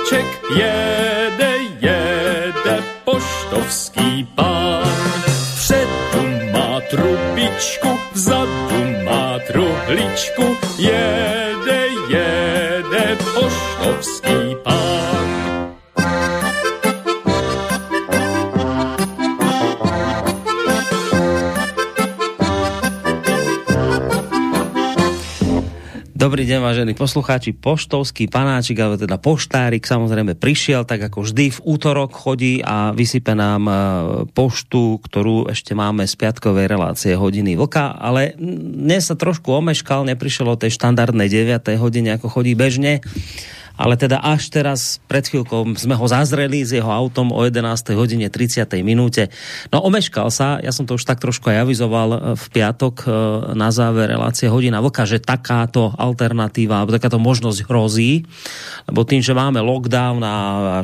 vláček jede poštovský pán. Vpředu má trubičku, vzadu má truhličku, jede poštovský pán. Dobrý deň, vážení poslucháči. Poštovský panáčik, alebo teda poštárik, samozrejme prišiel, tak ako vždy v útorok chodí a vysype nám poštu, ktorú ešte máme z piatkovej relácie Hodiny vlka, ale dnes sa trošku omeškal, neprišiel o tej štandardnej 9. hodine, ako chodí bežne, ale teda až teraz, pred chvíľkou sme ho zazreli s jeho autom o 11. hodine 30. minúte. No omeškal sa, ja som to už tak trošku aj avizoval v piatok na záver relácie Hodina vlka, že takáto alternatíva, alebo takáto možnosť hrozí, lebo tým, že máme lockdown a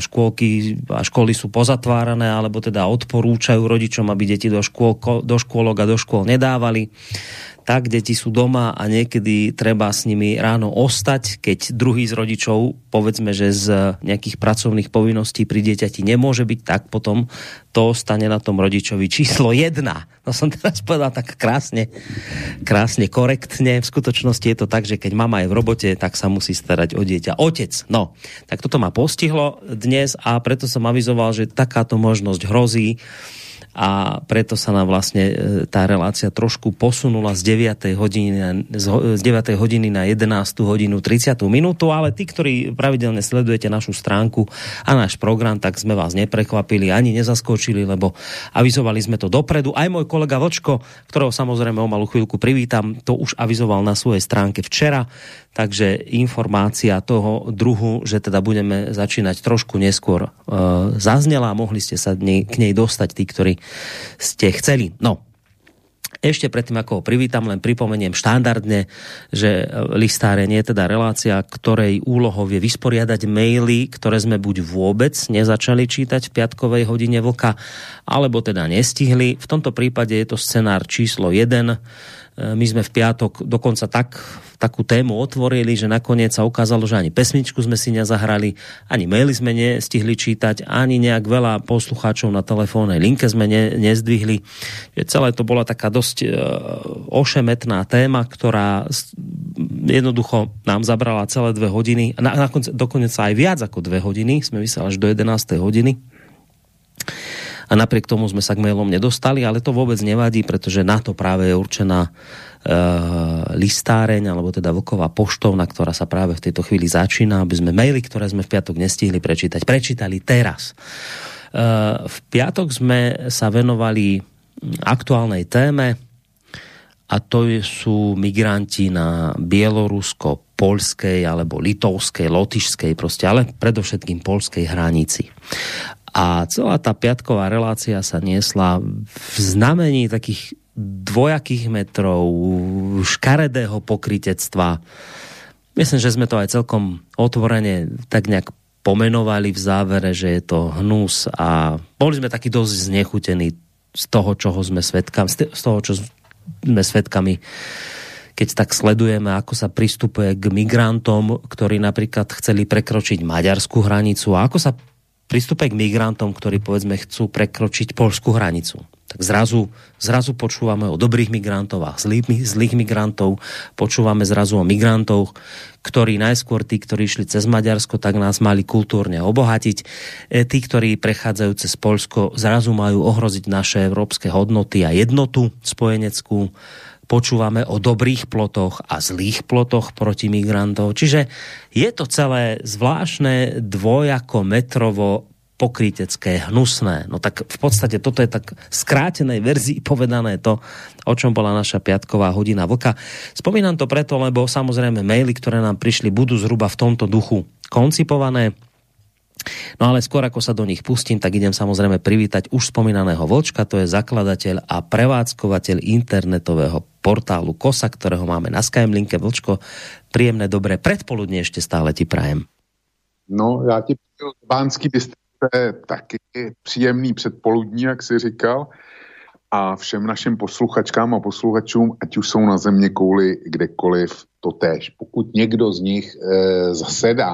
školy sú pozatvárané, alebo teda odporúčajú rodičom, aby deti do škôlok a do škôl nedávali, tak deti sú doma a niekedy treba s nimi ráno ostať, keď druhý z rodičov, povedzme, že z nejakých pracovných povinností pri dieťati nemôže byť, tak potom to ostane na tom rodičovi číslo 1. No som teraz povedal tak krásne, korektne. V skutočnosti je to tak, že keď mama je v robote, tak sa musí starať o dieťa otec. No, tak toto ma postihlo dnes a preto som avizoval, že takáto možnosť hrozí. A preto sa nám vlastne tá relácia trošku posunula z 9. hodiny na 11. hodinu 30. minútu, ale tí, ktorí pravidelne sledujete našu stránku a náš program, tak sme vás neprekvapili ani nezaskočili, lebo avizovali sme to dopredu. Aj môj kolega Vlčko, ktorého samozrejme o malú chvíľku privítam, to už avizoval na svojej stránke včera, takže informácia toho druhu, že teda budeme začínať trošku neskôr zaznela a mohli ste sa k nej dostať tí, ktorí ste chceli. No, ešte predtým, ako ho privítam, len pripomeniem štandardne, že listáreň je teda relácia, ktorej úlohou je vysporiadať maily, ktoré sme buď vôbec nezačali čítať v piatkovej hodine vlka, alebo teda nestihli. V tomto prípade je to scenár číslo 1. My sme v piatok dokonca takú tému otvorili, že nakoniec sa ukázalo, že ani pesničku sme si nezahrali, ani maily sme nestihli čítať, ani nejak veľa poslucháčov na telefónnej linke sme nezdvihli. Celé to bola taká dosť ošemetná téma, ktorá jednoducho nám zabrala celé 2 hodiny. Dokonca aj viac ako 2 hodiny. Sme vysielali až do 11. hodiny. A napriek tomu sme sa k mailom nedostali, ale to vôbec nevadí, pretože na to práve je určená listáreň, alebo teda vlková poštovna, ktorá sa práve v tejto chvíli začína, aby sme maily, ktoré sme v piatok nestihli prečítali teraz. V piatok sme sa venovali aktuálnej téme a to sú migranti na bielorusko-poľskej alebo litovskej, lotyšskej proste, ale predovšetkým poľskej hranici. A celá tá piatková relácia sa niesla v znamení takých dvojakých metrov, škaredého pokrytectva. Myslím, že sme to aj celkom otvorene tak nejak pomenovali v závere, že je to hnus a boli sme takí dosť znechutení z toho, čo sme svedkami, keď tak sledujeme, ako sa pristupuje k migrantom, ktorí napríklad chceli prekročiť maďarskú hranicu a ako sa pristúpe k migrantom, ktorí povedzme chcú prekročiť poľskú hranicu. Tak zrazu počúvame o dobrých migrantov a zlých migrantov, počúvame zrazu o migrantov, ktorí najskôr tí, ktorí išli cez Maďarsko, tak nás mali kultúrne obohatiť. Tí, ktorí prechádzajú cez Poľsko, zrazu majú ohroziť naše európske hodnoty a jednotu spojeneckú. Počúvame o dobrých plotoch a zlých plotoch proti migrantov. Čiže je to celé zvláštne dvojako metrovo pokrytecké, hnusné. No tak v podstate toto je tak skrátenej verzii povedané to, o čom bola naša piatková hodina vlka. Spomínam to preto, lebo samozrejme maily, ktoré nám prišli, budú zhruba v tomto duchu koncipované. No ale skôr ako sa do nich pustím, tak idem samozrejme privítať už spomínaného Vlčka, to je zakladateľ a prevádzkovateľ internetového portálu KOSA, ktorého máme na Skymlinke. Vlčko, príjemné dobré predpoludne ešte stále ti prajem. No, já ti přeju Bánský Bystrice taky příjemný předpoludní, jak jsi říkal, a všem našim posluchačkám a posluchačům, ať už jsou na země kouli kdekoliv, totéž. Pokud někdo z nich zasedá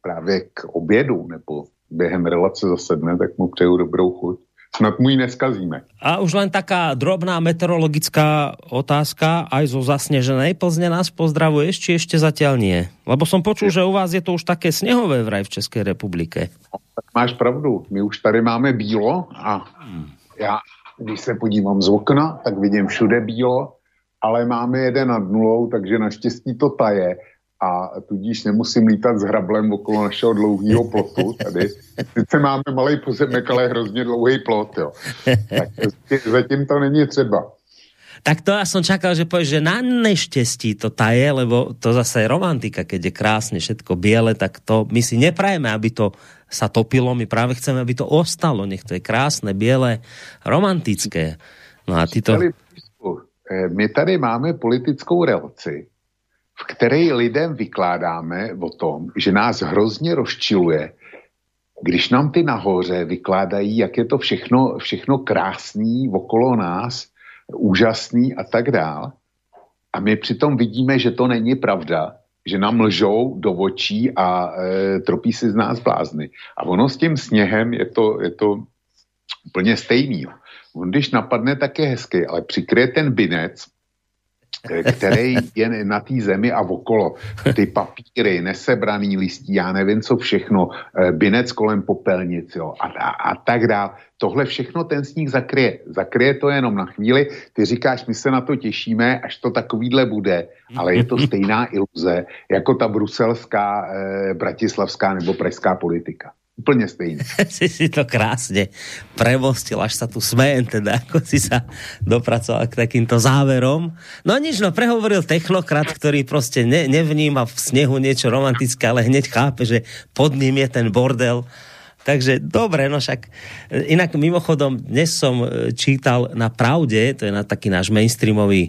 právě k obědu nebo během relace zasedne, tak mu přeju dobrou chuť. Snad mu ji neskazíme. A už len taká drobná meteorologická otázka, aj zo zasneženej Plzne nás pozdravuješ, či ešte zatiaľ nie? Lebo som počul, že u vás je to už také snehové vraj v Českej republike. No, tak máš pravdu, my už tady máme bílo a já, když se podívám z okna, tak vidím všude bílo, ale máme 1 nad 0, takže naštěstí to taje. A tudíž nemusím lítat s hrablem okolo našeho dlouhého plotu tady. Sice máme malý pozemek, ale hrozně dlouhý plot, jo. Tak zatím to není třeba. Tak to ja som čakal, že povieš, že na neštěstí to taje, lebo to zase je romantika, keď je krásne všetko biele, tak to my si neprajeme, aby to sa topilo, my práve chceme, aby to ostalo, nech to je krásne, biele, romantické. No a ty to... My tady máme politickou relaci, v které lidem vykládáme o tom, že nás hrozně rozčiluje, když nám ty nahoře vykládají, jak je to všechno krásný okolo nás, úžasný a tak dál. A my přitom vidíme, že to není pravda, že nám lžou do očí a tropí si z nás blázny. A ono s tím sněhem je to úplně stejný. On když napadne, tak je hezký, ale přikryje ten binec, který je na té zemi a okolo. Ty papíry, nesebraný listí, já nevím co všechno, binec kolem popelnic, jo, a tak dál. Tohle všechno ten sníh zakryje. Zakryje to jenom na chvíli. Ty říkáš, my se na to těšíme, až to takovýhle bude, ale je to stejná iluze, jako ta bruselská, bratislavská nebo pražská politika. Úplne stejný. si to krásne premostil, až sa tu smejem, teda, ako si sa dopracoval k takýmto záverom. No nič, prehovoril technokrat, ktorý proste nevníma v snehu niečo romantické, ale hneď chápe, že pod ním je ten bordel. Takže dobre, no však inak mimochodom dnes som čítal na Pravde, to je na taký náš mainstreamové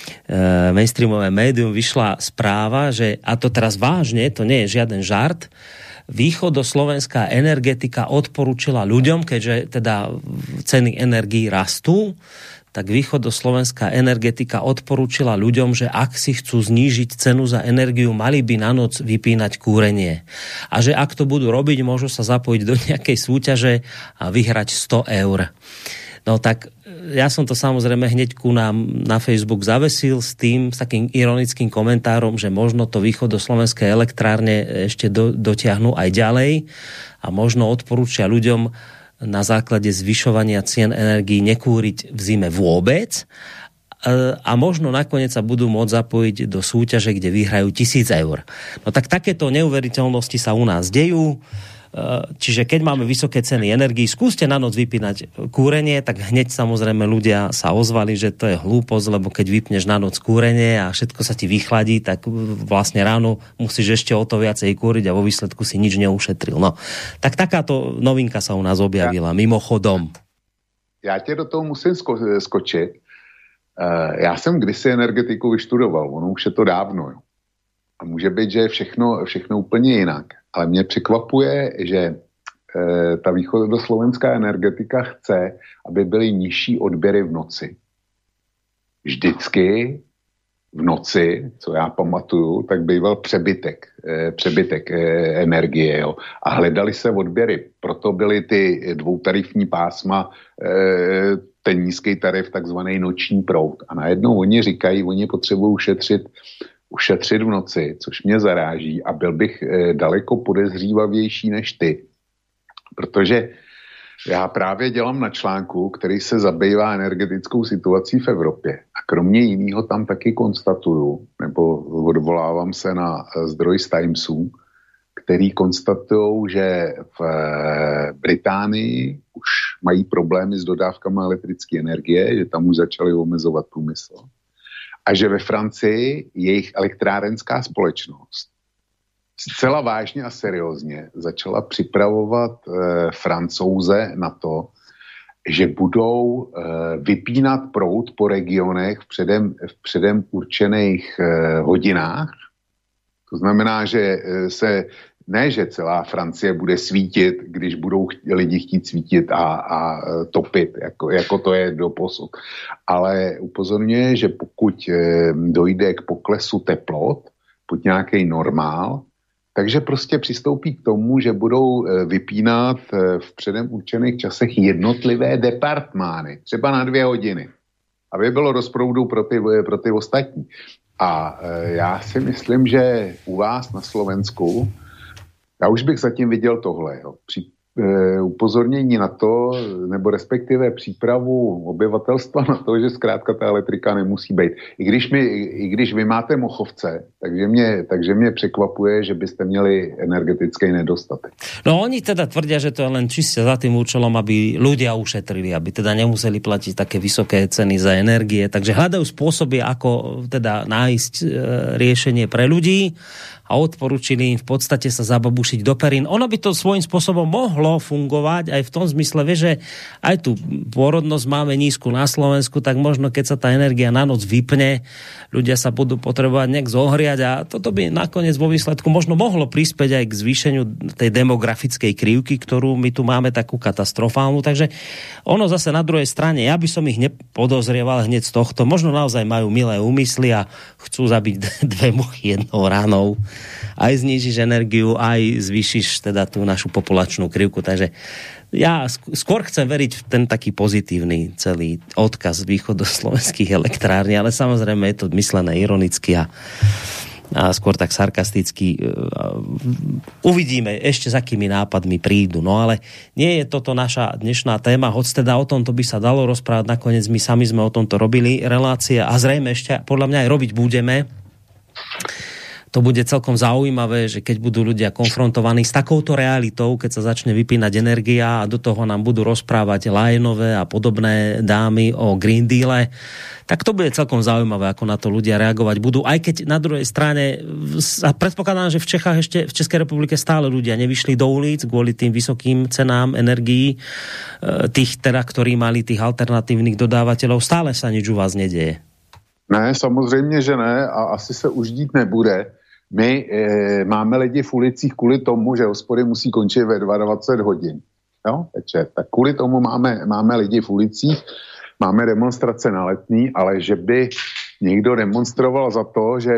médium, vyšla správa, že, a to teraz vážne, to nie je žiaden žart, východoslovenská energetika odporúčila ľuďom, keďže teda ceny energií rastú, tak východoslovenská energetika odporúčila ľuďom, že ak si chcú znížiť cenu za energiu, mali by na noc vypínať kúrenie. A že ak to budú robiť, môžu sa zapojiť do nejakej súťaže a vyhrať 100 eur. No tak ja som to samozrejme hneď ku nám na Facebook zavesil s takým ironickým komentárom, že možno to východoslovenské elektrárne ešte dotiahnu aj ďalej a možno odporúčia ľuďom na základe zvyšovania cien energií nekúriť v zime vôbec a možno nakoniec sa budú môcť zapojiť do súťaže, kde vyhrajú 1000 eur. No tak takéto neuveriteľnosti sa u nás dejú. Čiže keď máme vysoké ceny energií, skúste na noc vypínať kúrenie, tak hneď samozrejme ľudia sa ozvali, že to je hlúposť, lebo keď vypneš na noc kúrenie a všetko sa ti vychladí, tak vlastne ráno musíš ešte o to viacej kúriť a vo výsledku si nič neušetril. No, tak takáto novinka sa u nás objavila, mimochodom. Já tě do toho musím skočit. Já jsem kdysi energetiku vyštudoval, ono už je to dávno. Jo. A může být, že je všechno úplně jinak. Ale mě překvapuje, že ta východoslovenská energetika chce, aby byly nižší odběry v noci. Vždycky v noci, co já pamatuju, tak býval přebytek energie. Jo. A hledali se odběry. Proto byly ty dvoutarifní pásma, ten nízký tarif, takzvaný noční proud. A najednou oni říkají, oni potřebují ušetřit v noci, což mě zaráží a byl bych daleko podezřívavější než ty. Protože já právě dělám na článku, který se zabývá energetickou situací v Evropě. A kromě jiného tam taky konstatuju, nebo odvolávám se na zdroj z Timesu, který konstatují, že v Británii už mají problémy s dodávkami elektrické energie, že tam už začali omezovat průmysl. A že ve Francii jejich elektrárenská společnost zcela vážně a seriózně začala připravovat Francouze na to, že budou vypínat proud po regionech v předem určených hodinách. To znamená, že že celá Francie bude svítit, když budou lidi chtít svítit a topit, jako to je doposud. Ale upozorňuje, že pokud dojde k poklesu teplot pod nějaký normál, takže prostě přistoupí k tomu, že budou vypínat v předem určených časech jednotlivé departmány, třeba na 2 hodiny, aby bylo dost proudu pro ty ostatní. A já si myslím, že u vás na Slovensku, já už bych zatím viděl tohle, jo. Upozornění na to, nebo respektive přípravu obyvatelstva na to, že zkrátka ta elektrika nemusí být. I když vy máte Mochovce, takže mě překvapuje, že byste měli energetický nedostatek. No oni teda tvrdia, že to je len čiste za tým účelom, aby ľudia ušetrili, aby teda nemuseli platiť také vysoké ceny za energie, takže hľadajú spôsoby, ako teda nájsť riešenie pre ľudí a odporúčili im v podstate sa zababušiť do perín. Ono by to svojím spôsobom mohlo fungovať aj v tom zmysle, že aj tu pôrodnosť máme nízku na Slovensku, tak možno keď sa tá energia na noc vypne, ľudia sa budú potrebovať nejak zohriať a toto by nakoniec vo výsledku možno mohlo prispieť aj k zvýšeniu tej demografickej krivky, ktorú my tu máme takú katastrofálnu. Takže ono zase na druhej strane, ja by som ich nepodozrieval hneď z tohto. Možno naozaj majú milé úmysly a chcú zabiť 2 muchy jednou ránou. Aj znížiš energiu, aj zvýšiš teda tú našu populačnú krivku. Takže ja skôr chcem veriť v ten taký pozitívny celý odkaz východoslovenských elektrární, ale samozrejme je to myslené ironicky a skôr tak sarkasticky. Uvidíme ešte, s akými nápadmi prídu. No ale nie je toto naša dnešná téma, hoď teda o tomto by sa dalo rozprávať. Nakoniec my sami sme o tomto robili relácie a zrejme ešte podľa mňa aj robiť budeme. To bude celkom zaujímavé, že keď budú ľudia konfrontovaní s takouto realitou, keď sa začne vypínať energia a do toho nám budú rozprávať Lajenové a podobné dámy o Green Deale, tak to bude celkom zaujímavé, ako na to ľudia reagovať budú. Aj keď na druhej strane, predpokladám, že v Čechách ešte, v Českej republike stále ľudia nevyšli do ulic kvôli tým vysokým cenám energií, tých teda, ktorí mali tých alternatívnych dodávateľov, stále sa nič u vás nedeje. Ne, samozřejmě, že ne a asi se už dít nebude. My máme lidi v ulicích kvůli tomu, že hospody musí končit ve 22 hodin. Jo, večer. Tak kvůli tomu máme lidi v ulicích, máme demonstrace na Letný, ale že by někdo demonstroval za to, že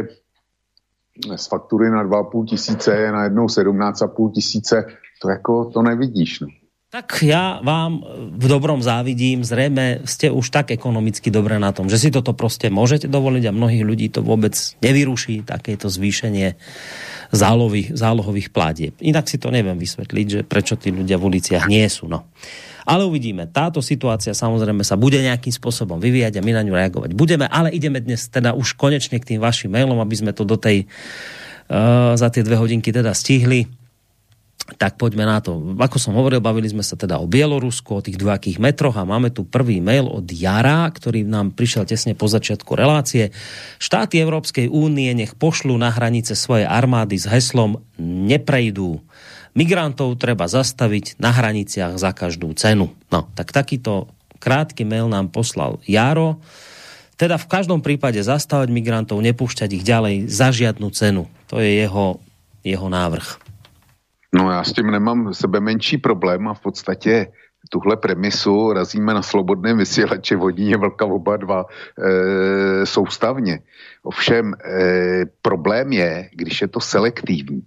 z faktury na 2,5 tisíce je najednou 17,5 tisíce, to nevidíš. No. Tak ja vám v dobrom závidím, zrejme ste už tak ekonomicky dobre na tom, že si toto proste môžete dovoliť a mnohých ľudí to vôbec nevyruší, takéto zvýšenie zálohových platieb. Inak si to neviem vysvetliť, že prečo tí ľudia v uliciach nie sú. No. Ale uvidíme. Táto situácia samozrejme sa bude nejakým spôsobom vyvíjať a my na ňu reagovať budeme, ale ideme dnes teda už konečne k tým vašim mailom, aby sme to do tej za tie 2 hodinky teda stihli. Tak poďme na to. Ako som hovoril, bavili sme sa teda o Bielorusku, o tých 2 metroch a máme tu prvý mail od Jara, ktorý nám prišiel tesne po začiatku relácie. Štáty Európskej únie nech pošlú na hranice svoje armády s heslom neprejdú. Migrantov treba zastaviť na hraniciach za každú cenu. No, tak takýto krátky mail nám poslal Jaro. Teda v každom prípade zastavať migrantov, nepúšťať ich ďalej za žiadnu cenu. To je jeho návrh. No já s tím nemám sebe menší problém a v podstatě tuhle premisu razíme na Slobodném vysílači Vodíně Vlka oba dva soustavně. Ovšem problém je, když je to selektivní.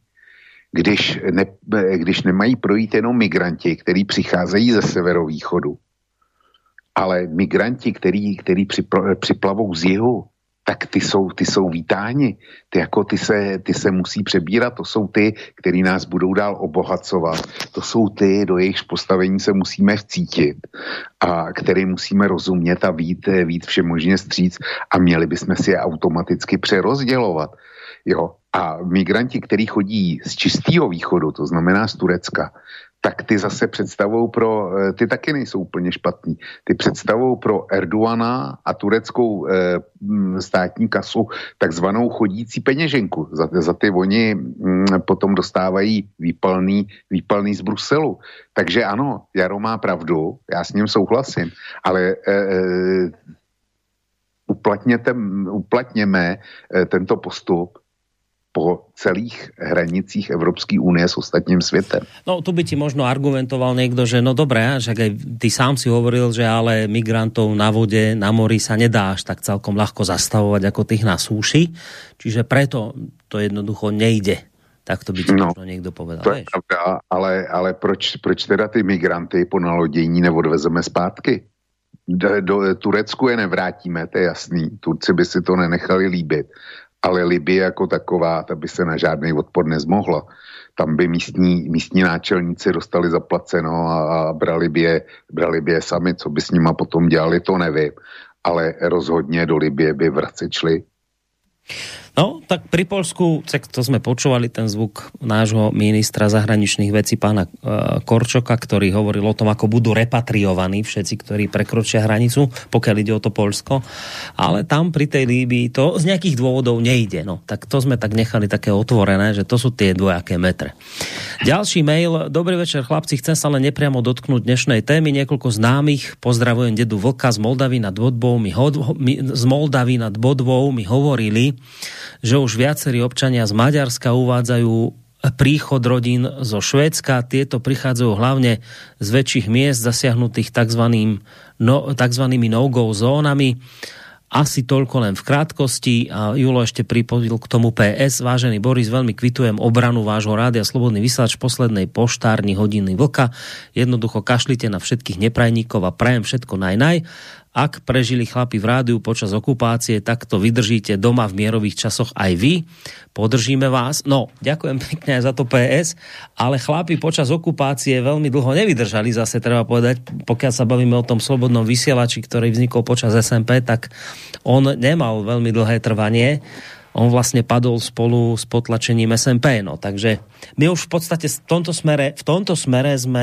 Když nemají projít jenom migranti, kteří přicházejí ze severovýchodu, ale migranti, kteří připlavou z jihu, tak ty jsou vítáni. Ty se musí přebírat. To jsou ty, který nás budou dál obohacovat. To jsou ty, do jejichž postavení se musíme vcítit a který musíme rozumět a vít všemožně vstříc a měli bychom si je automaticky přerozdělovat. Jo? A migranti, kteří chodí z čistého východu, to znamená z Turecka, tak ty zase ty taky nejsou úplně špatný. Ty představou pro Erdogana a tureckou státní kasu takzvanou chodící peněženku. Za ty oni potom dostávají výpalný z Bruselu. Takže ano, Jaro má pravdu, já s ním souhlasím, ale uplatněme tento postup po celých hranicích Európskej únie s ostatním svetom. No, tu by ti možno argumentoval niekto, že no dobré, že aj ty sám si hovoril, že ale migrantov na vode, na mori sa nedá až tak celkom ľahko zastavovať ako tých na súši, čiže preto to jednoducho nejde. Tak to by ti možno niekto povedal. To je pravda, ale proč teda ty migranty po nalodění neodvezeme zpátky? Do Turecku je nevrátíme, to je jasný. Turci by si to nenechali líbit. Ale Libye jako taková, ta by se na žádný odpor nezmohla. Tam by místní náčelníci dostali zaplaceno a brali by je sami. Co by s nima potom dělali, to nevím. Ale rozhodně do Libye by vracet šli. No, tak pri Poľsku, to sme počúvali ten zvuk nášho ministra zahraničných vecí pána Korčoka, ktorý hovoril o tom, ako budú repatriovaní všetci, ktorí prekročia hranicu, pokiaľ ide o to Poľsko. Ale tam pri tej Líbii to z nejakých dôvodov nejde. No, tak to sme tak nechali také otvorené, že to sú tie dvojaké metre. Ďalší mail. Dobrý večer, chlapci. Chcem sa len nepriamo dotknúť dnešnej témy. Niekoľko známych, pozdravujem dedu Vlka z Moldavy nad Bodvou mi hovorili, že už viacerí občania z Maďarska uvádzajú príchod rodín zo Švédska. Tieto prichádzajú hlavne z väčších miest zasiahnutých takzvanými no-go zónami. Asi toľko len v krátkosti. A Julo ešte pripojil k tomu PS. Vážený Boris, veľmi kvitujem obranu vášho rádia Slobodný vysielač v poslednej poštárni hodiny Vlka. Jednoducho kašlite na všetkých neprajníkov a prajem všetko najnaj. Ak prežili chlapi v rádiu počas okupácie, tak to vydržíte doma v mierových časoch aj vy. Podržíme vás. No, ďakujem pekne aj za to PS, ale chlapi počas okupácie veľmi dlho nevydržali, zase treba povedať, pokiaľ sa bavíme o tom slobodnom vysielači, ktorý vznikol počas SMP, tak on nemal veľmi dlhé trvanie. On vlastne padol spolu s potlačením SMP. No, takže my už v podstate v tomto smere sme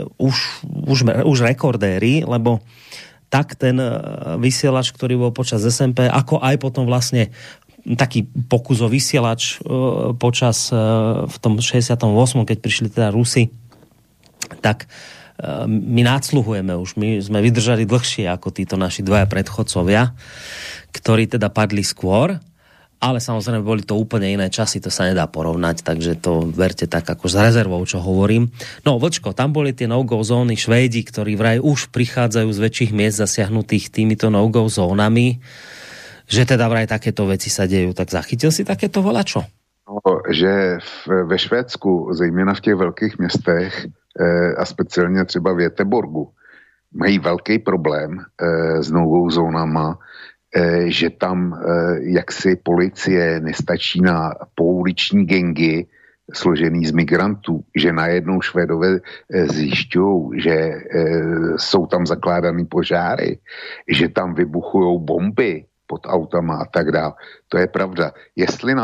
už rekordéri, lebo tak ten vysielač, ktorý bol počas SMP, ako aj potom vlastne taký pokus o vysielač počas v tom 68., keď prišli teda Rusi, tak my nádsluhujeme už. My sme vydržali dlhšie ako títo naši dvaja predchodcovia, ktorí teda padli skôr, ale samozrejme boli to úplne iné časy, to sa nedá porovnať, takže to verte tak ako s rezervou, čo hovorím. No, Vlčko, tam boli tie no-go zóny Švédi, ktorí vraj už prichádzajú z väčších miest zasiahnutých týmito no-go zónami, že teda vraj takéto veci sa dejú. Tak zachytil si takéto volačo? No, že ve Švédsku, zejména v těch velkých městech a speciálně třeba v Göteborgu, mají velký problém s no-go zónama, že tam jaksi policie nestačí na pouliční gengy složený z migrantů, že najednou Švédové zjišťují, že jsou tam zakládaný požáry, že tam vybuchujou bomby pod autama a tak dále. To je pravda. Jestli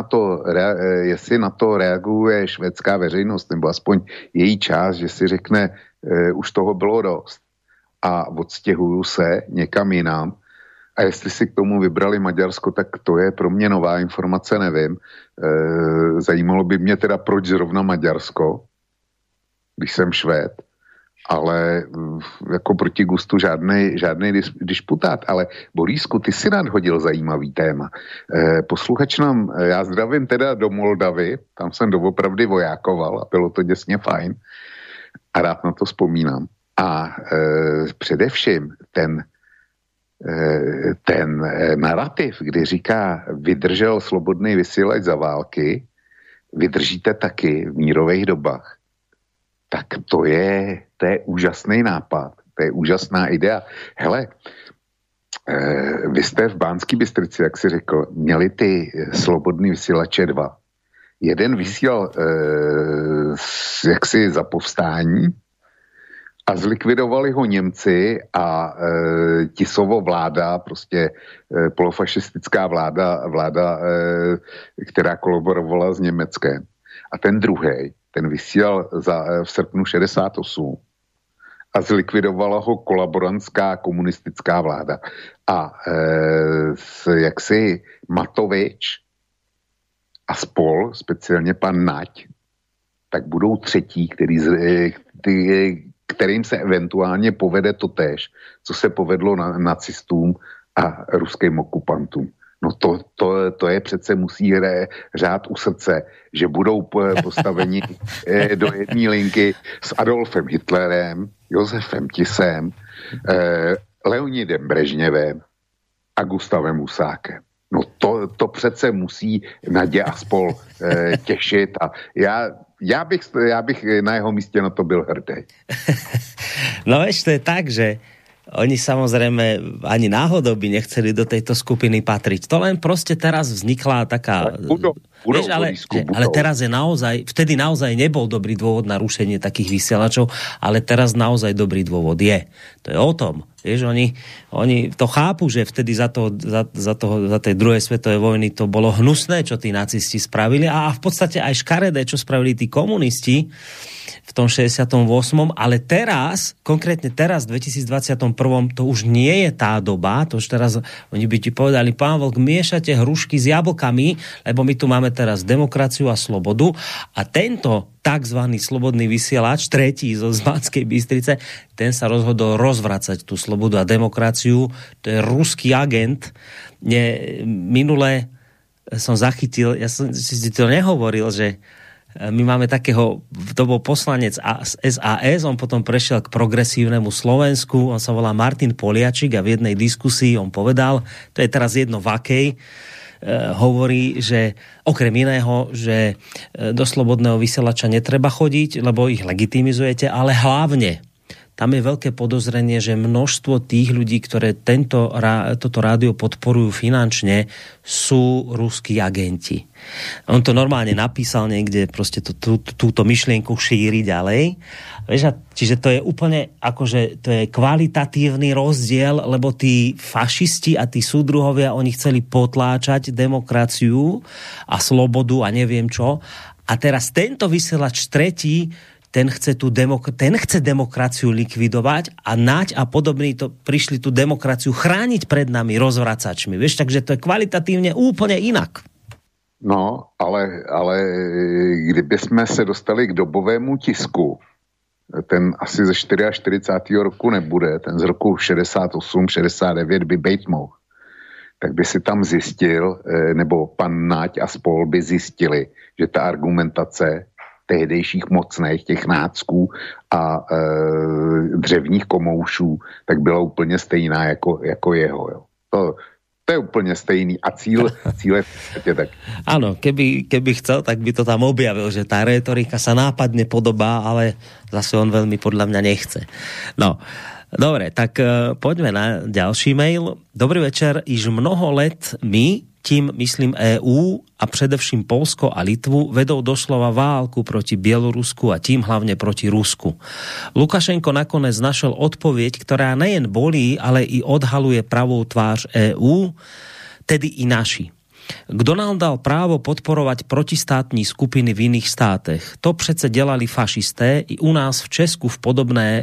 na to reaguje švédská veřejnost, nebo aspoň její část, že si řekne, už toho bylo dost a odstěhuju se někam jinam. A jestli si k tomu vybrali Maďarsko, tak to je pro mě nová informace, nevím. Zajímalo by mě teda, proč zrovna Maďarsko, když jsem Švéd, ale jako proti gustu žádný disputát. Ale Borísku, ty si nadhodil zajímavý téma. Posluchač nám, já zdravím teda do Moldavy, tam jsem doopravdy vojákoval a bylo to děsně fajn a rád na to vzpomínám. A především ten narrativ, kdy říká, vydržel slobodný vysílač za války, vydržíte taky v mírových dobách, tak to je úžasný nápad, to je úžasná idea. Hele, vy jste v Banské Bystrici, jak si řekl, měli ty slobodný vysílače 2. Jeden vysílal jaksi za povstání a zlikvidovali ho Němci a Tisovo vláda, prostě polofašistická vláda, která kolaborovala s Německem. A ten druhej, ten vysílal v srpnu 68 a zlikvidovala ho kolaborantská komunistická vláda. A jaksi Matovič a spol, speciálně pan Nať, tak budou třetí, kterým se eventuálně povede totéž, co se povedlo nacistům a ruským okupantům. No to je přece musí řád u srdce, že budou postaveni do jedné linky s Adolfem Hitlerem, Josefem Tisem, Leonidem Brežněvem a Gustavem Husákem. No to přece musí Nadě a spol těšit a já bych na jeho místě na to byl hrdý. No vieš, to je tak, že oni samozrejme ani náhodou by nechceli do tejto skupiny patriť. To len proste teraz vznikla taká... Ale teraz je naozaj, vtedy naozaj nebol dobrý dôvod na rušenie takých vysielačov, ale teraz naozaj dobrý dôvod je. To je o tom. Vieš, oni to chápu, že vtedy za tej druhej svetovej vojny to bolo hnusné, čo tí nacisti spravili a v podstate aj škaredé, čo spravili tí komunisti v tom 68. Ale teraz, konkrétne teraz, v 2021. to už nie je tá doba, to už teraz oni by ti povedali, pán Vlk, miešate hrušky s jablkami, lebo my tu máme teraz demokraciu a slobodu a tento takzvaný slobodný vysielač, tretí zo Banskej Bystrice, ten sa rozhodol rozvracať tú slobodu a demokraciu. To je ruský agent. Minule som zachytil, ja som si to nehovoril, že my máme takého, to bol poslanec SAS, on potom prešiel k progresívnemu Slovensku, on sa volá Martin Poliačik a v jednej diskusii on povedal, to je teraz jedno v akej, hovorí, že okrem iného, že do slobodného vysielača netreba chodiť, lebo ich legitimizujete, ale hlavne tam je veľké podozrenie, že množstvo tých ľudí, ktoré toto rádio podporujú finančne, sú ruskí agenti. On to normálne napísal niekde, proste túto myšlienku šíri ďalej. Čiže to je úplne, akože to je kvalitatívny rozdiel, lebo tí fašisti a tí súdruhovia, oni chceli potláčať demokraciu a slobodu a neviem čo. A teraz tento vysielač tretí, ten chce demokraciu likvidovať a Naď a podobní to prišli tú demokraciu chrániť pred nami rozvracačmi. Vieš, takže to je kvalitatívne úplne inak. No, ale kdyby jsme se dostali k dobovému tisku, ten asi ze 44. roku nebude, ten z roku 68, 69 by bejt mohl, tak by si tam zjistil, nebo pan Naď a spol by zjistili, že ta argumentace tehdejších mocných, těch nácků a dřevních komoušů, tak byla úplně stejná jako jeho. Jo. To je úplně stejný a cíl je tak. Áno, keby chcel, tak by to tam objavil, že tá retorika sa nápadne podobá, ale zase on veľmi podľa mňa nechce. No, dobre, tak poďme na ďalší mail. Dobrý večer, již mnoho let my, tím myslím EU a především Polsko a Litvu, vedou doslova válku proti Bielorusku a tím hlavne proti Rusku. Lukašenko nakonec našel odpoveď, ktorá nejen bolí, ale i odhaluje pravou tvář EU, tedy i naši. Kdo nám dal právo podporovať protistátní skupiny v iných státech? To přece dělali fašisté i u nás v Česku v podobné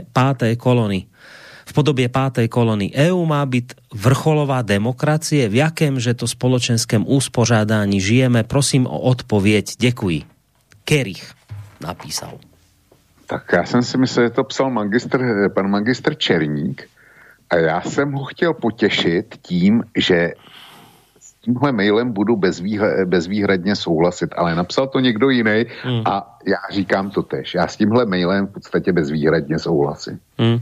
v podobě páté kolony. EU má byť vrcholová demokracie. V jakémže to spoločenském uspořádání žijeme? Prosím o odpověď. Děkuji. Kerich napísal. Tak já jsem si myslel, že to psal pan magistr Černík a já jsem ho chtěl potěšit tím, že s tímhle mailem budu bezvýhradně souhlasit, ale napsal to někdo jiný a já říkám to tež. Já s tímhle mailem v podstatě bezvýhradně souhlasím.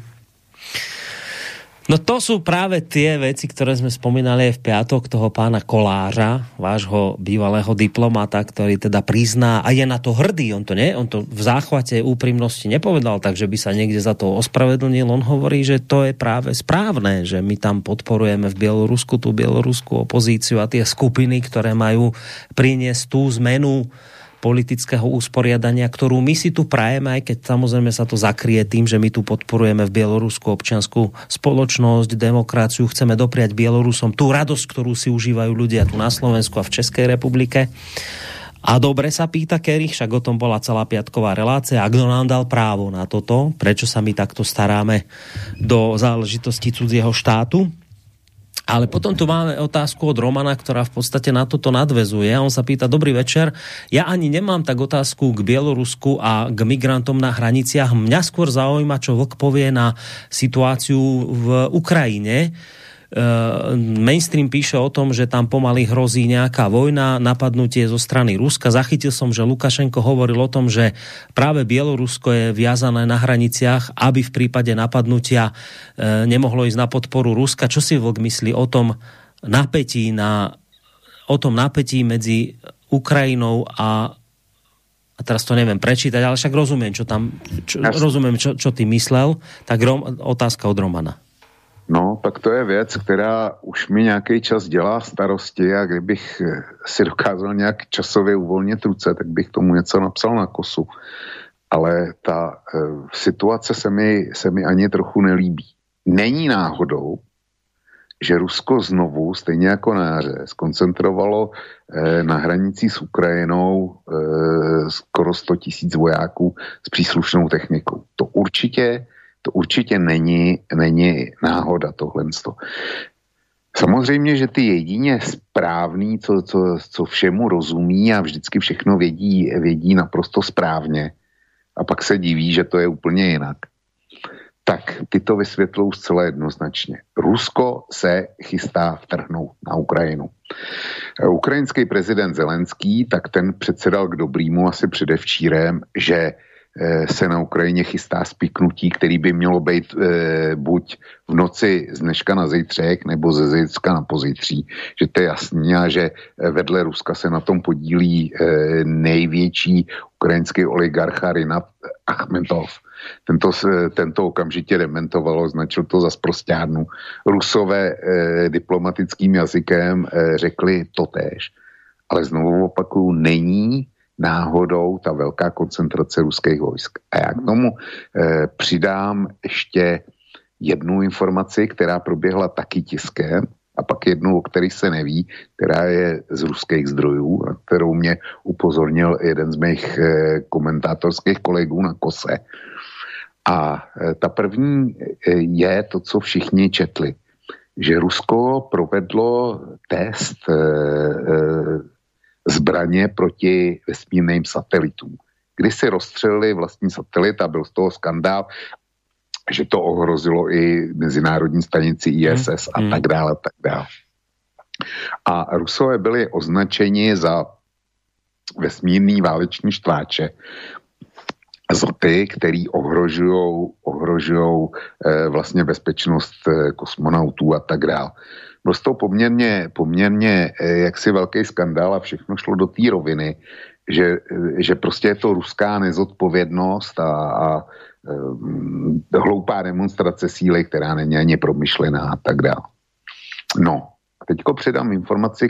No to sú práve tie veci, ktoré sme spomínali aj v piatok, toho pána Kolářa, vášho bývalého diplomata, ktorý teda prizná a je na to hrdý. On to v záchvate úprimnosti nepovedal, takže by sa niekde za to ospravedlnil. On hovorí, že to je práve správne, že my tam podporujeme v Bielorusku tú bieloruskú opozíciu a tie skupiny, ktoré majú priniesť tú zmenu politického usporiadania, ktorú my si tu prajeme, aj keď samozrejme sa to zakrie tým, že my tu podporujeme v Bielorusku občiansku spoločnosť, demokraciu, chceme dopriať Bielorusom tú radosť, ktorú si užívajú ľudia tu na Slovensku a v Českej republike. A dobre sa pýta Kerich, však o tom bola celá piatková relácia, a kto nám dal právo na toto, prečo sa my takto staráme do záležitosti cudzieho štátu. Ale potom tu máme otázku od Romana, ktorá v podstate na toto nadväzuje. On sa pýta, dobrý večer, ja ani nemám tak otázku k Bielorusku a k migrantom na hraniciach. Mňa skôr zaujíma, čo Vlk povie na situáciu v Ukrajine. Mainstream píše o tom, že tam pomaly hrozí nejaká vojna, napadnutie zo strany Ruska. Zachytil som, že Lukašenko hovoril o tom, že práve Bielorusko je viazané na hraniciach, aby v prípade napadnutia nemohlo ísť na podporu Ruska. Čo si Vlk myslí o tom napätí na o tom napätí medzi Ukrajinou a teraz to neviem prečítať, ale však rozumiem, čo ty myslel. Tak otázka od Romana. No, tak to je věc, která už mi nějaký čas dělá starosti a kdybych si dokázal nějak časově uvolnit ruce, tak bych tomu něco napsal na kosu. Ale ta situace se mi ani trochu nelíbí. Není náhodou, že Rusko znovu, stejně jako na jaře, skoncentrovalo na hranicích s Ukrajinou skoro 100 000 vojáků s příslušnou technikou. To určitě není náhoda tohle. Samozřejmě, že ty jedině správný, co všemu rozumí a vždycky všechno vědí naprosto správně a pak se diví, že to je úplně jinak, tak ty to vysvětlou zcela jednoznačně. Rusko se chystá vtrhnout na Ukrajinu. Ukrajinský prezident Zelenský, tak ten předsedal k dobrýmu asi předevčírem, že se na Ukrajině chystá spiknutí, který by mělo být buď v noci z dneška na zítřek, nebo ze zítřka na pozítří. Že to je jasný a že vedle Ruska se na tom podílí největší ukrajinský oligarcha Rinat Achmetov. Tento okamžitě dementoval, označil to za sprosťárnu. Rusové diplomatickým jazykem řekli totéž. Ale znovu opakuju, není náhodou ta velká koncentrace ruských vojsk. A já k tomu přidám ještě jednu informaci, která proběhla taky tiskem, a pak jednu, o který se neví, která je z ruských zdrojů, na kterou mě upozornil jeden z mých komentátorských kolegů na Kose. A ta první je to, co všichni četli, že Rusko provedlo test zbraně proti vesmírným satelitům. Když si rozstřelili vlastní satelit a byl z toho skandál, že to ohrozilo i mezinárodní stanici ISS a tak dále, a tak dále. A Rusové byli označeni za vesmírný váleční štváče, za ty, který ohrožujou vlastně bezpečnost kosmonautů a tak dále. Byl to poměrně jaksi velký skandál a všechno šlo do té roviny, že prostě je to ruská nezodpovědnost a hloupá demonstrace síly, která není ani promyšlená a tak dále. No, a teďko předám informaci,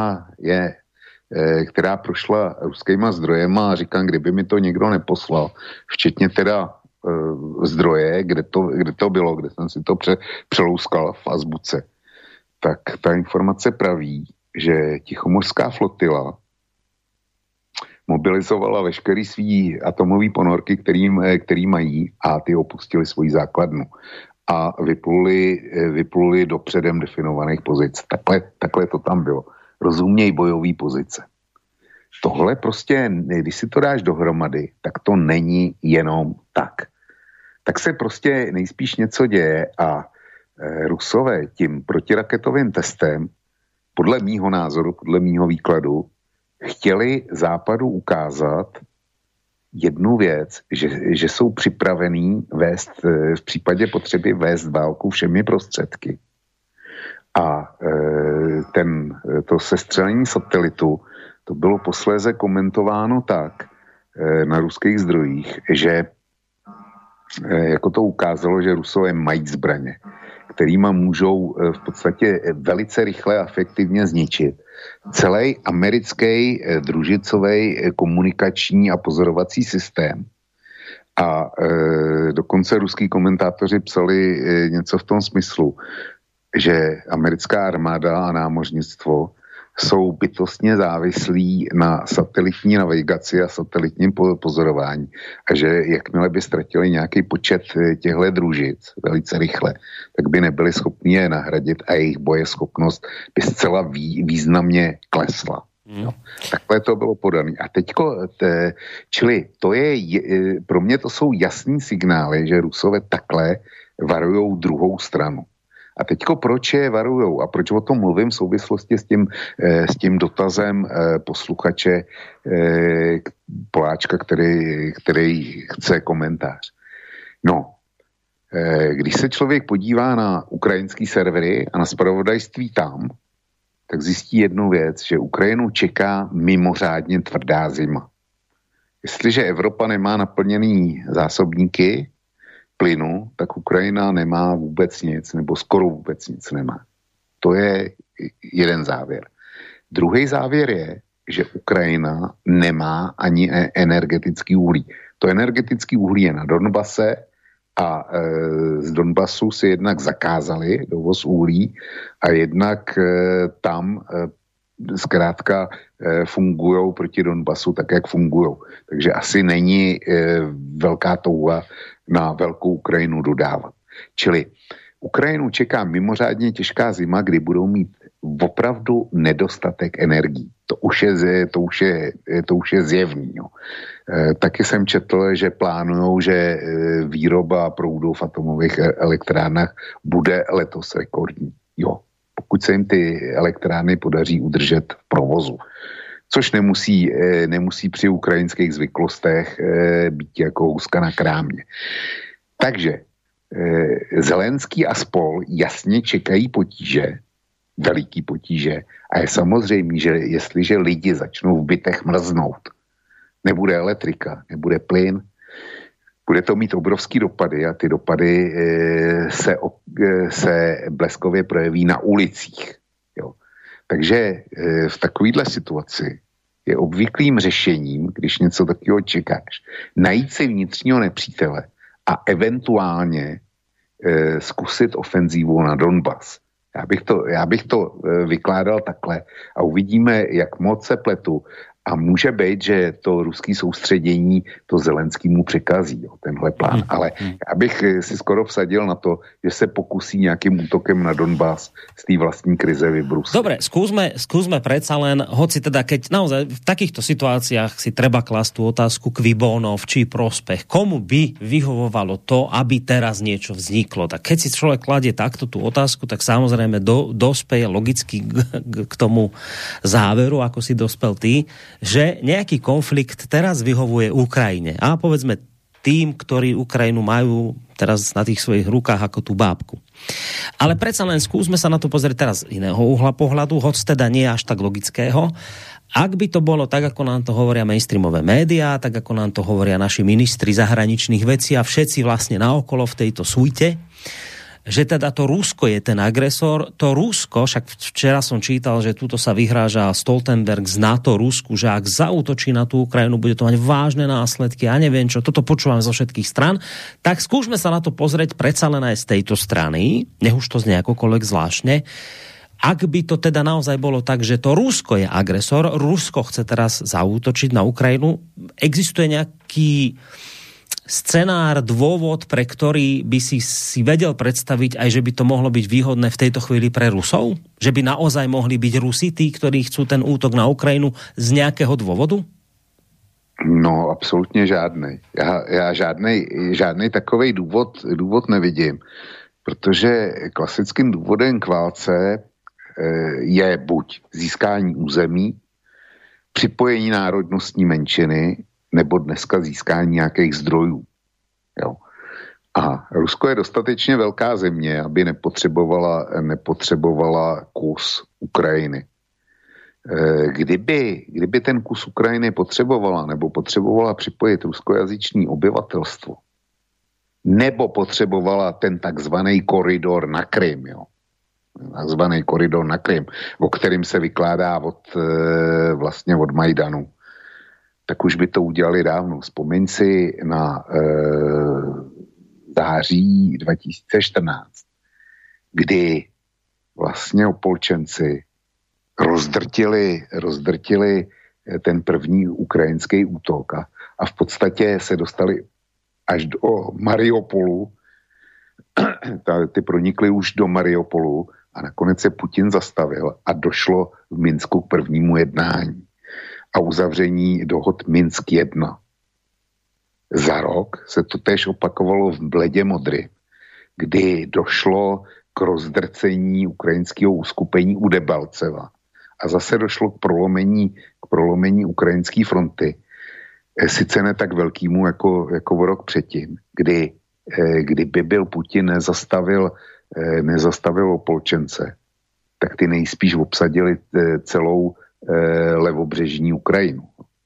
která prošla ruskýma zdrojema a říkám, kdyby mi to někdo neposlal, včetně teda zdroje, kde to bylo, kde jsem si to přelouskal v azbuce, tak ta informace praví, že Tichomořská flotila mobilizovala veškerý svý atomový ponorky, který mají, a ty opustili svoji základnu a vypluli do předem definovaných pozic. Takhle to tam bylo. Rozuměj bojový pozice. Tohle prostě, když si to dáš dohromady, tak to není jenom tak. Tak se prostě nejspíš něco děje a Rusové tím protiraketovým testem, podle mýho názoru, podle mýho výkladu, chtěli Západu ukázat jednu věc, že jsou připravení vést, v případě potřeby vést válku všemi prostředky. A to sestřelení satelitu, to bylo posléze komentováno tak na ruských zdrojích, že jako to ukázalo, že Rusové mají zbraně, kterýma můžou v podstatě velice rychle a efektivně zničit celý americký družicový komunikační a pozorovací systém. A dokonce ruský komentátoři psali něco v tom smyslu, že americká armáda a námořnictvo jsou bytostně závislí na satelitní navigaci a satelitním pozorování. A že jakmile by ztratili nějaký počet těchto družic velice rychle, tak by nebyli schopni je nahradit a jejich bojeschopnost by zcela významně klesla. No, takhle to bylo podané. A teďko, čili to je, pro mě to jsou jasný signály, že Rusové takhle varujou druhou stranu. A teďko proč je varujou a proč o tom mluvím v souvislosti s tím dotazem posluchače Poláčka, který chce komentář. No, když se člověk podívá na ukrajinský servery a na zpravodajství tam, tak zjistí jednu věc, že Ukrajinu čeká mimořádně tvrdá zima. Jestliže Evropa nemá naplněný zásobníky plynu, tak Ukrajina nemá vůbec nic, nebo skoro vůbec nic nemá. To je jeden závěr. Druhý závěr je, že Ukrajina nemá ani energetický uhlí. To energetický uhlí je na Donbase a z Donbasu si jednak zakázali dovoz uhlí a jednak tam zkrátka fungujou proti Donbasu tak, jak fungujou. Takže asi není velká touha na velkou Ukrajinu dodávat. Čili Ukrajinu čeká mimořádně těžká zima, kdy budou mít opravdu nedostatek energií. To už je zjevný. Jo. Taky jsem četl, že plánujou, že výroba proudu v atomových elektrárnách bude letos rekordní. Jo, pokud se jim ty elektrárny podaří udržet v provozu. Což nemusí při ukrajinských zvyklostech být jako houska na krámě. Takže Zelenský a spol jasně čekají potíže, veliký potíže, a je samozřejmě, že jestliže lidi začnou v bytech mrznout, nebude elektrika, nebude plyn, bude to mít obrovský dopady a ty dopady se bleskově projeví na ulicích. Jo. Takže v takovéhle situaci je obvyklým řešením, když něco takového čekáš, najít si vnitřního nepřítele a eventuálně zkusit ofenzívu na Donbas. Já bych to vykládal takhle a uvidíme, jak moc se pletu. A může být, že to ruský soustředění to Zelenskýmu překazí, jo, tenhle plán. Ale já bych si skoro vsadil na to, že se pokusí nějakým útokem na Donbas z té vlastní krize vybruslit. Dobre, skúsme predsa len, hoci teda keď naozaj v takýchto situáciách si treba klasť tú otázku qui bono, v čí prospech, komu by vyhovovalo to, aby teraz niečo vzniklo. Tak keď si človek kladie takto tú otázku, tak samozrejme dospeje logicky k tomu záveru, ako si dospel ty, že nejaký konflikt teraz vyhovuje Ukrajine. A povedzme tým, ktorí Ukrajinu majú teraz na tých svojich rukách ako tú bábku. Ale predsa len skúsme sa na to pozrieť teraz z iného uhla pohľadu, hoď teda nie až tak logického. Ak by to bolo tak, ako nám to hovoria mainstreamové médiá, tak ako nám to hovoria naši ministri zahraničných vecí a všetci vlastne naokolo v tejto suite, že teda to Rusko je ten agresor. To Rusko, však včera som čítal, že tuto sa vyhráža Stoltenberg z NATO Rusku, že ak zaútočí na tú Ukrajinu, bude to mať vážne následky. Ja neviem čo, toto počúvam zo všetkých stran. Tak skúsme sa na to pozrieť predsa len aj z tejto strany, nech už to znie akokoľvek zvláštne. Ak by to teda naozaj bolo tak, že to Rusko je agresor, Rusko chce teraz zaútočiť na Ukrajinu, existuje nejaký scenár, dôvod, pre ktorý by si vedel predstaviť aj, že by to mohlo byť výhodné v tejto chvíli pre Rusov? Že by naozaj mohli byť Rusi tí, ktorí chcú ten útok na Ukrajinu z nejakého dôvodu? No, absolutně žádnej. Já žádnej takovej důvod nevidím, protože klasickým důvodem k válce je buď získání území, připojení národnostní menšiny, nebo dneska získání nějakých zdrojů. Jo. A Rusko je dostatečně velká země, aby nepotřebovala kus Ukrajiny. Kdyby ten kus Ukrajiny potřebovala, nebo potřebovala připojit ruskojazyčné obyvatelstvo, nebo potřebovala ten takzvaný koridor na Krym, jo. Takzvaný koridor na Krym, o kterým se vykládá vlastně od Majdanu, tak už by to udělali dávno. Vzpomeň si na září 2014, kdy vlastně opolčenci rozdrtili ten první ukrajinský útok a v podstatě se dostali až do Mariupolu. Ty pronikli už do Mariupolu a nakonec se Putin zastavil a došlo v Minsku k prvnímu jednání a uzavření dohod Minsk 1. Za rok se to též opakovalo v Bledě Modry, kdy došlo k rozdrcení ukrajinského uskupení u Debalceva a zase došlo k prolomení ukrajinské fronty, sice ne tak velkýmu jako o rok předtím, kdyby byl Putin nezastavil opolčence, tak ty nejspíš obsadili celou levobřežní Ukrajinu.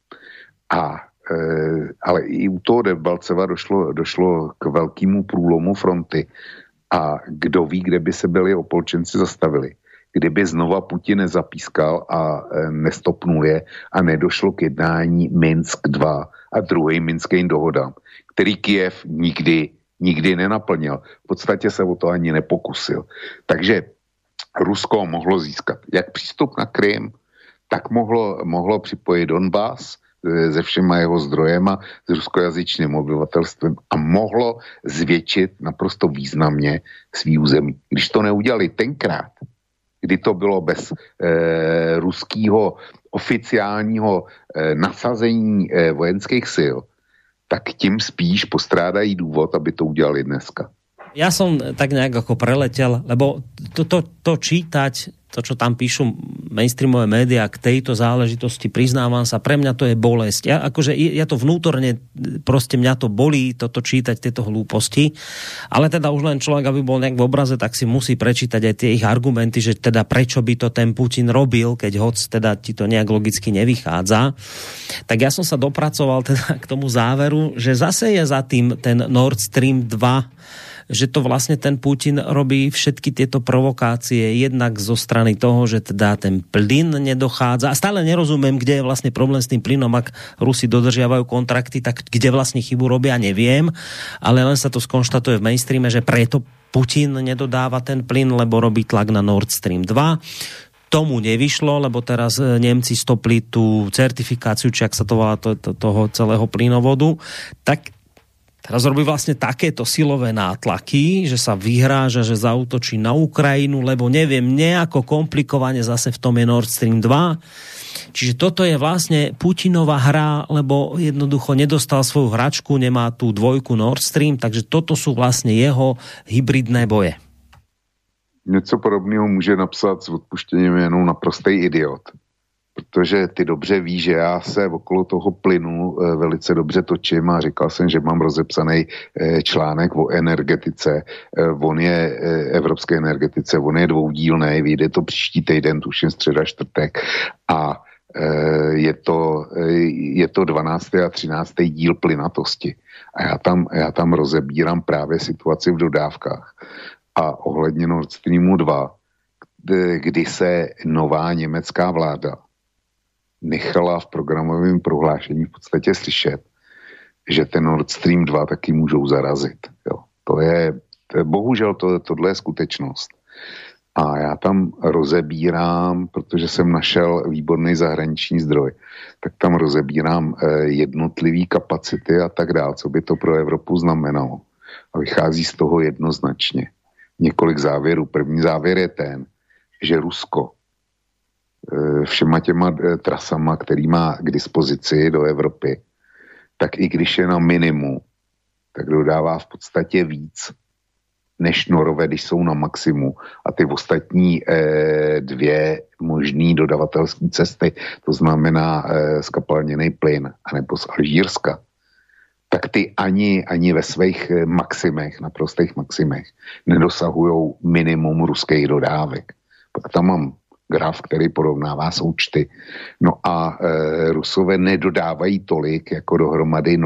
Ale i u toho Debalceva došlo k velkému průlomu fronty a kdo ví, kde by se byli opolčenci zastavili. Kdyby znova Putin nezapískal a nestopnul je a nedošlo k jednání Minsk 2 a druhým minským dohodám, který Kyjev nikdy nenaplnil. V podstatě se o to ani nepokusil. Takže Rusko mohlo získat jak přístup na Krym, tak mohlo připojit Donbas se všema jeho zdrojema, s ruskojazyčným obyvatelstvem a mohlo zvětšit naprosto významně svý území. Když to neudělali tenkrát, kdy to bylo bez ruského oficiálního nasazení vojenských sil, tak tím spíš postrádají důvod, aby to udělali dneska. Ja som tak nejak ako preletel, lebo to čítať, to, čo tam píšu mainstreamové médiá k tejto záležitosti, priznávam sa, pre mňa to je bolesť. Ja to vnútorne, proste mňa to bolí, toto čítať, tieto hlúposti, ale teda už len človek, aby bol nejak v obraze, tak si musí prečítať aj tie ich argumenty, že teda prečo by to ten Putin robil, keď hoc teda ti to nejak logicky nevychádza. Tak ja som sa dopracoval teda k tomu záveru, že zase je za tým ten Nord Stream 2, že to vlastne ten Putin robí všetky tieto provokácie jednak zo strany toho, že teda ten plyn nedochádza. A stále nerozumiem, kde je vlastne problém s tým plynom. Ak Rusi dodržiavajú kontrakty, tak kde vlastne chybu robia, neviem. Ale len sa to skonštatuje v mainstreame, že preto Putin nedodáva ten plyn, lebo robí tlak na Nord Stream 2. Tomu nevyšlo, lebo teraz Nemci stopli tú certifikáciu, či ak sa to volá toho celého plynovodu. Tak teraz robí vlastne takéto silové nátlaky, že sa vyhráža, že zaútočí na Ukrajinu, lebo neviem, nejako komplikovane zase v tom je Nord Stream 2. Čiže toto je vlastne Putinová hra, lebo jednoducho nedostal svoju hračku, nemá tú dvojku Nord Stream, takže toto sú vlastne jeho hybridné boje. Něco podobného může napsat s odpuštěním jenom naprostej idiot. Protože ty dobře víš, že já se okolo toho plynu velice dobře točím a říkal jsem, že mám rozepsaný článek o energetice. On je evropské energetice, on je dvoudílnej, vyjde to příští týden, tuším středa, čtvrtek a je to 12. a 13. díl plynatosti. A já tam rozebírám právě situaci v dodávkách. A ohledně Nord Streamu 2, kdy se nová německá vláda nechala v programovém prohlášení v podstatě slyšet, že ten Nord Stream 2 taky můžou zarazit. Jo. To je bohužel tohle je skutečnost. A já tam rozebírám, protože jsem našel výborný zahraniční zdroj, tak tam rozebírám jednotlivý kapacity a tak dále, co by to pro Evropu znamenalo. A vychází z toho jednoznačně. Několik závěrů. První závěr je ten, že Rusko všema těma trasama, který má k dispozici do Evropy, tak i když je na minimu, tak dodává v podstatě víc než Norové, když jsou na maximu. A ty ostatní dvě možný dodavatelské cesty, to znamená skapalněný plyn, anebo z Alžírska, tak ty ani ve svých maximech, naprostých maximech, nedosahují minimum ruských dodávek. Pak tam mám graf, který porovnává součty. No a Rusové nedodávají tolik jako dohromady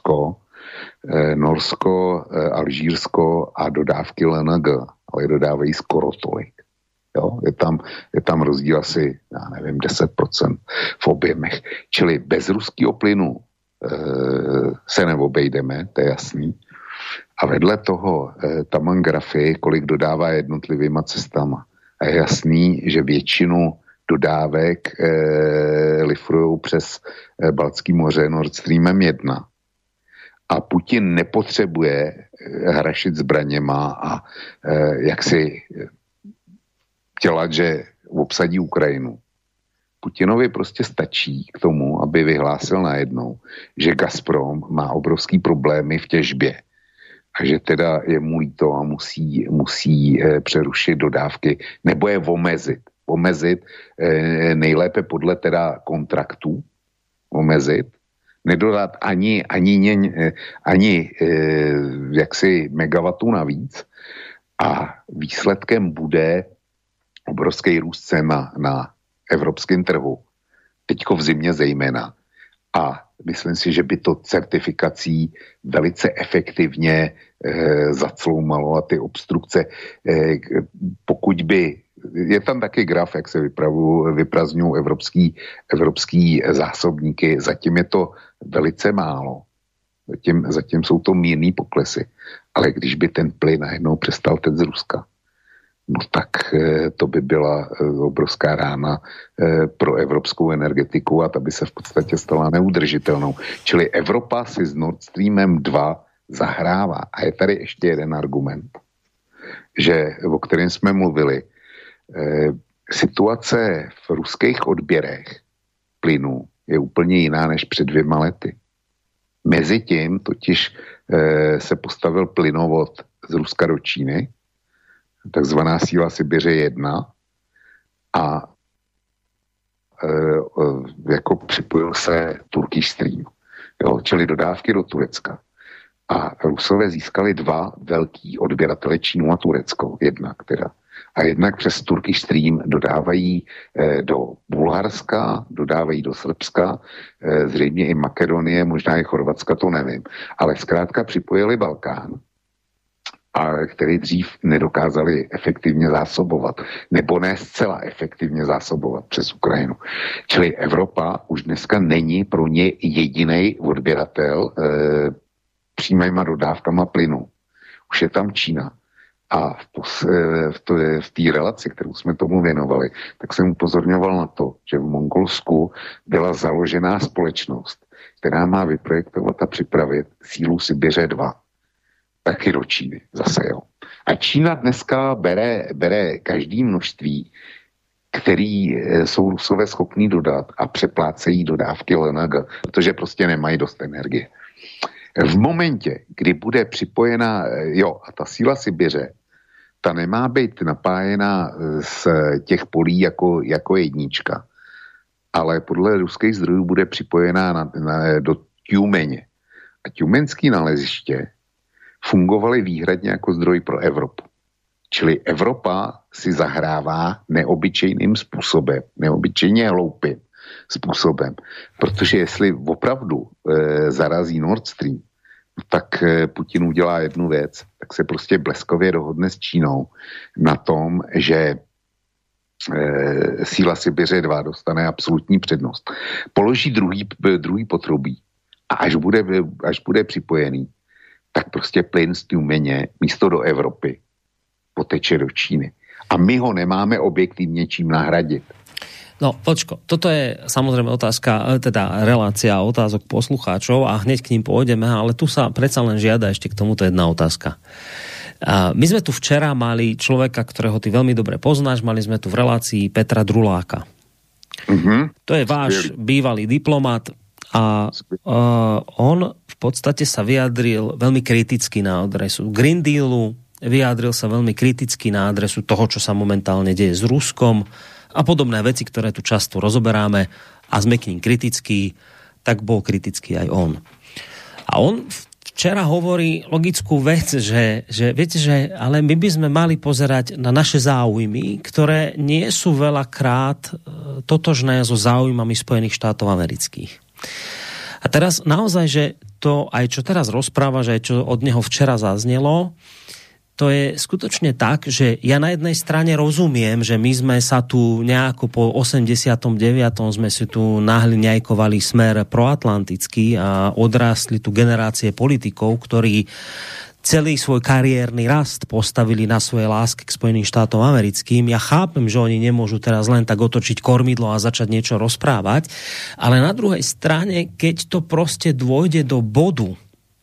Norsko, Alžírsko a dodávky LNG, ale dodávají skoro tolik. Jo? Je tam rozdíl asi, já nevím, 10% v objemech. Čili bez ruského plynu se neobejdeme, to je jasný. A vedle toho tam mám grafy, kolik dodává jednotlivýma cestama. A je jasný, že většinu dodávek lifrujou přes Baltský moře Nord Streamem 1. A Putin nepotřebuje hrašit zbraněma a jak si dělat, že obsadí Ukrajinu. Putinovi prostě stačí k tomu, aby vyhlásil najednou, že Gazprom má obrovský problémy v těžbě a že teda je mu líto a musí přerušit dodávky nebo je omezit nejlépe podle teda kontraktů, nedodat ani jaksi megawatů navíc a výsledkem bude obrovský růst cen na evropském trhu, teďko v zimě zejména. A myslím si, že by to certifikací velice efektivně zacloumalo a ty obstrukce, pokud by, je tam taky graf, jak se vyprazňují evropský zásobníky, zatím je to velice málo. Zatím jsou to mírný poklesy. Ale když by ten plyn najednou přestal teď z Ruska, no tak to by byla obrovská rána pro evropskou energetiku a ta by se v podstatě stala neudržitelnou. Čili Evropa si s Nord Streamem 2 zahrává. A je tady ještě jeden argument, o kterém jsme mluvili. Situace v ruských odběrech plynu je úplně jiná než před 2 lety. Mezitím totiž se postavil plynovod z Ruska do Číny, takzvaná síla Sibiře 1 a jako připojil se Turkish Stream, jo, čili dodávky do Turecka. A Rusové získali 2 velký odběratele, Čínu a Turecko, jednak přes Turkish Stream dodávají do Bulharska, dodávají do Srbska, zřejmě i Makedonie, možná i Chorvatska, to nevím. Ale zkrátka připojili Balkán, a který dřív nedokázali efektivně zásobovat, nebo ne zcela efektivně zásobovat přes Ukrajinu. Čili Evropa už dneska není pro ně jediný odběratel přímýma dodávkama plynu. Už je tam Čína. A v té relaci, kterou jsme tomu věnovali, tak jsem upozorňoval na to, že v Mongolsku byla založená společnost, která má vyprojektovat a připravit sílu Sibiře 2. Taky do Číny zase, jo. A Čína dneska bere každý množství, který jsou Rusové schopní dodat a přeplácejí dodávky LNG, protože prostě nemají dost energie. V momentě, kdy bude připojena, a ta síla Sibiře, ta nemá být napájena z těch polí jako jednička, ale podle ruských zdrojů bude připojená do Tjumeně. A tjumenský naleziště fungovaly výhradně jako zdroj pro Evropu. Čili Evropa si zahrává neobyčejným způsobem, neobyčejně hloupým způsobem, protože jestli opravdu zarazí Nord Stream, tak Putin udělá jednu věc, tak se prostě bleskově dohodne s Čínou na tom, že síla Sibiře 2 dostane absolutní přednost. Položí druhý potrubí a až bude připojený, tak prostě plyn z Tjumeně místo do Evropy poteče do Číny. A my ho nemáme objektivně čím nahradit. No, počko, toto je samozrejme otázka, teda relácia otázok poslucháčov a hneď k ním pôjdeme, ale tu sa predsa len žiada ešte k tomuto jedna otázka. My sme tu včera mali človeka, ktorého ty veľmi dobre poznáš, mali sme tu v relácii Petra Druláka. To je váš bývalý diplomat a on v podstate sa vyjadril veľmi kriticky na adresu Green Dealu, vyjadril sa veľmi kriticky na adresu toho, čo sa momentálne deje s Ruskom a podobné veci, ktoré tu často rozoberáme a sme k ním kritickí, tak bol kritický aj on. A on včera hovorí logickú vec, že viete, že ale my by sme mali pozerať na naše záujmy, ktoré nie sú veľakrát totožné so záujmami Spojených štátov amerických. A teraz naozaj, že to aj čo teraz rozpráva, že aj čo od neho včera zaznelo, to je skutočne tak, že ja na jednej strane rozumiem, že my sme sa tu nejako po 89. sme si tu nahliňajkovali smer proatlantický a odrastli tu generácie politikov, ktorí celý svoj kariérny rast postavili na svoje lásky k Spojeným štátom americkým. Ja chápem, že oni nemôžu teraz len tak otočiť kormidlo a začať niečo rozprávať, ale na druhej strane, keď to proste dôjde do bodu,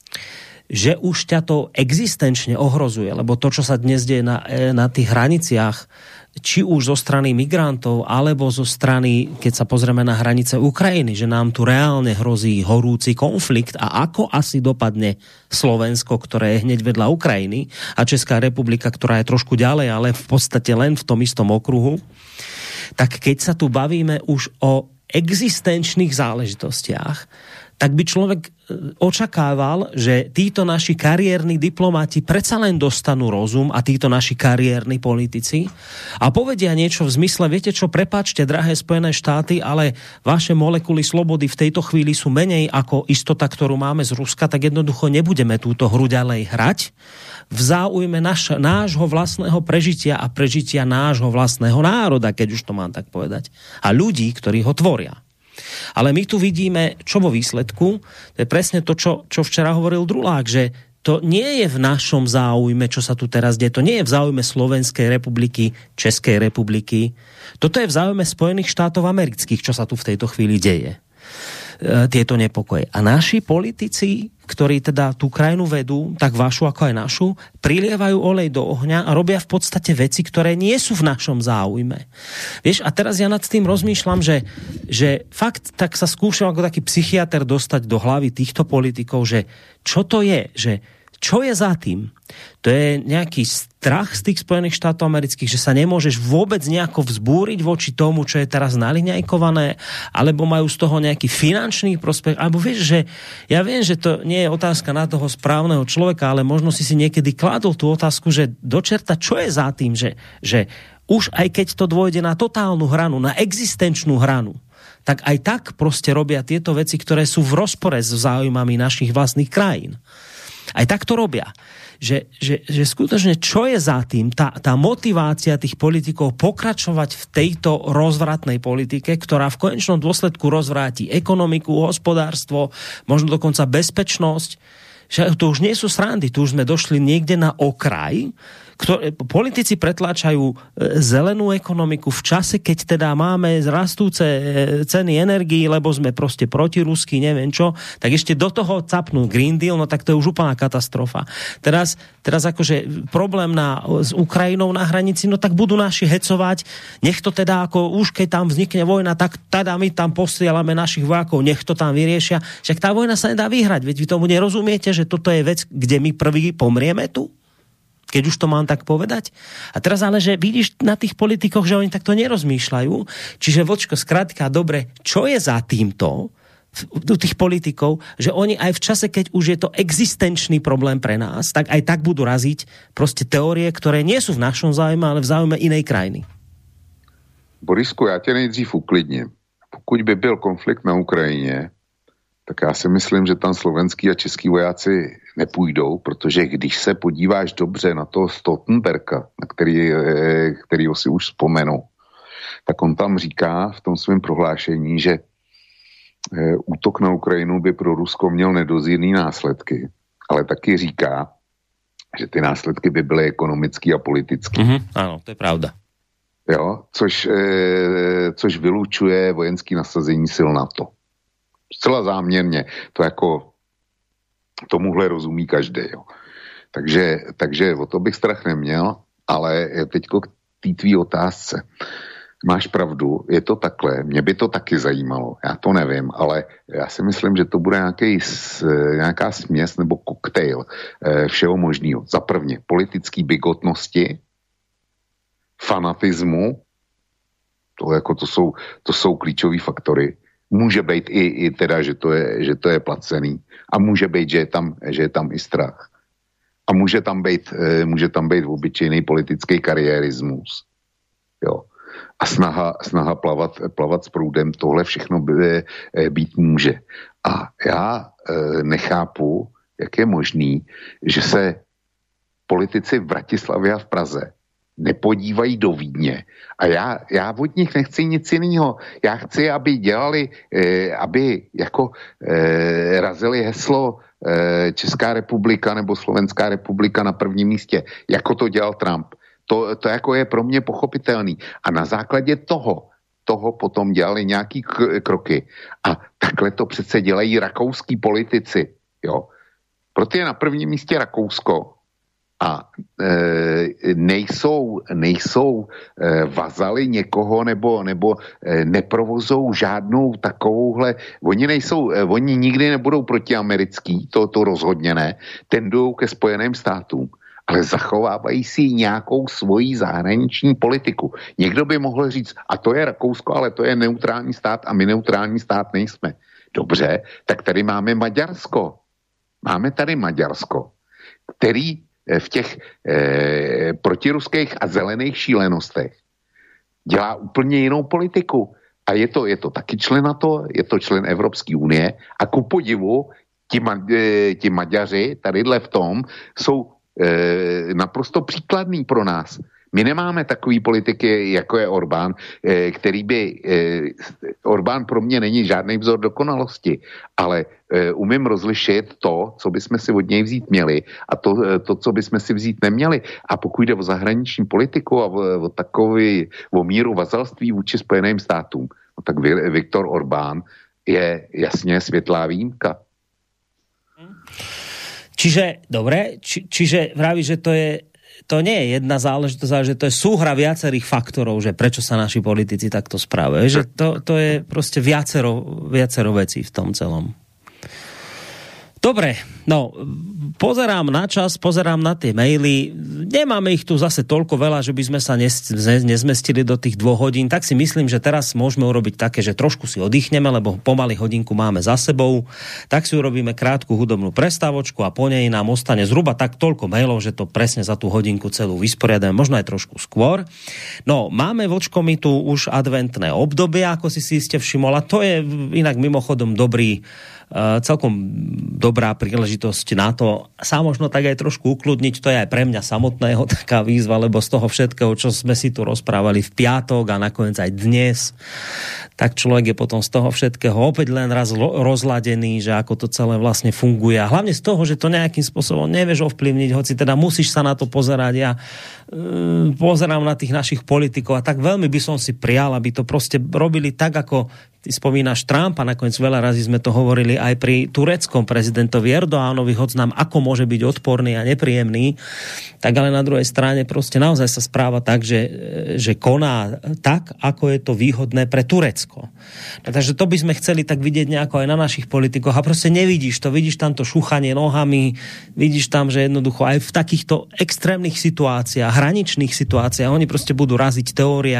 že už ťa to existenčne ohrozuje, lebo to, čo sa dnes deje na tých hraniciach, či už zo strany migrantov, alebo zo strany, keď sa pozrieme na hranice Ukrajiny, že nám tu reálne hrozí horúci konflikt a ako asi dopadne Slovensko, ktoré je hneď vedľa Ukrajiny a Česká republika, ktorá je trošku ďalej, ale v podstate len v tom istom okruhu, tak keď sa tu bavíme už o existenčných záležitostiach, tak by človek očakával, že títo naši kariérni diplomati predsa len dostanú rozum a títo naši kariérni politici a povedia niečo v zmysle, viete čo, prepáčte, drahé Spojené štáty, ale vaše molekuly slobody v tejto chvíli sú menej ako istota, ktorú máme z Ruska, tak jednoducho nebudeme túto hru ďalej hrať v záujme nášho vlastného prežitia a prežitia nášho vlastného národa, keď už to mám tak povedať, a ľudí, ktorí ho tvoria. Ale my tu vidíme, čo vo výsledku, to je presne to, čo včera hovoril Drulák, že to nie je v našom záujme, čo sa tu teraz deje, to nie je v záujme Slovenskej republiky, Českej republiky, toto je v záujme Spojených štátov amerických, čo sa tu v tejto chvíli deje. Tieto nepokoje. A naši politici, ktorí teda tú krajinu vedú, tak vašu ako aj našu, prilievajú olej do ohňa a robia v podstate veci, ktoré nie sú v našom záujme. Vieš, a teraz ja nad tým rozmýšľam, že fakt tak sa skúšam ako taký psychiater dostať do hlavy týchto politikov, že čo to je, že čo je za tým? To je nejaký strach z tých Spojených štátov amerických, že sa nemôžeš vôbec nejako vzbúriť voči tomu, čo je teraz naliňajkované, alebo majú z toho nejaký finančný prospech, alebo vieš, že ja viem, že to nie je otázka na toho správneho človeka, ale možno si niekedy kládol tú otázku, že dočerta, čo je za tým, že už aj keď to dôjde na totálnu hranu, na existenčnú hranu, tak aj tak proste robia tieto veci, ktoré sú v rozpore s záujmami našich vlastných krajín. Aj tak to robia. Že skutočne, čo je za tým, tá motivácia tých politikov pokračovať v tejto rozvratnej politike, ktorá v konečnom dôsledku rozvráti ekonomiku, hospodárstvo, možno dokonca bezpečnosť, že to už nie sú srandy, tu už sme došli niekde na okraj, politici pretláčajú zelenú ekonomiku v čase, keď teda máme rastúce ceny energií, lebo sme proste protirusky, neviem čo, tak ešte do toho capnú Green Deal, no tak to je už úplná katastrofa. Teraz akože problém s Ukrajinou na hranici, no tak budú naši hecovať, nech to teda ako už keď tam vznikne vojna, tak teda my tam posielame našich vojakov, nech to tam vyriešia. Však tá vojna sa nedá vyhrať, veď vy tomu nerozumiete, že toto je vec, kde my prvý pomrieme tu? Keď už to mám tak povedať. A teraz ale, že vidíš na tých politikoch, že oni takto nerozmýšľajú. Čiže vočko, skrátka, dobre, čo je za týmto u tých politikov, že oni aj v čase, keď už je to existenčný problém pre nás, tak aj tak budú raziť proste teórie, ktoré nie sú v našom záujme, ale v záujme inej krajiny. Borisku, já tě nejdřív uklidním. Pokud by byl konflikt na Ukrajině, tak já si myslím, že tam slovenský a český vojáci nepůjdou, protože když se podíváš dobře na toho Stoltenberga, na kterýho si už vzpomenu, tak on tam říká v tom svém prohlášení, že útok na Ukrajinu by pro Rusko měl nedozírný následky, ale taky říká, že ty následky by byly ekonomický a politický. Ano, to je pravda. Jo, což vylučuje vojenský nasazení sil NATO. Zcela záměrně. To jako tomuhle rozumí každý. Jo. Takže o to bych strach neměl, ale teďko k té tvý otázce. Máš pravdu, je to takhle, mě by to taky zajímalo, já to nevím, ale já si myslím, že to bude nějaká směs nebo koktejl všeho možného. Za prvně politický bigotnosti, fanatismu, to jsou klíčové faktory. Může být i teda, že to je placený. A může být, že je tam i strach. A může tam být obyčejný politický kariérismus. Jo. A snaha plavat s proudem, tohle všechno být může. A já nechápu, jak je možný, že se politici v Bratislavě a v Praze nepodívají do Vídně. A já od nich nechci nic jiného. Já chci, aby dělali, aby jako razili heslo Česká republika nebo Slovenská republika na prvním místě, jako to dělal Trump. To jako je pro mě pochopitelný. A na základě toho potom dělali nějaký kroky. A takhle to přece dělají rakouský politici. Jo. Proto je na prvním místě Rakousko. A nejsou vazali někoho nebo neprovozou žádnou takovouhle, oni nikdy nebudou protiamerický, to rozhodně ne, tendují ke Spojeným státům, ale zachovávají si nějakou svoji zahraniční politiku. Někdo by mohl říct, a to je Rakousko, ale to je neutrální stát a my neutrální stát nejsme. Dobře, tak tady máme Maďarsko. Máme tady Maďarsko, který v těch protiruských a zelených šílenostech dělá úplně jinou politiku. A je to taky člen NATO, je to člen Evropské unie a ku podivu ti Maďaři tadyhle v tom jsou naprosto příkladný pro nás. My nemáme takový politiky, jako je Orbán, který by... Orbán pro mě není žádný vzor dokonalosti, ale umím rozlišit to, co bychom si od něj vzít měli a to, co bychom si vzít neměli. A pokud jde o zahraniční politiku a o míru vazalství vůči Spojeným státům, no tak Viktor Orbán je jasně světlá výjimka. Čiže, dobre, čiže vraví, že to nie je jedna záležitosť, ale že to je súhra viacerých faktorov, že prečo sa naši politici takto správajú. Že to je proste viacero vecí v tom celom. Dobre, no, pozerám na čas, pozerám na tie maily. Nemáme ich tu zase toľko veľa, že by sme sa nezmestili do tých 2 hodín, tak si myslím, že teraz môžeme urobiť také, že trošku si oddychneme, lebo pomaly hodinku máme za sebou. Tak si urobíme krátku hudobnú prestávočku a po nej nám ostane zhruba tak toľko mailov, že to presne za tú hodinku celú vysporiadame, možno aj trošku skôr. No, máme vočko mi tu už adventné obdobie, ako si iste všimol, a to je inak mimochodom celkom dobrá príležitosť na to sa možno tak aj trošku ukludniť. To je aj pre mňa samotného taká výzva, lebo z toho všetkého, čo sme si tu rozprávali v piatok a nakoniec aj dnes, tak človek je potom z toho všetkého opäť len raz rozladený, že ako to celé vlastne funguje. A hlavne z toho, že to nejakým spôsobom nevieš ovplyvniť, hoci teda musíš sa na to pozerať. Ja pozerám na tých našich politikov a tak veľmi by som si prial, aby to proste robili tak, ako ty spomínaš Trumpa, nakoniec veľa razy sme to hovorili aj pri tureckom prezidentovi Erdoánovi, hoď nám ako môže byť odporný a nepríjemný, tak ale na druhej strane proste naozaj sa správa tak, že koná tak, ako je to výhodné pre Turecko. Takže to by sme chceli tak vidieť nejako aj na našich politikoch a proste nevidíš to, vidíš tam to šúchanie nohami, vidíš tam, že jednoducho aj v takýchto extrémnych situáciách, hraničných situáciách, oni proste budú raziť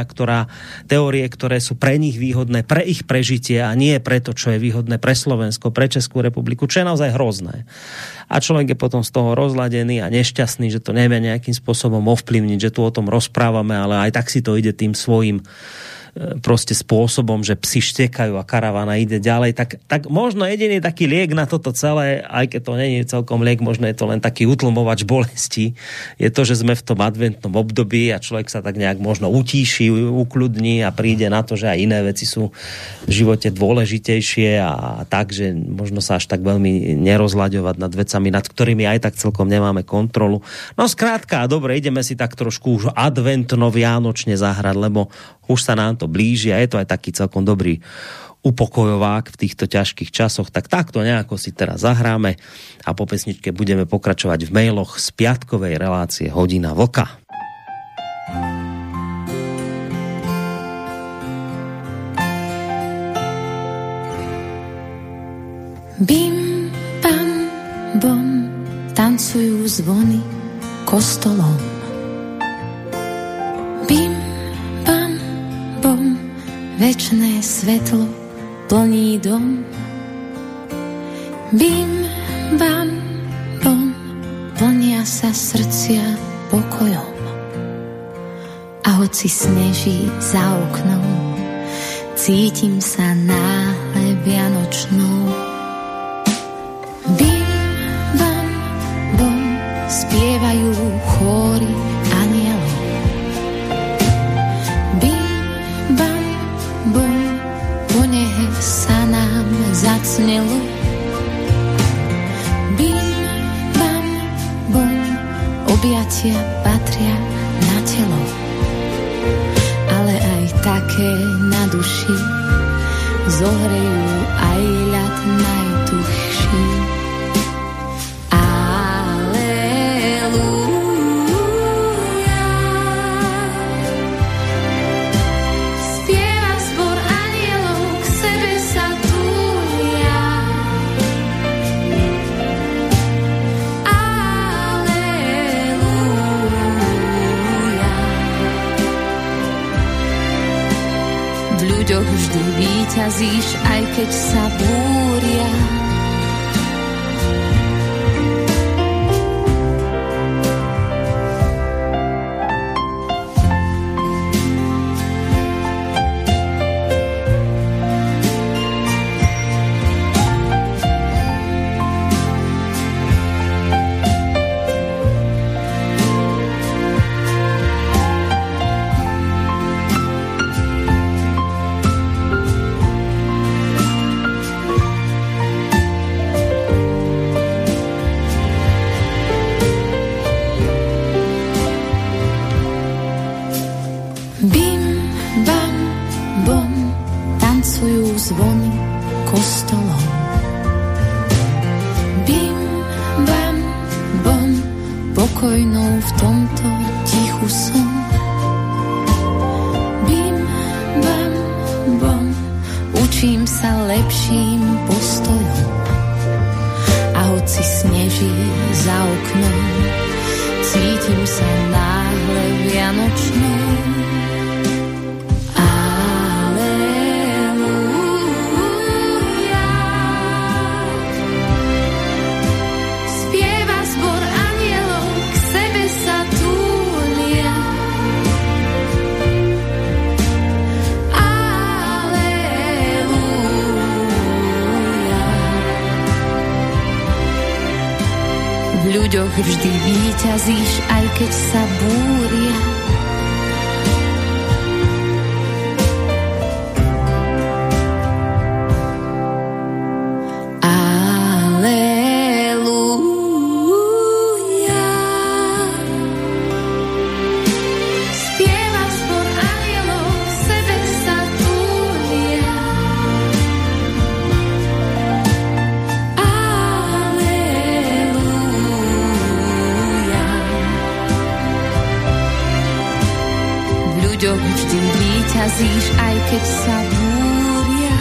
teórie, ktoré sú pre nich výhodné, pre ich prežitie a nie preto, čo je výhodné pre Slovensko, pre Českú republiku, čo je naozaj hrozné. A človek je potom z toho rozladený a nešťastný, že to nevie nejakým spôsobom ovplyvniť, že tu o tom rozprávame, ale aj tak si to ide tým svojím proste spôsobom, že psi štekajú a karavana ide ďalej, tak možno jediný taký liek na toto celé, aj keď to nie je celkom liek, možno je to len taký utlmovač bolesti, je to, že sme v tom adventnom období a človek sa tak nejak možno utíši, ukľudní a príde na to, že aj iné veci sú v živote dôležitejšie a tak, že možno sa až tak veľmi nerozlaďovať nad vecami, nad ktorými aj tak celkom nemáme kontrolu. No skrátka, dobre, ideme si tak trošku už adventno-vianočne zahrať, lebo už sa nám to blíži a je to aj taký celkom dobrý upokojovák v týchto ťažkých časoch. Tak takto nejako si teraz zahráme a po pesničke budeme pokračovať v mailoch z piatkovej relácie Hodina vlka. Bim, bam, bom, tancujú zvony kostolom. Bim, bam, bom, večné svetlo plní dom. Bim, bam, bom, plnia sa srdcia pokojom. A hoci sneží za oknom, cítim sa náhle vianočnou. Bim, bam, bom, spievajú chóry anielov. Bim, bam, bom, po nehe sa nám zacnelo. Bim, bam, bom, objatia patria na telo, ale aj také na duši zohrejú aj ľad najtuchší. Vždy zvíťazíš, aj keď sa búria. Vždy víťazíš, aj keď sa búria. Aleluja. Spieva zbor anielov, k sebe sa túlia. Vždy víťazíš, aj keď sa búria.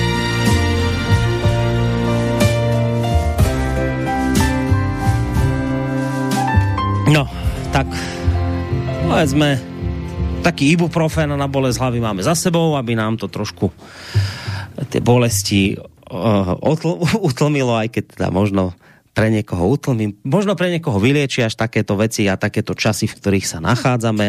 No, tak povedzme, taký ibuprofen na bolesť hlavy máme za sebou, aby nám to trošku tie bolesti utlmilo, aj keď teda možno pre niekoho utlmím, možno pre niekoho vylieči až takéto veci a takéto časy, v ktorých sa nachádzame,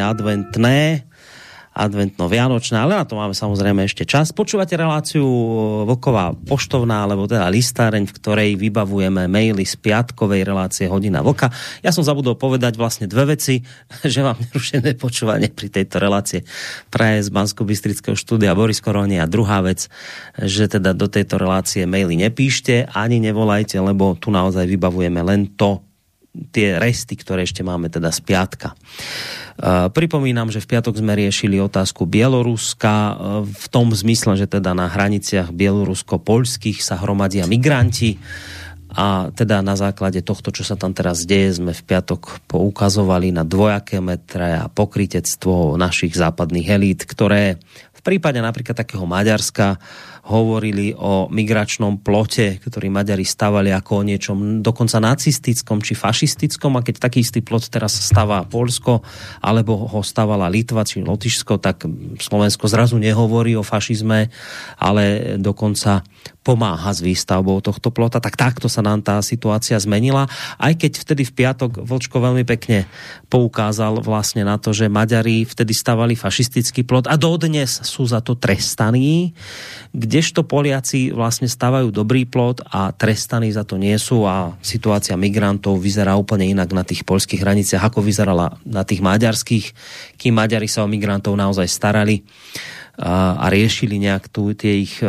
adventno-vianočné, ale na to máme samozrejme ešte čas. Počúvate reláciu Vlková poštovná, alebo teda listáreň, v ktorej vybavujeme maily z piatkovej relácie Hodina Vlka. Ja som zabudol povedať vlastne dve veci, že vám nerušené počúvanie pri tejto relácie praje z Banskobystrického štúdia Boris Koroni, a druhá vec, že teda do tejto relácie maily nepíšte, ani nevolajte, lebo tu naozaj vybavujeme len tie resty, ktoré ešte máme teda z piatka. Pripomínam, že v piatok sme riešili otázku Bieloruska v tom zmysle, že teda na hraniciach bielorusko-poľských sa hromadia migranti, a teda na základe tohto, čo sa tam teraz deje, sme v piatok poukazovali na dvojaké metre a pokrytectvo našich západných elít, ktoré v prípade napríklad takého Maďarska hovorili o migračnom plote, ktorý Maďari stavali ako o niečom dokonca nacistickom či fašistickom, a keď taký istý plot teraz stavá Poľsko, alebo ho stavala Litva či Lotyšsko, tak Slovensko zrazu nehovorí o fašizme, ale dokonca pomáha s výstavbou tohto plota. Tak takto sa nám tá situácia zmenila, aj keď vtedy v piatok Vlčko veľmi pekne poukázal vlastne na to, že Maďari vtedy stavali fašistický plot a dodnes sú za to trestaní, kdežto Poliaci vlastne stavajú dobrý plot a trestaní za to nie sú, a situácia migrantov vyzerá úplne inak na tých poľských hraniciach, ako vyzerala na tých maďarských, kým Maďari sa o migrantov naozaj starali a riešili nejak tie ich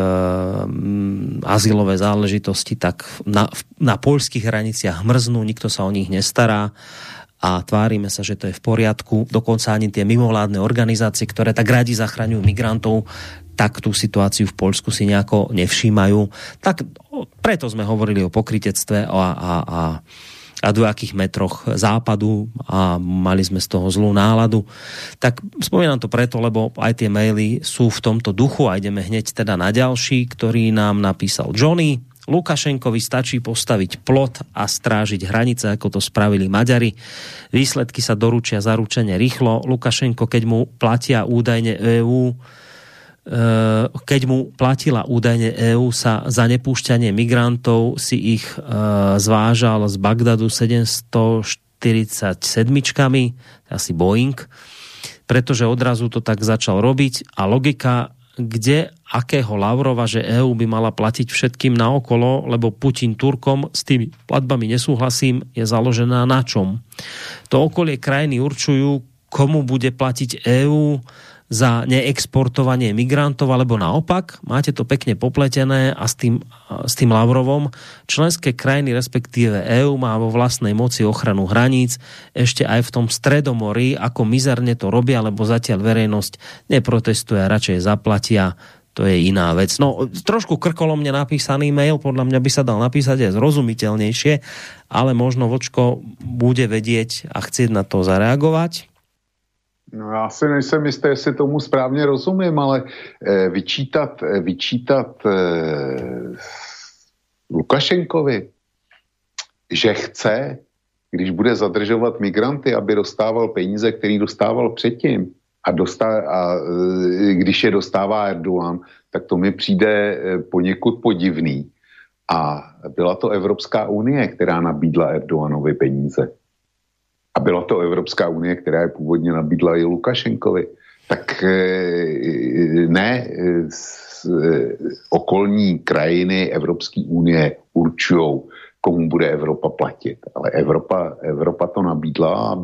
azylové záležitosti, tak na poľských hraniciach mrznú, nikto sa o nich nestará a tvárime sa, že to je v poriadku. Dokonca ani tie mimovládne organizácie, ktoré tak radi zachraňujú migrantov, tak tú situáciu v Poľsku si nejako nevšímajú. Tak preto sme hovorili o pokrytectve a dvojakých metroch západu a mali sme z toho zlú náladu. Tak spomínam to preto, lebo aj tie maily sú v tomto duchu a ideme hneď teda na ďalší, ktorý nám napísal Johnny. Lukašenkovi stačí postaviť plot a strážiť hranice, ako to spravili Maďari. Výsledky sa doručia zaručene rýchlo. Lukašenko, keď mu platia údajne EÚ, keď mu platila údajne EÚ, sa za nepúšťanie migrantov si ich zvážal z Bagdadu 747-čkami, asi Boeing, pretože odrazu to tak začal robiť a logika, kde akého Lavrova, že EÚ by mala platiť všetkým naokolo, lebo Putin Turkom s tými platbami nesúhlasím, je založená na čom? To okolie krajiny určujú, komu bude platiť EÚ za neexportovanie migrantov, alebo naopak, máte to pekne popletené a s tým Lavrovom členské krajiny, respektíve EÚ má vo vlastnej moci ochranu hraníc, ešte aj v tom Stredomorí, ako mizerne to robia, lebo zatiaľ verejnosť neprotestuje a radšej zaplatia. To je iná vec. No, trošku krkolomne napísaný mail, podľa mňa by sa dal napísať aj zrozumiteľnejšie, ale možno Vočko bude vedieť a chcieť na to zareagovať. No já si nejsem jistý, jestli tomu správně rozumím, ale vyčítat Lukašenkovi, že chce, když bude zadržovat migranty, aby dostával peníze, který dostával předtím, a když je dostává Erdogan, tak to mi přijde poněkud podivný. A byla to Evropská unie, která nabídla Erdoganovi peníze. A byla to Evropská unie, která je původně nabídla i Lukašenkovi. Tak ne okolní krajiny Evropské unie určujou, komu bude Evropa platit. Ale Evropa to nabídla,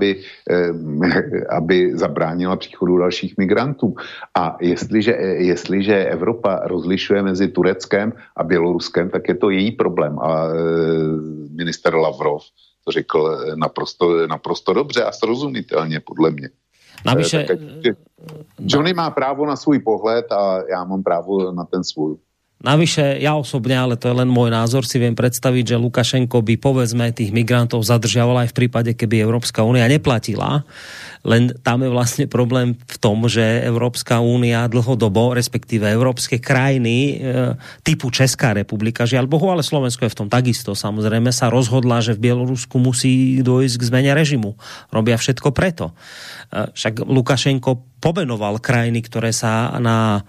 aby zabránila příchodu dalších migrantů. A jestliže Evropa rozlišuje mezi Tureckem a Běloruskem, tak je to její problém. A minister Lavrov to řekl naprosto dobře a srozumitelně, podle mě. Navyše... Johnny má právo na svůj pohled a já mám právo na ten svůj. Navyše, ja osobne, ale to je len môj názor, si viem predstaviť, že Lukašenko by, povedzme, tých migrantov zadržiaval aj v prípade, keby Európska únia neplatila. Len tam je vlastne problém v tom, že Európska únia dlhodobo, respektíve európske krajiny typu Česká republika, žiaľ Bohu, ale Slovensko je v tom takisto, samozrejme, sa rozhodla, že v Bielorusku musí dôjsť k zmene režimu. Robia všetko preto. Však Lukašenko pomenoval krajiny, ktoré sa na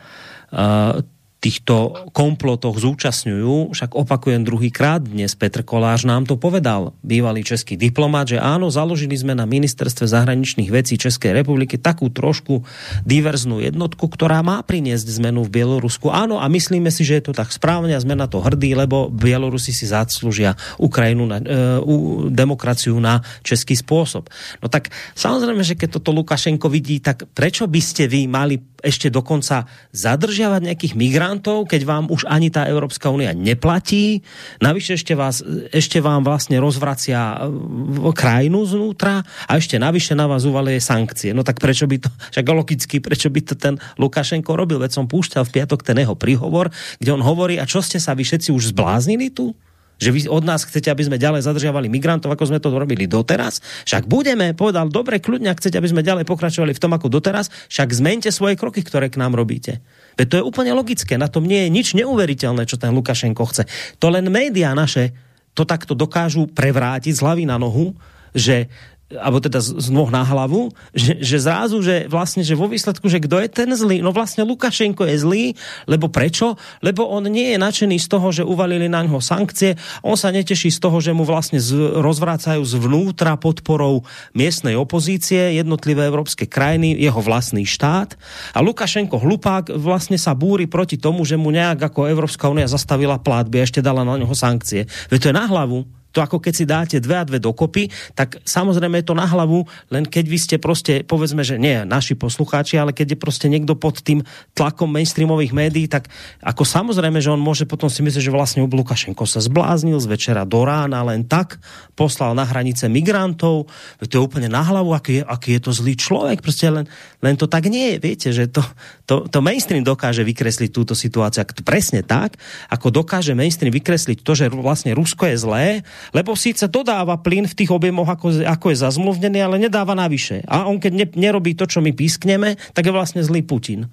týchto komplotoch zúčastňujú, však opakujem druhýkrát dnes, Petr Kolář nám to povedal, bývalý český diplomat, že áno, založili sme na ministerstve zahraničných vecí Českej republiky takú trošku diverznú jednotku, ktorá má priniesť zmenu v Bielorusku. Áno, a myslíme si, že je to tak správne a sme na to hrdí, lebo Bielorusi si zaslúžia Ukrajinu na demokraciu na český spôsob. No tak samozrejme, že keď toto Lukašenko vidí, tak prečo by ste vy mali ešte dokonca zadržiavať nejakých migrantov, keď vám už ani tá Európska únia neplatí. Navyše ešte vám vlastne rozvracia krajinu znútra a ešte navyše na vás uvalie sankcie. No tak prečo by to, však logicky, prečo by to ten Lukašenko robil? Veď som púšťal v piatok ten jeho príhovor, kde on hovorí, a čo ste sa vy všetci už zbláznili tu? Že vy od nás chcete, aby sme ďalej zadržiavali migrantov, ako sme to robili doteraz? Však budeme, povedal, dobre, kľudne, ak chcete, aby sme ďalej pokračovali v tom, ako doteraz, však zmeňte svoje kroky, ktoré k nám robíte. Veď to je úplne logické, na tom nie je nič neuveriteľné, čo ten Lukašenko chce. To len médiá naše to takto dokážu prevrátiť z hlavy na nohu, že alebo teda z nôh na hlavu, že zrazu, že vlastne, že vo výsledku, že kto je ten zlý? No vlastne Lukašenko je zlý, lebo prečo? Lebo on nie je nadšený z toho, že uvalili na ňo sankcie, on sa neteší z toho, že mu vlastne rozvracajú zvnútra podporou miestnej opozície, jednotlivé európske krajiny, jeho vlastný štát. A Lukašenko hlupák vlastne sa búri proti tomu, že mu nejak ako Európska únia zastavila platby a ešte dala na ňo sankcie. Veď to je na hlavu. To ako keď si dáte 2 a 2 dokopy, tak samozrejme je to na hlavu, len keď vy ste proste, povedzme, že nie naši poslucháči, ale keď je proste niekto pod tým tlakom mainstreamových médií, tak ako samozrejme, že on môže potom si myslieť, že vlastne Lukašenko sa zbláznil z večera do rána, len tak poslal na hranice migrantov, to je úplne na hlavu, aký je to zlý človek, proste len to tak nie je, viete, že to mainstream dokáže vykresliť túto situáciu, to presne tak, ako dokáže mainstream vykresliť to, že vlastne Rusko je zlé, lebo síce dodáva plyn v tých objemoch, ako je zazmluvnený, ale nedáva navyše. A on keď nerobí to, čo my pískneme, tak je vlastne zlý Putin.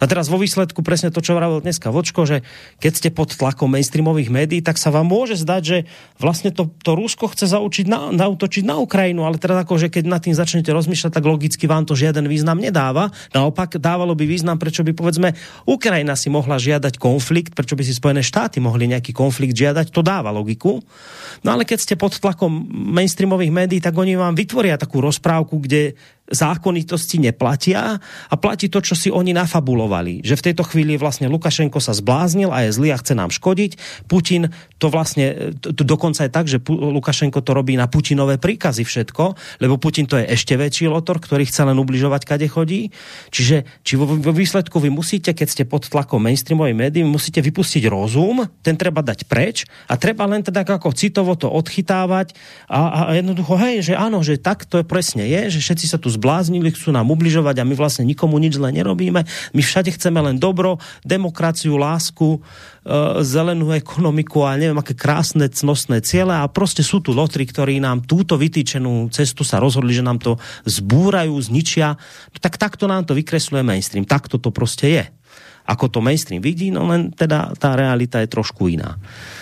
A teraz vo výsledku presne to, čo vravel dneska Vočko, že keď ste pod tlakom mainstreamových médií, tak sa vám môže zdať, že vlastne to Rusko chce zaútočiť na Ukrajinu, ale teraz akože keď nad tým začnete rozmýšľať, tak logicky vám to žiaden význam nedáva. Naopak dávalo by význam, prečo by povedzme Ukrajina si mohla žiadať konflikt, prečo by si Spojené štáty mohli nejaký konflikt žiadať, to dáva logiku. No ale keď ste pod tlakom mainstreamových médií, tak oni vám vytvoria takú rozprávku, kde zákonitosti neplatia a platí to, čo si oni nafabulovali. Že v tejto chvíli vlastne Lukašenko sa zbláznil a je zlý a chce nám škodiť. Putin to vlastne, dokonca je tak, že Lukašenko to robí na Putinové príkazy všetko, lebo Putin to je ešte väčší lotor, ktorý chce len ubližovať, kade chodí. Čiže vo výsledku vy musíte, keď ste pod tlakom mainstreamových médií, musíte vypustiť rozum, ten treba dať preč a treba len teda ako citovo to odchytávať a jednoducho, hej, že áno, že tak to presne je, že všetci sa tu zbláznili, chcú nám ubližovať a my vlastne nikomu nič zle nerobíme. My všade chceme len dobro, demokraciu, lásku, zelenú ekonomiku a neviem, aké krásne, cnostné ciele a proste sú tu lotri, ktorí nám túto vytýčenú cestu sa rozhodli, že nám to zbúrajú, zničia. Tak takto nám to vykresľuje mainstream. Takto to proste je. Ako to mainstream vidí, no len teda tá realita je trošku iná.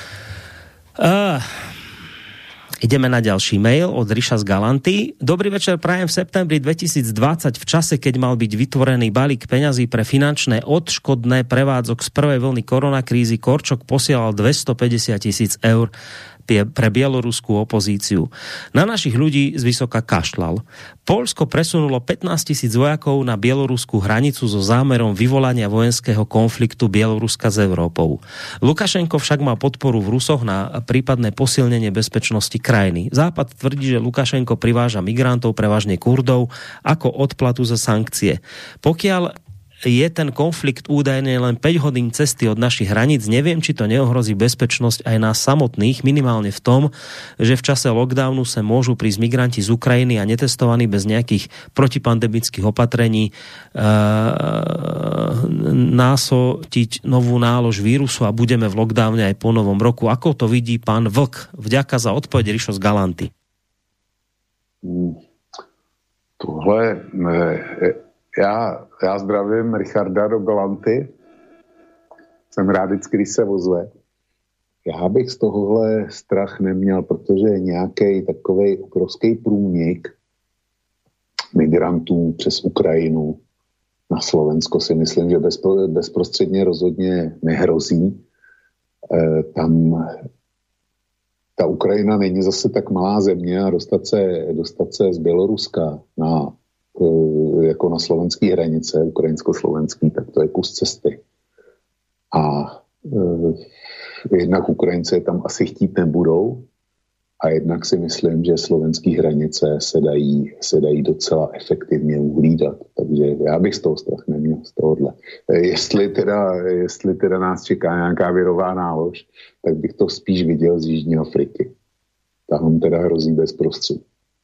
Ideme na ďalší mail od Ríša z Galanty. Dobrý večer, prajem v septembri 2020 v čase, keď mal byť vytvorený balík peňazí pre finančné odškodné prevádzok z prvej vlny koronakrízy. Korčok posielal 250 000 eur pre bieloruskú opozíciu. Na našich ľudí zvysoka kašľal. Poľsko presunulo 15 000 vojakov na bieloruskú hranicu so zámerom vyvolania vojenského konfliktu Bieloruska s Európou. Lukašenko však má podporu v Rusoch na prípadné posilnenie bezpečnosti krajiny. Západ tvrdí, že Lukašenko priváža migrantov, prevažne Kurdov, ako odplatu za sankcie. Pokiaľ je ten konflikt údajne len 5 hodín cesty od našich hraníc, neviem, či to neohrozí bezpečnosť aj nás samotných, minimálne v tom, že v čase lockdownu sa môžu prísť migranti z Ukrajiny a netestovaní bez nejakých protipandemických opatrení násotiť novú nálož vírusu a budeme v lockdowne aj po novom roku. Ako to vidí pán Vlk? Vďaka za odpoveď, Rišo z Galanty. Tohle Já zdravím Richarda do Galanty. Jsem rád vždycky, když se ozve. Já bych z tohohle strach neměl, protože je nějaký takovej obrovský průnik migrantů přes Ukrajinu na Slovensko si myslím, že bezprostředně rozhodně nehrozí. Tam ta Ukrajina není zase tak malá země a dostat se z Běloruska jako na slovenský hranice, ukrajinsko-slovenský, tak to je kus cesty. A jednak Ukrajinci tam asi chtít nebudou a jednak si myslím, že slovenský hranice se dají docela efektivně uhlídat. Takže já bych z toho strach neměl, z tohohle. Jestli teda nás čeká nějaká virová nálož, tak bych to spíš viděl z Jižní Afriky. Tam teda hrozí bezprostředí.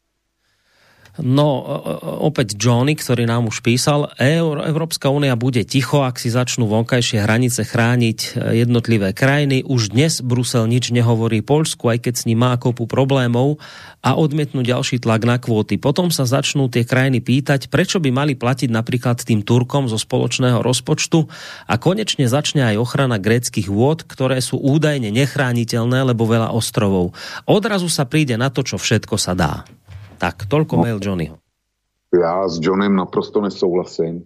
No, opäť Johnny, ktorý nám už písal, Európska únia bude ticho, ak si začnú vonkajšie hranice chrániť jednotlivé krajiny. Už dnes Brusel nič nehovorí Poľsku, aj keď s ním má kopu problémov a odmietnú ďalší tlak na kvóty. Potom sa začnú tie krajiny pýtať, prečo by mali platiť napríklad tým Turkom zo spoločného rozpočtu a konečne začne aj ochrana gréckych vôd, ktoré sú údajne nechrániteľné, lebo veľa ostrovov. Odrazu sa príde na to, čo všetko sa dá. Tak, toľko mail Johnnyho. Já s Johnem naprosto nesouhlasím.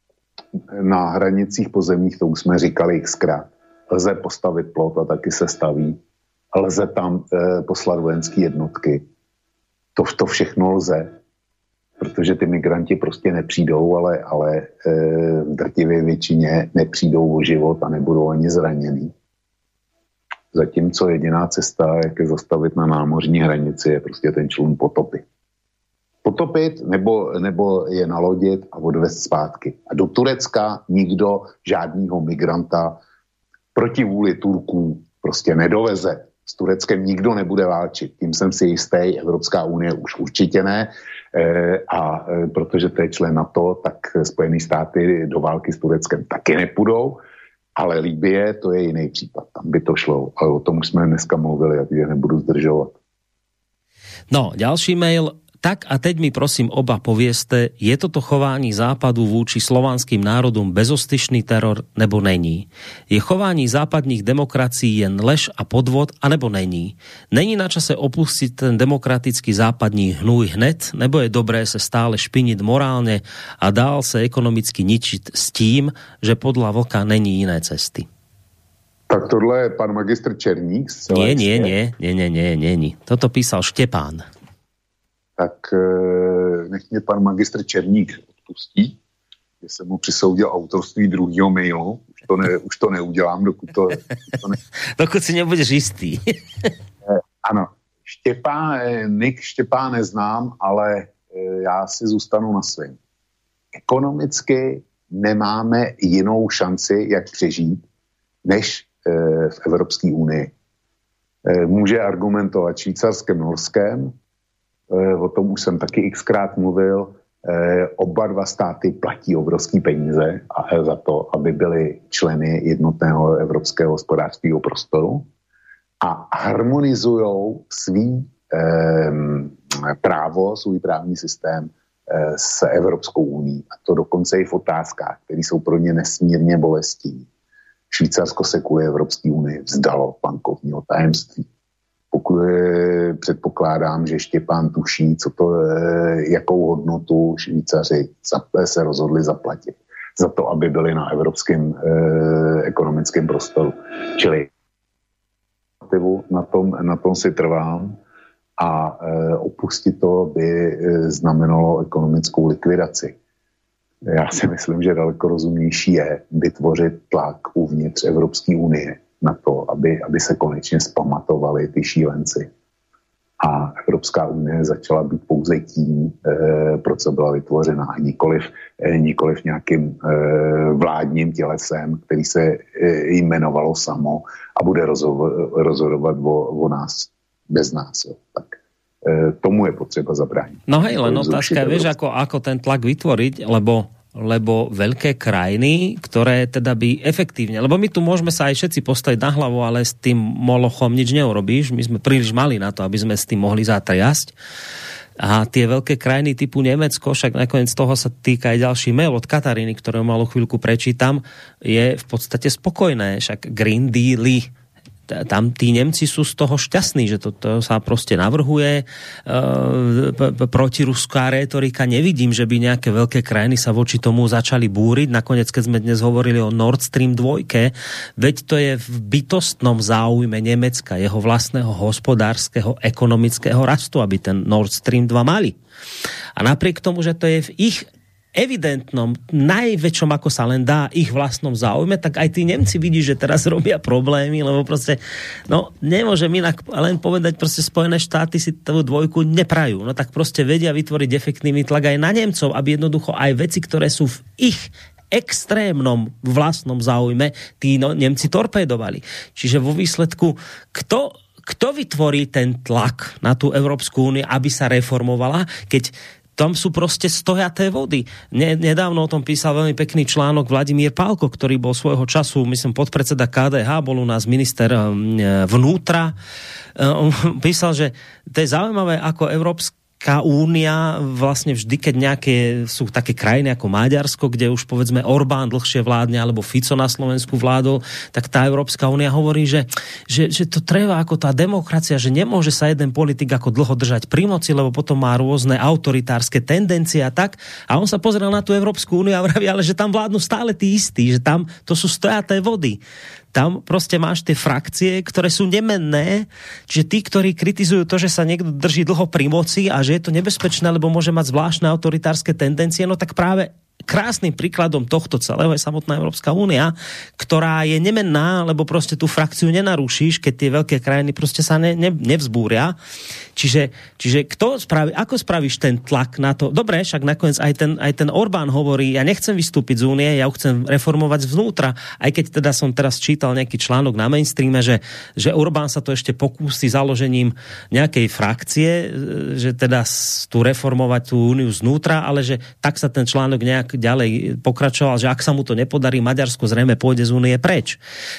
Na hranicích pozemních, to už jsme říkali xkrát, lze postavit plot a taky se staví. Lze tam poslat vojenské jednotky. To všechno lze, protože ty migranti prostě nepřijdou, ale v drtivé většině nepřijdou o život a nebudou ani zraněný. Zatímco jediná cesta, jak je zastavit na námořní hranici, je prostě ten člun potopit. Potopit nebo je nalodit a odvést zpátky. A do Turecka nikdo žádnýho migranta proti vůli Turků prostě nedoveze. S Tureckem nikdo nebude válčit. Tím jsem si jistý, Evropská unie už určitě ne. A protože to je člen NATO, tak Spojené státy do války s Tureckem taky nepůjdou. Ale Libye, to je jiný případ. Tam by to šlo. Ale o tom už jsme dneska mluvili, takže nebudu zdržovat. No, ďalší mail. Tak a teď mi prosím oba povieste, je toto chování západu vůči slovanským národům bezostyšný teror, nebo není? Je chování západních demokracií jen lež a podvod, anebo není? Není na čase opustit ten demokratický západní hnůj hned, nebo je dobré se stále špinit morálně a dál se ekonomicky ničit s tím, že podľa Vlka není jiné cesty? Tak tohle je pan magistr Černík. Nie. Toto písal Štepán. Tak nech mě pan magistr Černík odpustí, že jsem mu přisoudil autorství druhého mailu. Už to neudělám, dokud dokud si nebudeš jistý. Ano. Nick Štěpán neznám, ale já si zůstanu na svým. Ekonomicky nemáme jinou šanci, jak přežít, než v Evropské unii. Může argumentovat Švýcarskem, Norskem, o tom už jsem taky xkrát mluvil, oba dva státy platí obrovský peníze za to, aby byly členy jednotného evropského hospodářského prostoru a harmonizujou svý právo, svůj právní systém s Evropskou unií. A to dokonce i v otázkách, které jsou pro ně nesmírně bolestivé. Švýcarsko se kvůli Evropské unii vzdalo bankovního tajemství. Předpokládám, že Štěpán tuší, jakou hodnotu Švýcaři se rozhodli zaplatit za to, aby byli na evropském ekonomickém prostoru. Čili na tom si trvám a opustit to by znamenalo ekonomickou likvidaci. Já si myslím, že daleko rozumnější je vytvořit tlak uvnitř Evropské unie na to, aby se konečně zpamatovali ty šílenci. A Evropská unie začala být pouze tím, pro co byla vytvořena, a nikoliv nějakým vládním tělesem, který se jmenovalo samo a bude rozhodovat o nás bez nás. Jo. Tak tomu je potřeba zabránit. No hej, len otázka, vieš, ako ten tlak vytvoriť, lebo veľké krajiny, ktoré teda by efektívne, lebo my tu môžeme sa aj všetci postaviť na hlavu, ale s tým molochom nič neurobíš, my sme príliš mali na to, aby sme s tým mohli zatriasť. A tie veľké krajiny typu Nemecko, však nakoniec toho sa týka aj ďalší mail od Kataríny, ktorého malú chvíľku prečítam, je v podstate spokojné, však Green Deal, tam tí Nemci sú z toho šťastní, že to sa proste navrhuje. Protiruská rétorika, nevidím, že by nejaké veľké krajiny sa voči tomu začali búriť. Nakoniec, keď sme dnes hovorili o Nord Stream 2, veď to je v bytostnom záujme Nemecka, jeho vlastného hospodárskeho, ekonomického rastu, aby ten Nord Stream 2 mali. A napriek tomu, že to je v ich evidentnom, najväčšom, ako sa len dá, ich vlastnom záujme, tak aj tí Nemci vidí, že teraz robia problémy, lebo proste, no, nemôžem inak len povedať, proste Spojené štáty si tú dvojku neprajú. No tak proste vedia vytvoriť efektívny tlak aj na Nemcov, aby jednoducho aj veci, ktoré sú v ich extrémnom vlastnom záujme, tí Nemci torpédovali. Čiže vo výsledku, kto vytvorí ten tlak na tú Európsku úniu, aby sa reformovala, keď tam sú proste stojaté vody. Nedávno o tom písal veľmi pekný článok Vladimír Pálko, ktorý bol svojho času, myslím, podpredseda KDH, bol u nás minister vnútra. On písal, že to je zaujímavé, ako Európska únia vlastne vždy, keď nejaké sú také krajiny ako Maďarsko, kde už povedzme Orbán dlhšie vládne, alebo Fico na Slovensku vládol, tak tá Európska únia hovorí, že to treba ako tá demokracia, že nemôže sa jeden politik ako dlho držať pri moci, lebo potom má rôzne autoritárske tendencie a tak. A on sa pozrel na tú Európsku úniu a vraví, ale že tam vládnu stále tí istí, že tam to sú stojaté vody. Tam proste máš tie frakcie, ktoré sú nemenné, čiže tí, ktorí kritizujú to, že sa niekto drží dlho pri moci a že je to nebezpečné, lebo môže mať zvláštne autoritárske tendencie, no tak práve krásnym príkladom tohto celého je samotná Európska únia, ktorá je nemenná, lebo proste tú frakciu nenarušíš, keď tie veľké krajiny proste sa nevzbúria. Čiže ako spravíš ten tlak na to? Dobre, však nakoniec aj ten Orbán hovorí, ja nechcem vystúpiť z únie, ja ho chcem reformovať zvnútra. Aj keď teda som teraz čítal nejaký článok na mainstreame, že Orbán sa to ešte pokúsi založením nejakej frakcie, že teda tu reformovať tú úniu znútra, ale že tak sa ten článok nejak ďalej pokračoval, že ak sa mu to nepodarí, Maďarsko zrejme pôjde z únie preč.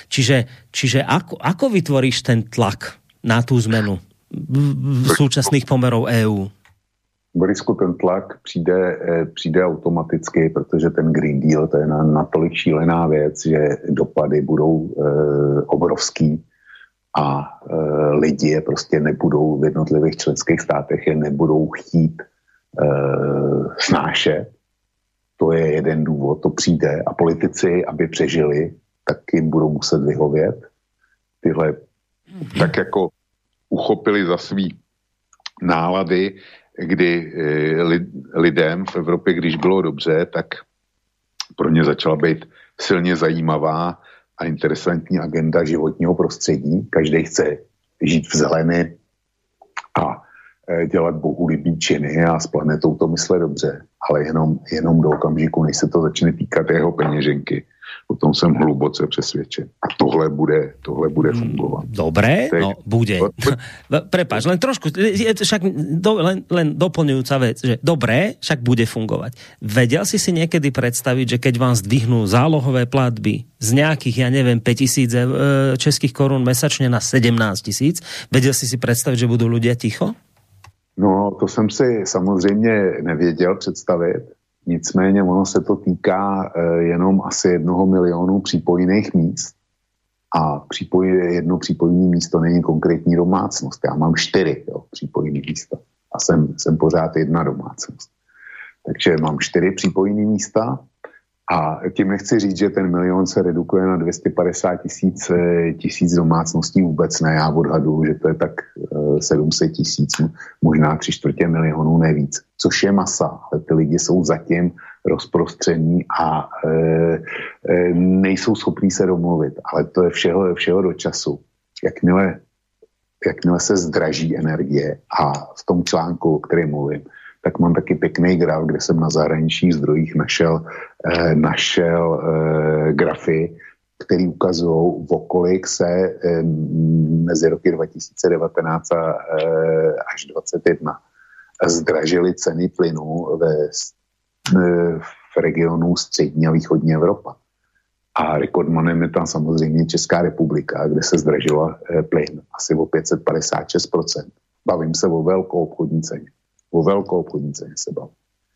Čiže ako vytvoríš ten tlak na tú zmenu v súčasných pomerov EÚ? Borisku, ten tlak přijde automaticky, protože ten Green Deal, to je natolik šílená věc, že dopady budou obrovský a lidi je prostě nebudou v jednotlivých členských státech, je nebudou chtít snášet. To je jeden důvod, to přijde a politici, aby přežili, tak jim budou muset vyhovět. Tyhle tak jako uchopili za svý nálady, kdy lidem v Evropě, když bylo dobře, tak pro ně začala být silně zajímavá a interesantní agenda životního prostředí. Každý chce žít v zelení a dělat bohulibý činy a s planetou to myslet dobře, ale jenom do okamžiku, než se to začne týkat jeho peněženky. O tom jsem hluboce přesvědčen. A tohle bude fungovat. Dobre, no bude. Prepáč, len trošku, len doplňujúca vec, že dobre, však bude fungovať. Vedel si niekedy predstaviť, že keď vám zdvihnú zálohové platby z nejakých, 5 000 českých korún mesačne na 17 000, vedel si predstaviť, že budú ľudia ticho? No, to jsem si samozřejmě nevěděl představit. Nicméně ono se to týká jenom asi 1 milionu přípojných míst. A jedno přípojné místo není konkrétní domácnost. Já mám 4 přípojné místa. A jsem pořád jedna domácnost. Takže mám 4 přípojné místa. A tím nechci říct, že ten milion se redukuje na 250 tisíc domácností, vůbec ne. Já odhaduju, že to je tak 700 000, možná 3/4 milionu, nevíc. Což je masa, ale ty lidi jsou zatím rozprostření a nejsou schopní se domluvit. Ale to je všeho do času. Jakmile se zdraží energie a v tom článku, o kterém mluvím, tak mám taky pěkný graf, kde jsem na zahraničních zdrojích našel grafy, který ukazují, o kolik se mezi roky 2019 až 2021 zdražily ceny plynu v regionu střední a východní Evropa. A rekordmanem je tam samozřejmě Česká republika, kde se zdražila plyn asi o 556%. Bavím se o velkou obchodní ceně. O velkou obchodní ceně se bavím.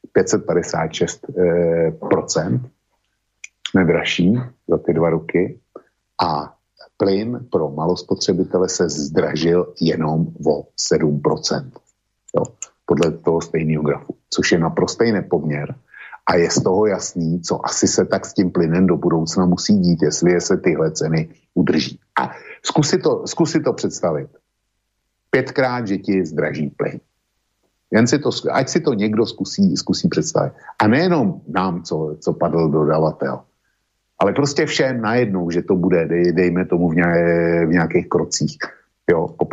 556% nedražší za ty 2 roky a plyn pro malospotřebitele se zdražil jenom o 7%. Jo, podle toho stejného grafu, což je naprostý nepoměr a je z toho jasný, co asi se tak s tím plynem do budoucna musí dít, jestli se tyhle ceny udrží. A zkus si to představit. 5krát, že ti zdraží plyn. Ať si to někdo zkusí představit. A nejenom nám, co padl dodavatel, ale prostě všem najednou, že to bude, dejme tomu v nějakých krocích, jo, po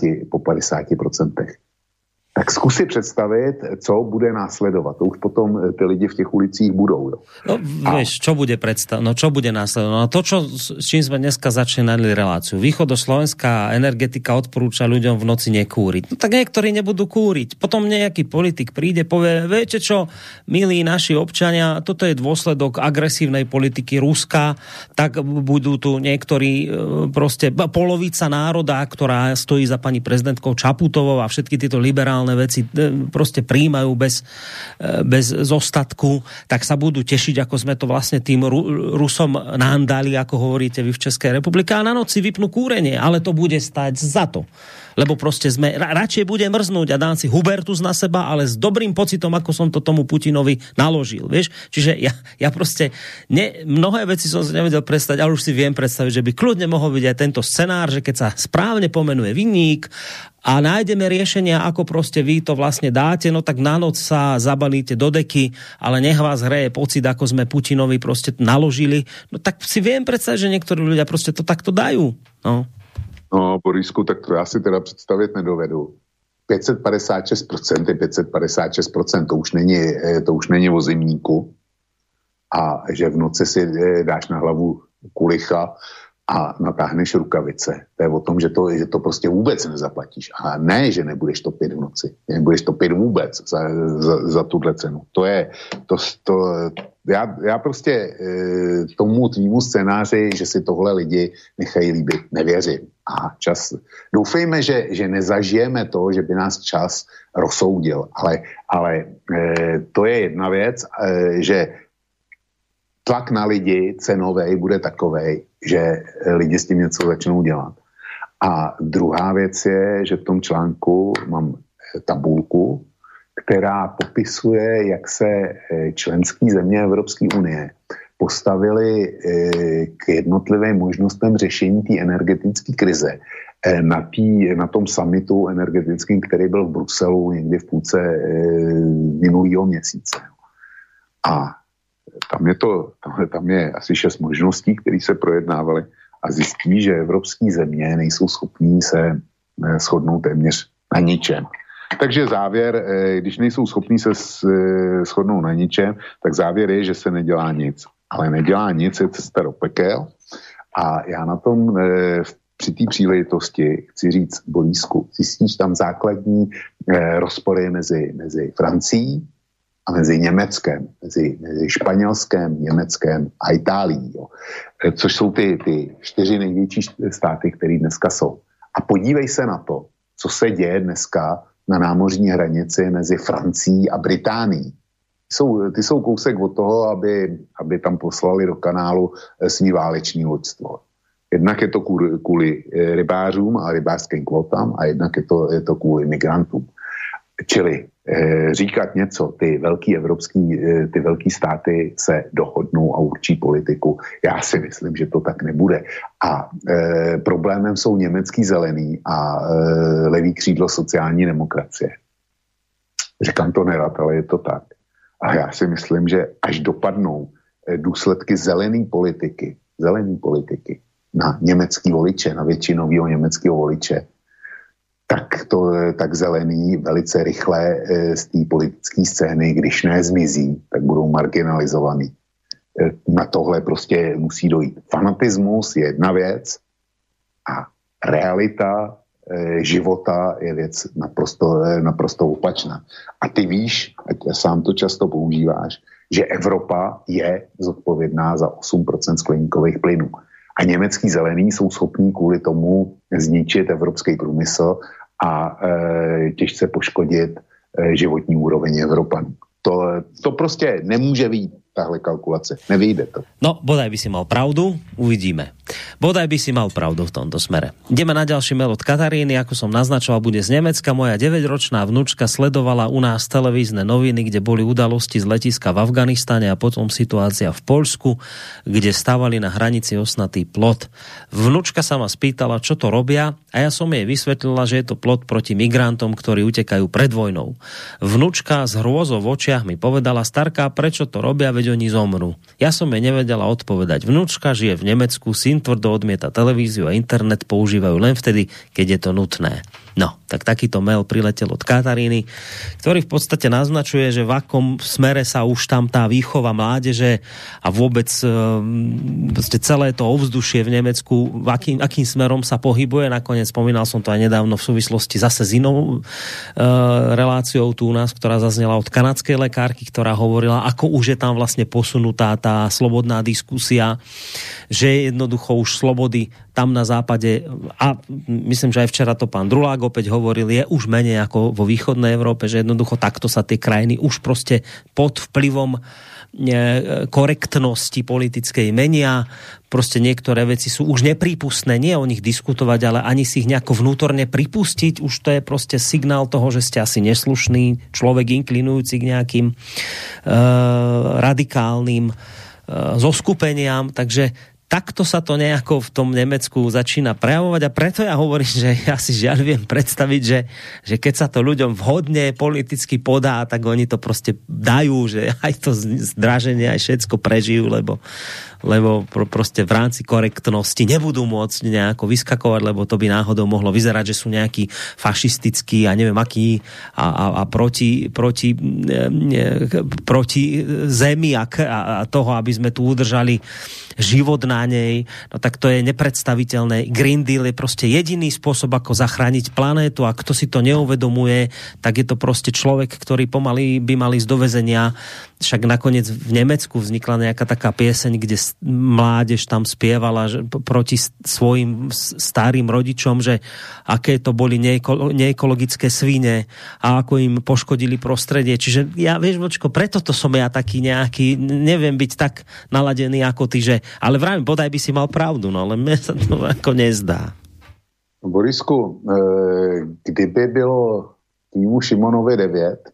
50%. Tak zkus si představit, co bude následovat. To už potom ty lidi v těch ulicích budou. Jo. No, vieš, čo bude následovať? No to, s čím sme dneska začínali reláciu. Východoslovenská energetika odporúča ľuďom v noci nekúriť. No tak niektorí nebudú kúriť. Potom nejaký politik príde, povie, viete čo, milí naši občania, toto je dôsledok agresívnej politiky Ruska, tak budú tu niektorí proste polovica národa, ktorá stojí za pani prezidentkou Čaputovou a všetky tieto liberálne veci proste prijímajú bez zostatku, tak sa budú tešiť, ako sme to vlastne tým Rusom nándali, ako hovoríte vy v Českej republike, a na noci vypnú kúrenie, ale to bude stať za to. Lebo proste radšej bude mrznúť a dám si Hubertus na seba, ale s dobrým pocitom, ako som to tomu Putinovi naložil, vieš? Čiže ja proste mnohé veci som si nevedel predstaviť, ale už si viem predstaviť, že by kľudne mohol byť aj tento scenár, že keď sa správne pomenuje vinník a nájdeme riešenia, ako proste vy to vlastne dáte, no tak na noc sa zabalíte do deky, ale nech vás hreje pocit, ako sme Putinovi proste naložili, no tak si viem predstaviť, že niektorí ľudia proste to takto dajú, no. No, Borisku, tak to já si teda představit nedovedu. 556% je 556%, to už není o zimníku. A že v noci si dáš na hlavu kulicha a natáhneš rukavice. To je o tom, že to prostě vůbec nezaplatíš. A ne, že nebudeš topit v noci. Nebudeš topit vůbec za tuhle cenu. Já prostě tomu tvýmu scénáři, že si tohle lidi nechají líbit, nevěřím. A čas, doufejme, že nezažijeme to, že by nás čas rozsoudil, ale to je jedna věc, že tlak na lidi cenovej bude takovej, že lidi s tím něco začnou dělat. A druhá věc je, že v tom článku mám tabulku, která popisuje, jak se členské země Evropské unie postavili k jednotlivým možnostem řešení té energetické krize na tom summitu energetickým, který byl v Bruselu někdy v půlce minulého měsíce. A tam je asi 6 možností, které se projednávaly a zjistí, že evropské země nejsou schopní se shodnout téměř na ničem. Takže závěr, když nejsou schopní se shodnout na ničem, tak závěr je, že se nedělá nic. Ale nedělá nic, je cesta do pekel. A já na tom při té příležitosti chci říct, Borísku, zjistíš tam základní rozpory mezi Francií a mezi Německem, mezi Španělskem, Německem a Itálií, jo. Což jsou ty 4 největší státy, které dneska jsou. A podívej se na to, co se děje dneska na námořní hranici mezi Francií a Británií. Ty jsou kousek od toho, aby tam poslali do kanálu svý váleční loďstvo. Jednak je to kvůli rybářům a rybářským kvotám a jednak je to kvůli migrantům. Čili říkat něco, ty velký státy se dohodnou a určí politiku. Já si myslím, že to tak nebude. A problémem jsou německý zelený a levý křídlo sociální demokracie. Říkám to nerad, ale je to tak. A já si myslím, že až dopadnou důsledky zelené politiky na německý voliče, na většinového německého voliče, tak zelený velice rychle z té politické scény, když ne zmizí, tak budou marginalizovaný. Na tohle prostě musí dojít. Fanatismus je jedna věc a realita života je věc naprosto opačná. A ty víš, a sám to často používáš, že Evropa je zodpovědná za 8% skleníkových plynů. A německý zelení jsou schopní kvůli tomu zničit evropský průmysl a těžce poškodit životní úroveň Evropanů. To prostě nemůže být tahle kalkulace. Nevyjde to. No, bodaj by si mal pravdu, uvidíme. Bodaj by si mal pravdu v tomto smere. Ideme na ďalší mail od Kataríny, ako som naznačoval, bude z Nemecka. Moja 9-ročná vnúčka sledovala u nás televízne noviny, kde boli udalosti z letiska v Afganistane a potom situácia v Poľsku, kde stávali na hranici osnatý plot. Vnúčka sa ma spýtala, čo to robia, a ja som jej vysvetlila, že je to plot proti migrantom, ktorí utekajú pred vojnou. Vnúčka s hrôzou v očiach mi povedala: starka, prečo to robia, veď oni zomrú. Ja som jej nevedela odpovedať. Vnúčka žije v Nemecku, syn tvrdo odmieta televíziu a internet, používajú len vtedy, keď je to nutné. No, tak takýto mail priletel od Kataríny, ktorý v podstate naznačuje, že v akom smere sa už tam tá výchova mládeže a vôbec celé to ovzdušie v Nemecku, akým smerom sa pohybuje. Nakoniec spomínal som to aj nedávno v súvislosti zase s inou reláciou tu u nás, ktorá zaznela od kanadskej lekárky, ktorá hovorila, ako už je tam vlastne posunutá tá slobodná diskusia, že jednoducho už slobody tam na západe, a myslím, že aj včera to pán Drulák opäť hovoril, je už menej ako vo východnej Európe, že jednoducho takto sa tie krajiny už proste pod vplyvom korektnosti politickej menia. Proste niektoré veci sú už neprípustné, nie o nich diskutovať, ale ani si ich nejako vnútorne pripustiť. Už to je proste signál toho, že ste asi neslušný človek inklinujúci k nejakým radikálnym zoskupeniam, takže takto sa to nejako v tom Nemecku začína prejavovať a preto ja hovorím, že ja si žiaľ viem predstaviť, že keď sa to ľuďom vhodne politicky podá, tak oni to proste dajú, že aj to zdraženie, aj všetko prežijú, lebo proste v rámci korektnosti nebudú môcť nejako vyskakovať, lebo to by náhodou mohlo vyzerať, že sú nejakí fašistickí a neviem akí a proti zemi a toho, aby sme tu udržali život nej, no tak to je nepredstaviteľné. Green Deal je proste jediný spôsob, ako zachrániť planétu, a kto si to neuvedomuje, tak je to proste človek, ktorý pomaly by mal ísť do väzenia. Však nakoniec v Nemecku vznikla nejaká taká pieseň, kde mládež tam spievala proti svojim starým rodičom, že aké to boli neekologické svine a ako im poškodili prostredie. Čiže ja, vieš, Vočko, preto to som ja taký nejaký, neviem byť tak naladený ako ty, že, ale vravím, bodaj by si mal pravdu, no, ale mne sa to ako nezdá. Borisku, kdyby bylo týmu Šimonovi 9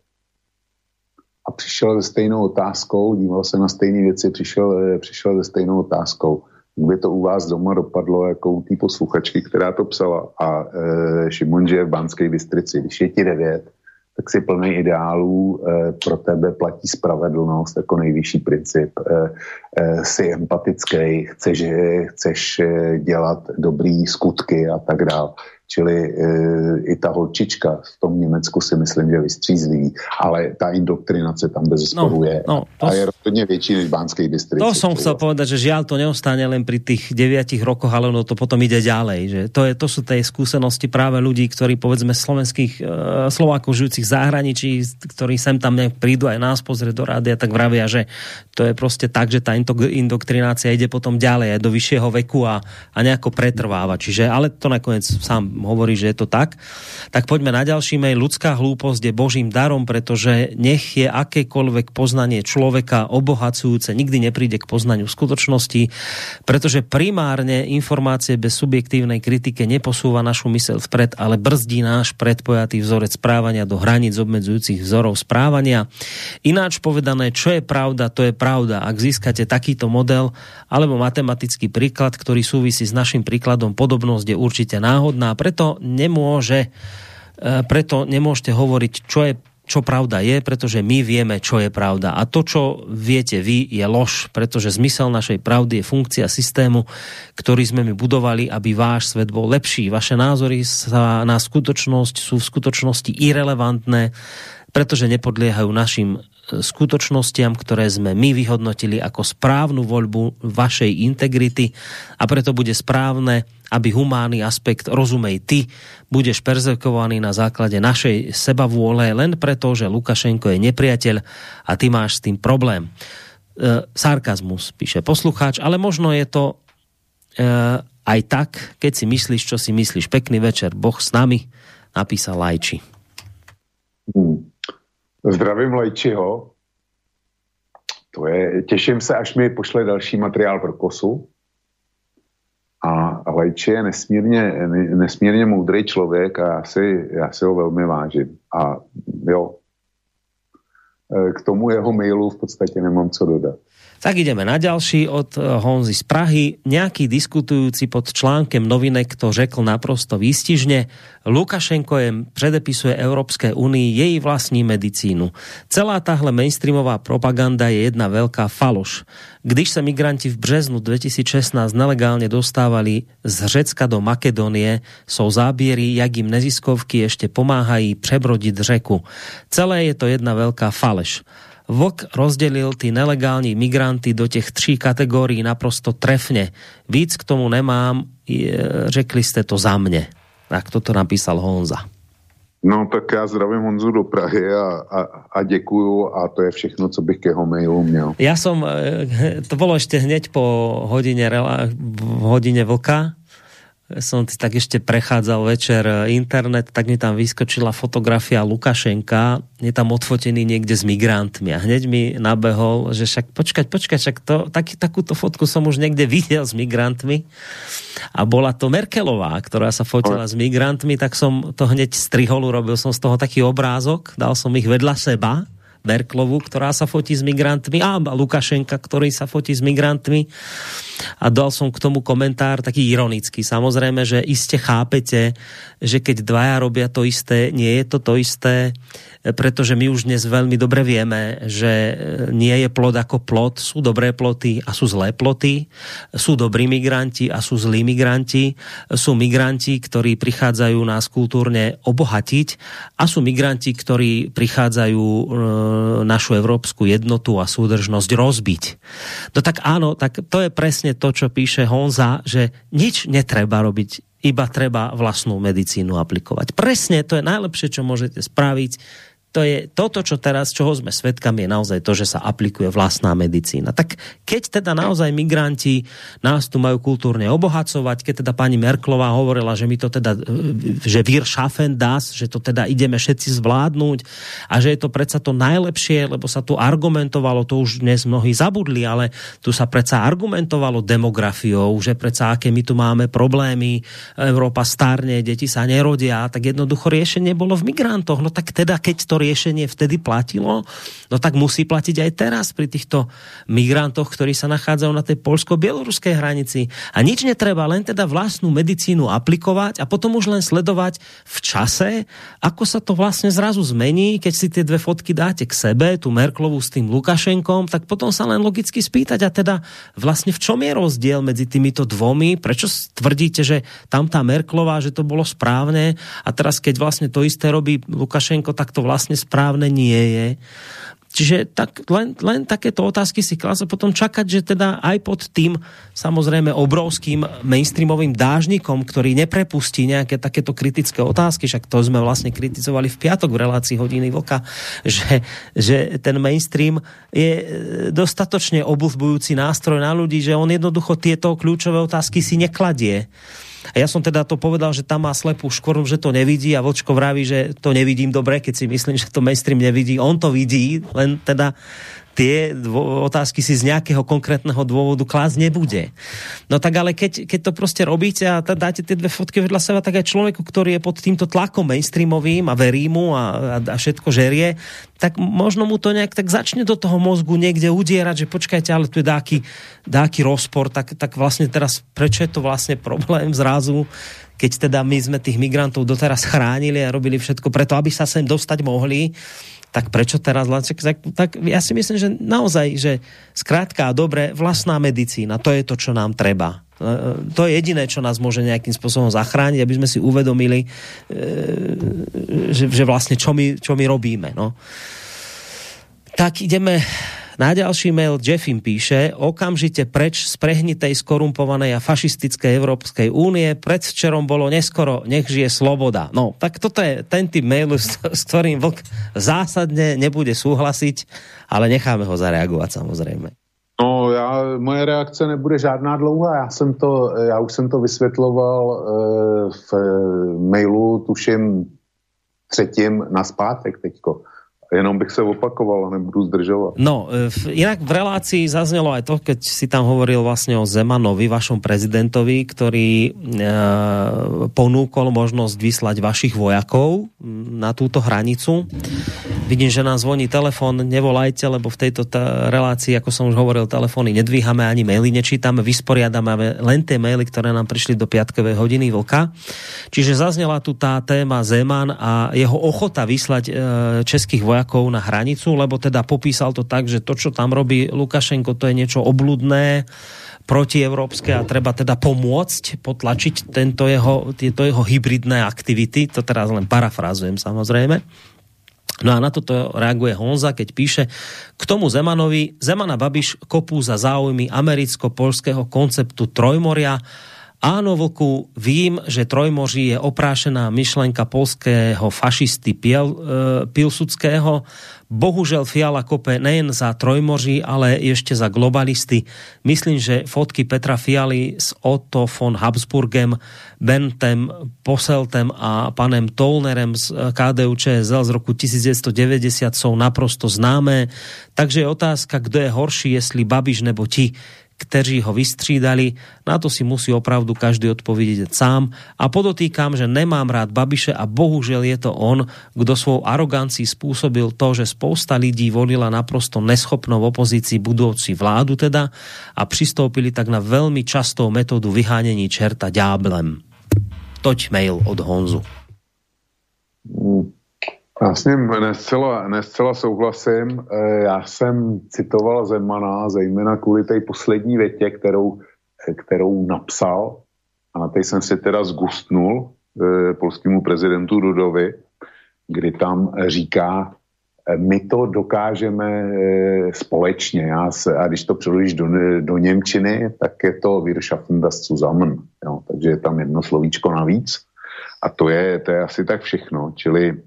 a přišel se stejnou otázkou, díval se na stejné věci, přišel se stejnou otázkou, kdyby to u vás doma dopadlo jako u té posluchačky, která to psala, a Šimon žije v Banské Bystrici, když je ti 9, tak si plný ideálů, pro tebe platí spravedlnost jako nejvyšší princip, jsi empatický, chceš dělat dobrý skutky a tak dále. Čili i ta holčička v tom Německu si myslím, že vystřízlivý, ale ta indoktrinace tam bez sporu je. A je rozhodně větší než v Banskej Bystrici. To som chcel povedať, že žiaľ to neostane len pri tých 9 rokoch, ale ono to potom ide ďalej. Že to sú tie skúsenosti práve ľudí, ktorí povedzme slovenských Slovákov žijúcich v zahraničí, ktorí sem tam prídu aj nás pozrieť do rádia, tak vravia, že to je proste tak, že tá indoktrinácia ide potom ďalej aj do vyššieho veku a nejako pretrváva. Čiže, ale to nakoniec sám hovorí, že je to tak. Tak poďme na ďalší mail. Ľudská hlúposť je Božím darom, pretože nech je akékoľvek poznanie človeka obohacujúce, nikdy nepríde k poznaniu skutočnosti, pretože primárne informácie bez subjektívnej kritike neposúva našu myseľ vpred, ale brzdí náš predpojatý vzorec správania do hraníc obmedzujúcich vzorov správania. Ináč povedané, čo je pravda, to je pravda. Ak získate takýto model alebo matematický príklad, ktorý súvisí s našim príkladom, podobnosť je určite náhodná. Preto nemôžete hovoriť, čo pravda je, pretože my vieme, čo je pravda. A to, čo viete vy, je lož, pretože zmysel našej pravdy je funkcia systému, ktorý sme my budovali, aby váš svet bol lepší. Vaše názory na skutočnosť sú v skutočnosti irelevantné, pretože nepodliehajú našim skutočnostiam, ktoré sme my vyhodnotili ako správnu voľbu vašej integrity, a preto bude správne, aby humánny aspekt, rozumej ty, budeš perzekvovaný na základe našej sebavôle len preto, že Lukašenko je nepriateľ a ty máš s tým problém. Sarkazmus, píše poslucháč, ale možno je to aj tak, keď si myslíš, čo si myslíš. Pekný večer, Boh s nami, napísal Lajči. Zdravím Lajčiho. Těším se, až mi pošle další materiál pro Kosu. A Lajči je nesmírně moudrý člověk a já si ho velmi vážím. A jo, k tomu jeho mailu v podstatě nemám co dodat. Tak ideme na ďalší od Honzy z Prahy. Nejaký diskutujúci pod článkem Novinek to řekl naprosto výstižne. Lukašenko predepisuje Európskej únii jej vlastní medicínu. Celá tahle mainstreamová propaganda je jedna veľká faloš. Když sa migranti v březnu 2016 nelegálne dostávali z Řecka do Makedónie, sú zábiery, jak im neziskovky ešte pomáhají prebrodiť řeku. Celé je to jedna veľká faleš. Vlk rozdelil tí nelegální migranty do těch 3 kategórií naprosto trefne. Víc k tomu nemám, řekli ste to za mne. Tak toto napísal Honza. No tak já zdravím Honzu do Prahy a děkuju, a to je všechno, co bych k jeho mailu měl. Ja som, to bolo ešte hneď po hodine vlka, som tak ešte prechádzal večer internet, tak mi tam vyskočila fotografia Lukašenka, je tam odfotený niekde s migrantmi a hneď mi nabehol, že však počkať, však takúto fotku som už niekde videl s migrantmi a bola to Merkelová, ktorá sa fotila s migrantmi, tak som to hneď strihol, urobil som z toho taký obrázok, dal som ich vedľa seba, Merkelovu, ktorá sa fotí s migrantmi, a Lukašenka, ktorý sa fotí s migrantmi, a dal som k tomu komentár taký ironický. Samozrejme, že iste chápete, že keď dvaja robia to isté, nie je to isté. pretože my už dnes veľmi dobre vieme, že nie je plod ako plod, sú dobré ploty a sú zlé ploty, sú dobrí migranti a sú zlí migranti, sú migranti, ktorí prichádzajú nás kultúrne obohatiť a sú migranti, ktorí prichádzajú našu európsku jednotu a súdržnosť rozbiť. No tak áno, tak to je presne to, čo píše Honza, že nič netreba robiť, iba treba vlastnú medicínu aplikovať. Presne, to je najlepšie, čo môžete spraviť. To je toto, čo teraz, čoho sme svedkami, je naozaj to, že sa aplikuje vlastná medicína. Tak keď teda naozaj migranti nás tu majú kultúrne obohacovať, keď teda pani Merkelová hovorila, že my to teda, že wir schaffen das, že to teda ideme všetci zvládnuť a že je to predsa to najlepšie, lebo sa tu argumentovalo, to už dnes mnohí zabudli, ale tu sa predsa argumentovalo demografiou, že predsa aké my tu máme problémy, Európa starne, deti sa nerodia, tak jednoducho riešenie bolo v migrantoch. No tak teda, keď to riešenie vtedy platilo, no tak musí platiť aj teraz pri týchto migrantoch, ktorí sa nachádzajú na tej poľsko-bieloruskej hranici. A nič netreba, len teda vlastnú medicínu aplikovať a potom už len sledovať v čase, ako sa to vlastne zrazu zmení, keď si tie dve fotky dáte k sebe, tú Merkelovú s tým Lukašenkom, tak potom sa len logicky spýtať, a teda vlastne v čom je rozdiel medzi týmito dvomi? Prečo tvrdíte, že tam tá Merkelová, že to bolo správne a teraz keď vlastne to isté robí Lukašenko, tak to vlastne správne nie je. Čiže tak, len takéto otázky si klásť a potom čakať, že teda aj pod tým samozrejme obrovským mainstreamovým dážnikom, ktorý neprepustí nejaké takéto kritické otázky, však to sme vlastne kritizovali v piatok v relácii Hodiny vlka, že ten mainstream je dostatočne obuzbujúci nástroj na ľudí, že on jednoducho tieto kľúčové otázky si nekladie. A ja som teda to povedal, že tam má slepú škvrnu, že to nevidí a Vočko vraví, že to nevidím dobre, keď si myslím, že to mainstream nevidí. On to vidí, len teda tie otázky si z nejakého konkrétneho dôvodu klásť nebude. No tak ale keď to proste robíte a dáte tie dve fotky vedľa seba, tak aj človeku, ktorý je pod týmto tlakom mainstreamovým a verí mu a všetko žerie, tak možno mu to nejak tak začne do toho mozgu niekde udierať, že počkajte, ale tu je dáky rozpor, tak vlastne teraz prečo je to vlastne problém zrazu, keď teda my sme tých migrantov doteraz chránili a robili všetko preto, aby sa sem dostať mohli, tak prečo teraz? Tak ja si myslím, že naozaj, že skrátka a dobre, vlastná medicína, to je to, čo nám treba. To je jediné, čo nás môže nejakým spôsobom zachrániť, aby sme si uvedomili, že vlastne čo my robíme. No. Tak ideme na ďalší mail. Jeffim píše: okamžite preč z prehnitej, skorumpovanej a fašistickej Európskej únie. Predvčerom bolo neskoro, nech žije sloboda. No, tak toto je ten typ mailu, s ktorým Vlk zásadne nebude súhlasiť, ale necháme ho zareagovať samozrejme. No, moje reakce nebude žádná dlouhá. Já už jsem to vysvětloval v mailu, tuším 3. naspátek teďko. Jenom bych se opakoval, nebudu zdržovat. No, inak v relácii zaznelo aj to, keď si tam hovoril vlastne o Zemanovi, vašom prezidentovi, ktorý ponúkol možnosť vyslať vašich vojakov na túto hranicu. Vidím, že nám zvoní telefón, nevolajte, lebo v tejto relácii, ako som už hovoril, telefóny nedvíhame, ani maily nečítame, vysporiadame len tie maily, ktoré nám prišli do piatkovej Hodiny vlka. Čiže zaznela tu tá téma Zeman a jeho ochota vyslať českých vojakov na hranicu, lebo teda popísal to tak, že to, čo tam robí Lukašenko, to je niečo obľudné, protievropské a treba teda pomôcť, potlačiť tieto jeho hybridné aktivity. To teraz len parafrázujem samozrejme. No a na toto reaguje Honza, keď píše: k tomu Zemanovi, Zemana Babiš kopú za záujmy americko-poľského konceptu Trojmoria. Áno, Vlku, vím, že Trojmoří je oprášená myšlenka poľského fašisty Pilsudského. Bohužel Fiala kope nejen za Trojmoří, ale ešte za globalisty. Myslím, že fotky Petra Fialy s Otto von Habsburgem, Bentem Posseltem a panem Tollnerem z KDU-ČSL z roku 1990 sú naprosto známé. Takže je otázka, kto je horší, jestli Babiš nebo ti, kteří ho vystřídali. Na to si musí opravdu každý odpovedieť sám. A podotýkam, že nemám rád Babiše a bohužiaľ je to on, kto svojou arogancií spôsobil to, že spousta lidí volila naprosto neschopnou opozícii budúci vládu teda a pristoupili tak na veľmi častou metódu vyhánení čerta ďáblem. Toť mail od Honzu. Já s ním nescela souhlasím. Já jsem citoval Zemana, zejména kvůli té poslední větě, kterou napsal, a na té jsem si teda zgustnul polskému prezidentu Dudovi, kdy tam říká, my to dokážeme společně. A když to přeložíš do němčiny, tak je to Wir schaffen das zusammen. Jo? Takže je tam jedno slovíčko navíc. A to je asi tak všechno. Čili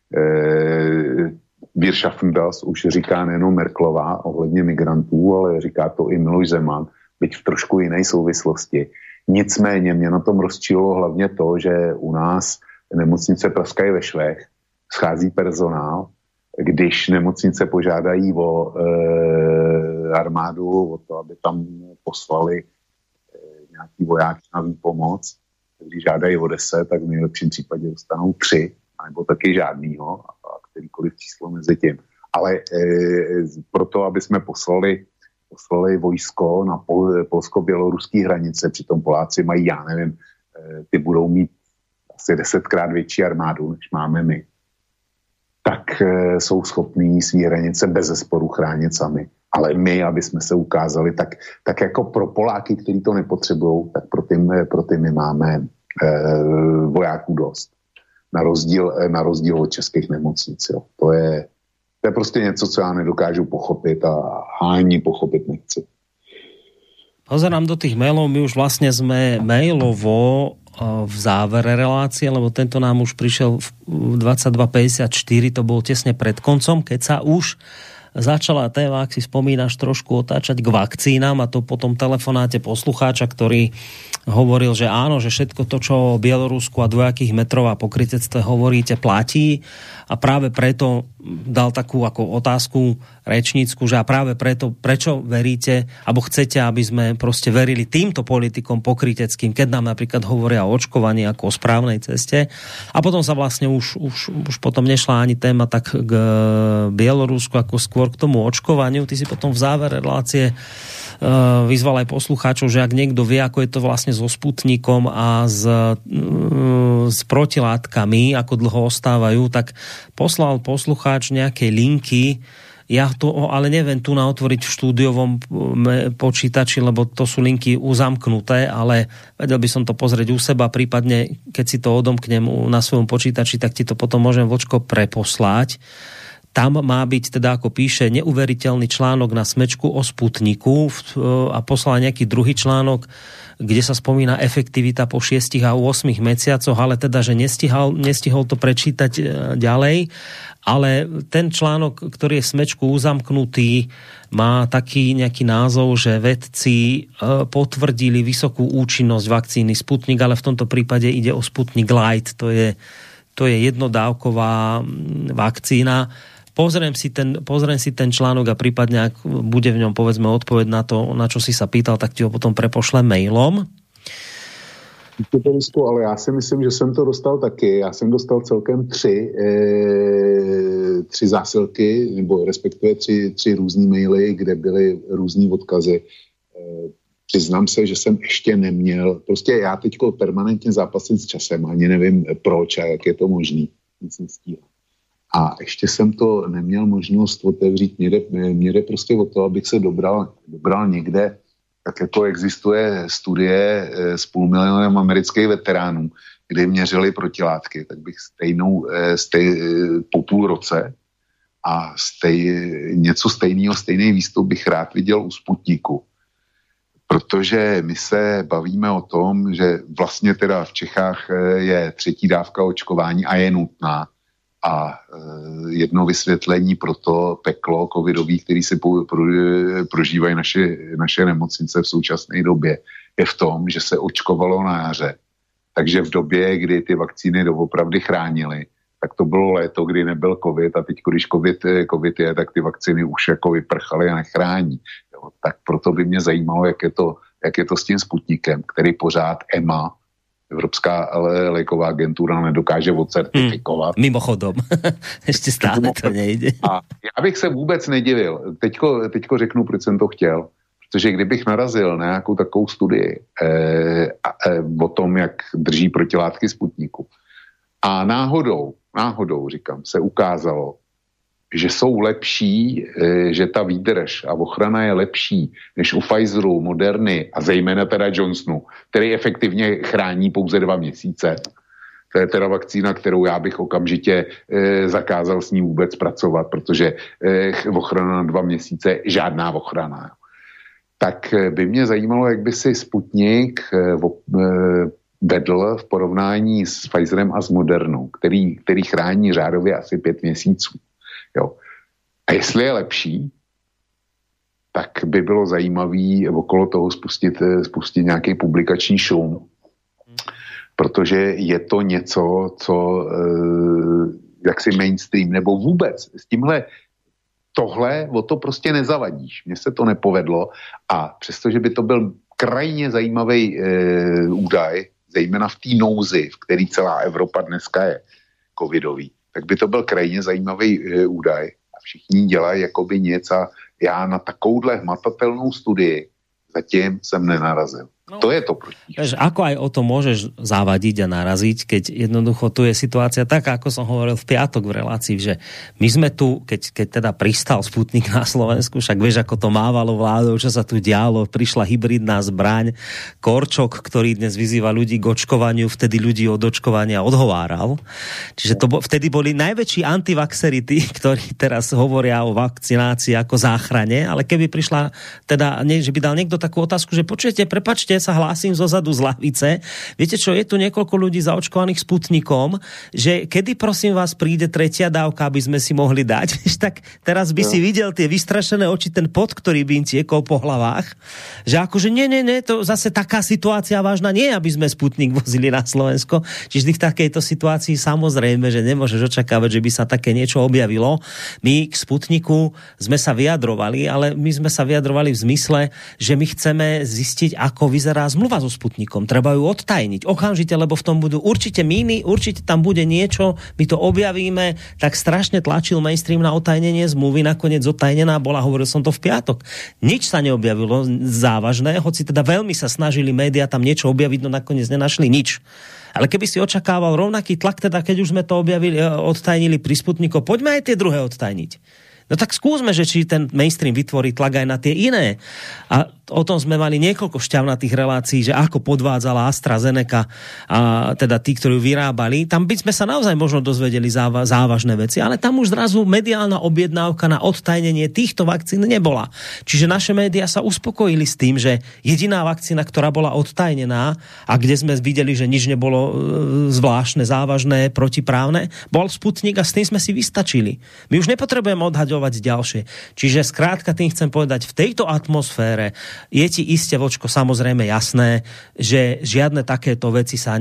Wir schaffen das už říká nejenom Merkelová ohledně migrantů, ale říká to i Miloš Zeman, byť v trošku jiné souvislosti. Nicméně mě na tom rozčililo hlavně to, že u nás nemocnice praskají ve švech, schází personál, když nemocnice požádají o armádu, o to, aby tam poslali nějaký vojáky na výpomoc, když žádají o 10, tak v nejlepším případě dostanou 3, nebo taky žádnýho, a kterýkoliv číslo mezi tím. Ale proto, aby jsme poslali vojsko na polsko-běloruské hranice, přitom Poláci mají, já nevím, ty budou mít asi 10krát větší armádu, než máme my, tak jsou schopní svý hranice bezesporu chránit sami. Ale my, aby jsme se ukázali, tak jako pro Poláky, kteří to nepotřebují, tak pro ty my máme vojáků dost. Na rozdíl od českých nemocnic. Jo. To je prostě něco, co já nedokážu pochopit a ani pochopit nechci. Pozerám do tých mailov, my už vlastne sme mailovo v závere relácie, lebo tento nám už prišiel v 22.54, to bol tesne pred koncom, keď sa už začala téma, ak si spomínaš, trošku otáčať k vakcínám, a to po tom telefonáte poslucháča, ktorý hovoril, že áno, že všetko to, čo o Bielorusku a dvojakých metrov a pokrytectve hovoríte, platí, a práve preto dal takú ako otázku rečnícku, že a práve preto, prečo veríte, alebo chcete, aby sme proste verili týmto politikom pokryteckým, keď nám napríklad hovoria o očkovaní ako o správnej ceste. A potom sa vlastne už potom nešla ani téma tak k Bielorusku, ako skôr k tomu očkovaniu. Ty si potom v závere relácie vyzval aj poslucháčov, že ak niekto vie, ako je to vlastne so Sputnikom a s protilátkami, ako dlho ostávajú, tak poslal poslucháč nejaké linky. Ja to ale neviem tu otvoriť v štúdiovom počítači, lebo to sú linky uzamknuté, ale vedel by som to pozrieť u seba, prípadne keď si to odomknem na svojom počítači, tak ti to potom môžem, Vočko, preposlať. Tam má byť, teda ako píše, neuveriteľný článok na Smečku o Sputniku a poslal nejaký druhý článok, kde sa spomína efektivita po 6 a 8 mesiacoch, ale teda, že nestihol to prečítať ďalej. Ale ten článok, ktorý je v Smečku uzamknutý, má taký nejaký názov, že vedci potvrdili vysokú účinnosť vakcíny Sputnik, ale v tomto prípade ide o Sputnik Light. To je jednodávková vakcína. Pozriem si ten článok a prípadne, ak bude v ňom, povedzme, odpoveď na to, na čo si sa pýtal, tak ti ho potom prepošlem mailom. Ale já si myslím, že jsem to dostal taky. Já jsem dostal celkem 3 zásilky, nebo respektive 3 různý maily, kde byly různý odkazy. Přiznám se, že jsem ještě neměl, prostě já teďko permanentně zápasím s časem, ani nevím proč a jak je to možný. Nic nestíhám. A ještě jsem to neměl možnost otevřít. Mě jde prostě o to, abych se dobral někde, tak jako existuje studie s 500 000 amerických veteránů, kde měřili protilátky, tak bych po půl roce a něco stejný výstup bych rád viděl u Sputniku. Protože my se bavíme o tom, že vlastně teda v Čechách je 3. dávka očkování a je nutná. A jedno vysvětlení pro to peklo covidový, který si prožívají naše nemocnice v současné době, je v tom, že se očkovalo na jaře. Takže v době, kdy ty vakcíny doopravdy chránily, tak to bylo léto, kdy nebyl covid, a teď, když covid je, tak ty vakcíny už jako vyprchaly a nechrání. Jo, tak proto by mě zajímalo, jak je to s tím Sputnikem, který pořád EMA, Evropská léková agentura, nedokáže odcertifikovat. Mimochodom, ještě stále to nejde. A já bych se vůbec nedivil. Teďko řeknu, proč jsem to chtěl. Protože kdybych narazil na nějakou takovou studii o tom, jak drží protilátky Sputniku, A náhodou, říkám, se ukázalo, že jsou lepší, že ta výdrž a ochrana je lepší než u Pfizeru, Moderny a zejména teda Johnsonu, který efektivně chrání pouze 2 měsíce. To je teda vakcína, kterou já bych okamžitě zakázal s ní vůbec pracovat, protože ochrana na 2 měsíce, žádná ochrana. Tak by mě zajímalo, jak by si Sputnik vedl v porovnání s Pfizerem a s Modernou, který chrání řádově asi 5 měsíců. Jo. A jestli je lepší, tak by bylo zajímavý okolo toho spustit nějaký publikační šum, protože je to něco, co jaksi mainstream, nebo vůbec s tímhle tohle, o to prostě nezavadíš. Mně se to nepovedlo a přestože by to byl krajně zajímavý údaj, zejména v té nouzi, v který celá Evropa dneska je covidový, tak by to byl krajně zajímavý údaj a všichni dělají jakoby něco a já na takovouhle hmatatelnou studii zatím jsem nenarazil. No, to je to proti. Ako aj o to môžeš zavadiť a naraziť, keď jednoducho tu je situácia taká, ako som hovoril v piatok v relácii, že my sme tu, keď teda pristal Sputnik na Slovensku, však vieš, ako to mávalo vládou, čo sa tu dialo, prišla hybridná zbraň, Korčok, ktorý dnes vyzýva ľudí k očkovaniu, vtedy ľudí od očkovania odhováral. Čiže vtedy boli najväčší antivaxeri tí, ktorí teraz hovoria o vakcinácii ako záchrane, ale keby prišla teda, že by dal niekto takú otázku, že počujete, prepáčte, sa hlásim zozadu z lavice. Viete čo, je tu niekoľko ľudí zaočkovaných Sputnikom, že kedy prosím vás príde 3. dávka, aby sme si mohli dať. Tak teraz by si videl tie vystrašené oči, ten pot, ktorý by im tiekol po hlavách. Že akože nie, to zase taká situácia vážna nie, aby sme Sputnik vozili na Slovensko. Čiže v takejto situácii samozrejme, že nemôžeš očakávať, že by sa také niečo objavilo. My k Sputniku sme sa vyjadrovali, ale my sme sa vyjadrovali v zmysle, že my chceme zistiť, ako vyzerá zmluva so Sputnikom. Treba ju odtajniť okamžite, lebo v tom budú určite míny, určite tam bude niečo, my to objavíme. Tak strašne tlačil mainstream na odtajnenie zmluvy, nakoniec odtajnená bola, hovoril som to v piatok. Nič sa neobjavilo závažné, hoci teda veľmi sa snažili médiá tam niečo objaviť, no nakoniec nenašli nič. Ale keby si očakával rovnaký tlak, teda keď už sme to objavili, odtajnili pri Sputniku, poďme aj tie druhé odtajniť. No tak skúsme, že či ten mainstream vytvorí tlak aj na tie iné. A o tom sme mali niekoľko šťavnatých relácií, že ako podvádzala AstraZeneca a teda tí, ktorí ju vyrábali. Tam by sme sa naozaj možno dozvedeli závažné veci, ale tam už zrazu mediálna objednávka na odtajnenie týchto vakcín nebola. Čiže naše médiá sa uspokojili s tým, že jediná vakcína, ktorá bola odtajnená a kde sme videli, že nič nebolo zvláštne, závažné, protiprávne, bol Sputnik a s tým sme si vystačili. My už nepotrebujeme odhaďovať ďalšie. Čiže skrátka tým chcem povedať, v tejto atmosfére je ti iste, vočko, samozrejme jasné, že žiadne takéto veci sa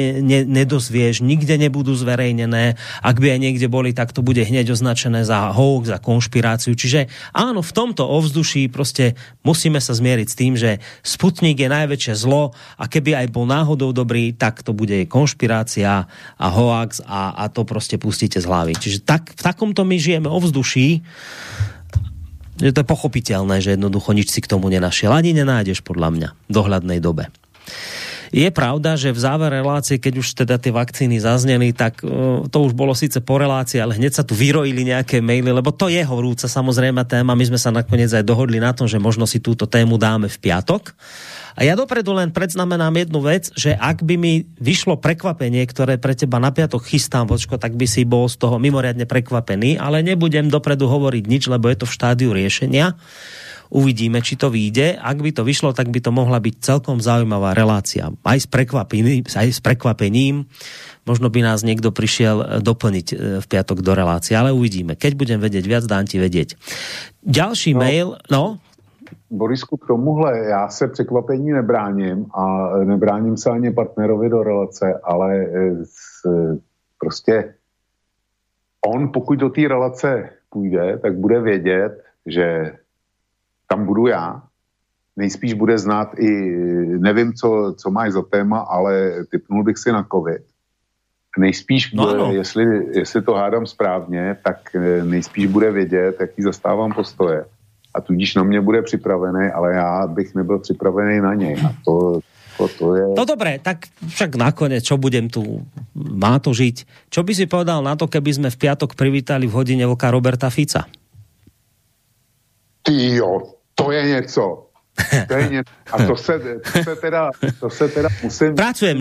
nedozvieš, nikde nebudú zverejnené. Ak by aj niekde boli, tak to bude hneď označené za hoax, za konšpiráciu. Čiže áno, v tomto ovzduší proste musíme sa zmieriť s tým, že Sputnik je najväčšie zlo a keby aj bol náhodou dobrý, tak to bude konšpirácia a hoax a to proste pustíte z hlavy. Čiže v takomto my žijeme ovzduší, že to je pochopiteľné, že jednoducho nič si k tomu nenašiel. Ani nenájdeš, podľa mňa, v dohľadnej dobe. Je pravda, že v závere relácie, keď už teda tie vakcíny zazneli, tak to už bolo síce po relácii, ale hneď sa tu vyrojili nejaké maily, lebo to je horúca samozrejme téma. My sme sa nakoniec aj dohodli na tom, že možno si túto tému dáme v piatok. A ja dopredu len predznamenám jednu vec, že ak by mi vyšlo prekvapenie, ktoré pre teba na piatok chystám, vočko, tak by si bol z toho mimoriadne prekvapený, ale nebudem dopredu hovoriť nič, lebo je to v štádiu riešenia. Uvidíme, či to vyjde. Ak by to vyšlo, tak by to mohla byť celkom zaujímavá relácia. Aj s prekvapením. Možno by nás niekto prišiel doplniť v piatok do relácie, ale uvidíme. Keď budem vedieť viac, dám ti vedieť. Ďalší mail, Borisku, k tomuhle já se překvapení nebráním a nebráním se ani partnerovi do relace, ale prostě on, pokud do té relace půjde, tak bude vědět, že tam budu já. Nejspíš bude znát i, nevím, co máš za téma, ale tipnul bych si na covid. Nejspíš, jestli to hádám správně, tak nejspíš bude vědět, jaký zastávám postoje. A tudíž na mě bude připravený, ale já bych nebyl připravený na něj. A No dobre, tak však nakoniec, čo budem tu, má to žiť. Čo by si povedal na to, keby sme v piatok privítali v hodine vlka Roberta Fica? Tyjo, to je něco. A to se teda musím... Pracujem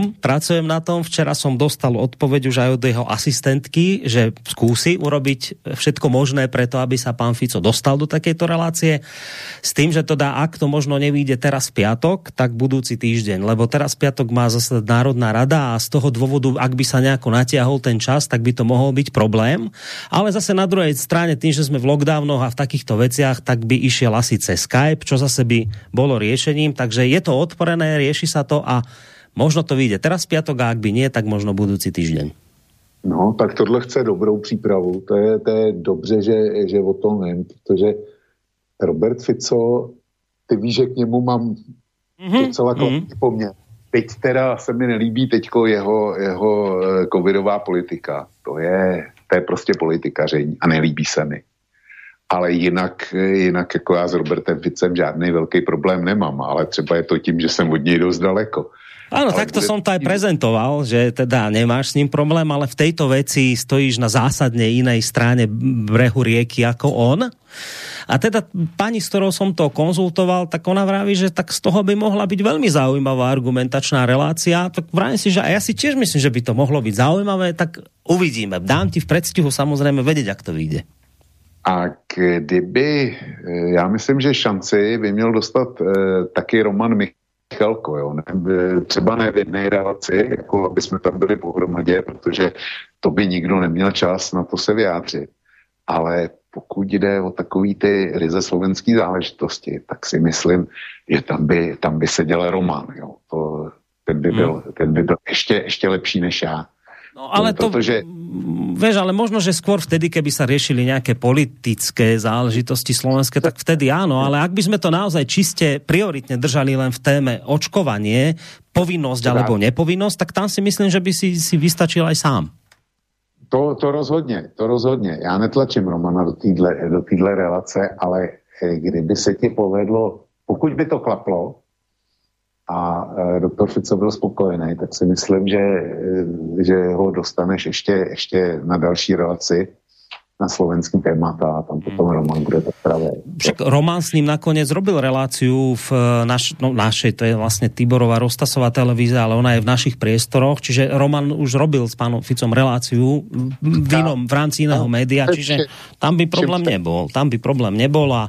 na tom. Včera som dostal odpoveď už aj od jeho asistentky, že skúsi urobiť všetko možné preto, aby sa pán Fico dostal do takejto relácie. S tým, že to dá, ak to možno nevyjde teraz v piatok, tak budúci týždeň. Lebo teraz v piatok má zase Národná rada a z toho dôvodu, ak by sa nejako natiahol ten čas, tak by to mohol byť problém. Ale zase na druhej strane, tým, že sme v lockdownoch a v takýchto veciach, tak by išiel asi cez Skype, čo zase by bolo riešením, takže je to otvorené, rieši sa to a možno to vyjde teraz v piatok a ak by nie, tak možno budúci týždeň. No, tak tohle chce dobrou přípravu. To je dobře, že o tom vím, protože Robert Fico, ty víš, že k němu mám docela kladný poměr. Teď teda se mi nelíbí teďko jeho covidová politika. To je prostě politikaření a nelíbí se mi. Ale jinak jako já s Robertem Ficem žádný velký problém nemám, ale třeba je to tím, že jsem od něj dost daleko. Áno, takto som to aj prezentoval, že teda nemáš s ním problém, ale v tejto veci stojíš na zásadne inej strane brehu rieky ako on. A teda pani, s ktorou som to konzultoval, tak ona vraví, že tak z toho by mohla byť veľmi zaujímavá argumentačná relácia. Tak vravím si, že a ja si tiež myslím, že by to mohlo byť zaujímavé, tak uvidíme. Dám ti v predstihu samozrejme vedieť, ak to vyjde. A kdyby, já myslím, že šanci by měl dostat taky Roman Michalko, jo? Třeba ne v jedné relaci, jako aby jsme tam byli pohromadě, protože to by nikdo neměl čas na to se vyjádřit. Ale pokud jde o takový ty ryze slovenský záležitosti, tak si myslím, že tam by seděl Roman, jo? Ten by byl ještě lepší než já. No ale to, vieš, ale možno, že skôr vtedy, keby sa riešili nejaké politické záležitosti slovenské, tak vtedy áno, ale ak by sme to naozaj čiste prioritne držali len v téme očkovanie, povinnosť alebo nepovinnosť, tak tam si myslím, že by si vystačil aj sám. To rozhodně. Já netlačím Romana do téhle relace, ale kdyby se ti povedlo, pokud by to klaplo, a doktor Fico byl spokojený, tak si myslím, že ho dostaneš ještě na další relaci na slovenským témata a tam potom Roman bude to pravé. Však Roman s ním nakoniec robil reláciu v našej, to je vlastne Tiborová Roztasová televízia, ale ona je v našich priestoroch, čiže Roman už robil s pánom Ficom reláciu v rámci iného média, čiže tam by problém nebol a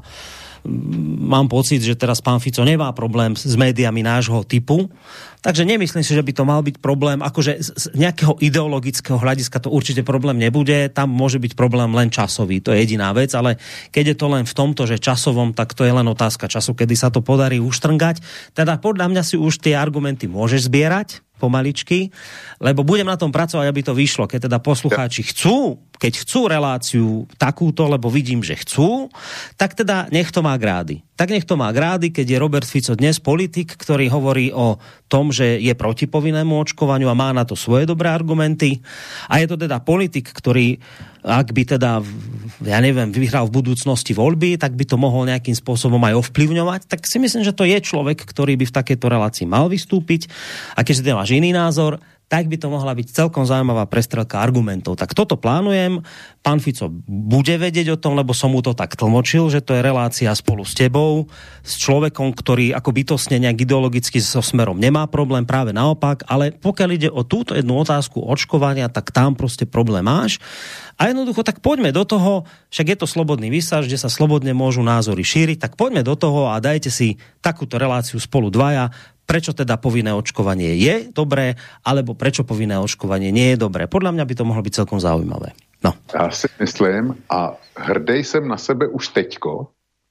mám pocit, že teraz pán Fico nemá problém s médiami nášho typu, takže nemyslím si, že by to mal byť problém, akože z nejakého ideologického hľadiska to určite problém nebude, tam môže byť problém len časový, to je jediná vec, ale keď je to len v tomto, že časovom, tak to je len otázka času, kedy sa to podarí uštrngať, teda podľa mňa si už tie argumenty môžeš zbierať pomaličky, lebo budem na tom pracovať, aby to vyšlo. Keď teda poslucháči chcú reláciu takúto, lebo vidím, že chcú, tak teda nech to má grády. Tak nech to má grády, keď je Robert Fico dnes politik, ktorý hovorí o tom, že je proti povinnému očkovaniu a má na to svoje dobré argumenty. A je to teda politik, ktorý, ak by teda, ja neviem, vyhral v budúcnosti voľby, tak by to mohol nejakým spôsobom aj ovplyvňovať. Tak si myslím, že to je človek, ktorý by v takejto relácii mal vystúpiť. A keďže ty máš iný názor, tak by to mohla byť celkom zaujímavá prestrelka argumentov. Tak toto plánujem. Pán Fico bude vedieť o tom, lebo som mu to tak tlmočil, že to je relácia spolu s tebou, s človekom, ktorý ako bytostne nejak ideologicky so Smerom nemá problém, práve naopak, ale pokiaľ ide o túto jednu otázku očkovania, tak tam proste problém máš. A jednoducho, tak poďme do toho, však je to slobodný vysielač, kde sa slobodne môžu názory šíriť, tak poďme do toho a dajte si takúto reláciu spolu dvaja, prečo teda povinné očkovanie je dobré, alebo prečo povinné očkovanie nie je dobré. Podľa mňa by to mohlo byť celkom zaujímavé. No. Já si myslím, a hrdej jsem na sebe už teďko,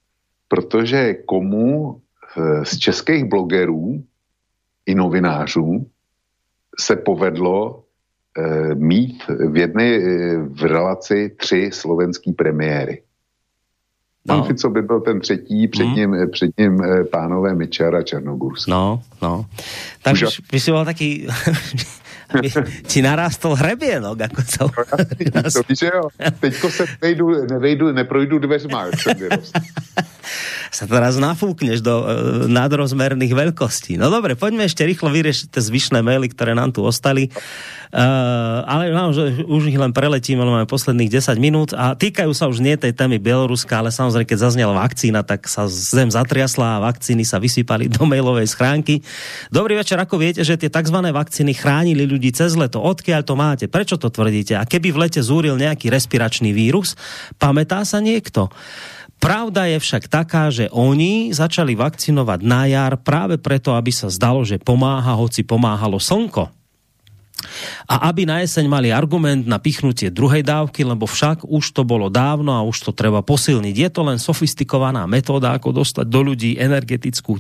protože komu z českých blogerů i novinářů se povedlo mít v relaci 3 slovenský premiéry. Pan Fico by byl ten třetí, před ním pánové Mečiar a Černogórsky. No. Tak by si bol taký... ti narástol hrebienok, ako sa... To víš, jo. Teďko se neprojdu dveřma, jak jsem vyrost. sa teraz nafúkneš do nadrozmerných veľkostí. No dobre, poďme ešte rýchlo vyriešiť tie zvyšné maily, ktoré nám tu ostali. Ale že už ich len preletíme, máme posledných 10 minút a týkajú sa už nie tej témy Bieloruska, ale samozrejme, keď zaznela vakcína, tak sa zem zatriasla a vakcíny sa vysypali do mailovej schránky. Dobrý večer, ako viete, že tie tzv. Vakcíny chránili ľudí cez leto? Odkiaľ to máte? Prečo to tvrdíte? A keby v lete zúril nejaký respiračný vírus, pamätá sa niekto? Pravda je však taká, že oni začali vakcinovať na jar práve preto, aby sa zdalo, že pomáha, hoci pomáhalo slnko. A aby na jeseň mali argument na pichnutie druhej dávky, lebo však už to bolo dávno a už to treba posilniť. Je to len sofistikovaná metóda, ako dostať do ľudí energetickú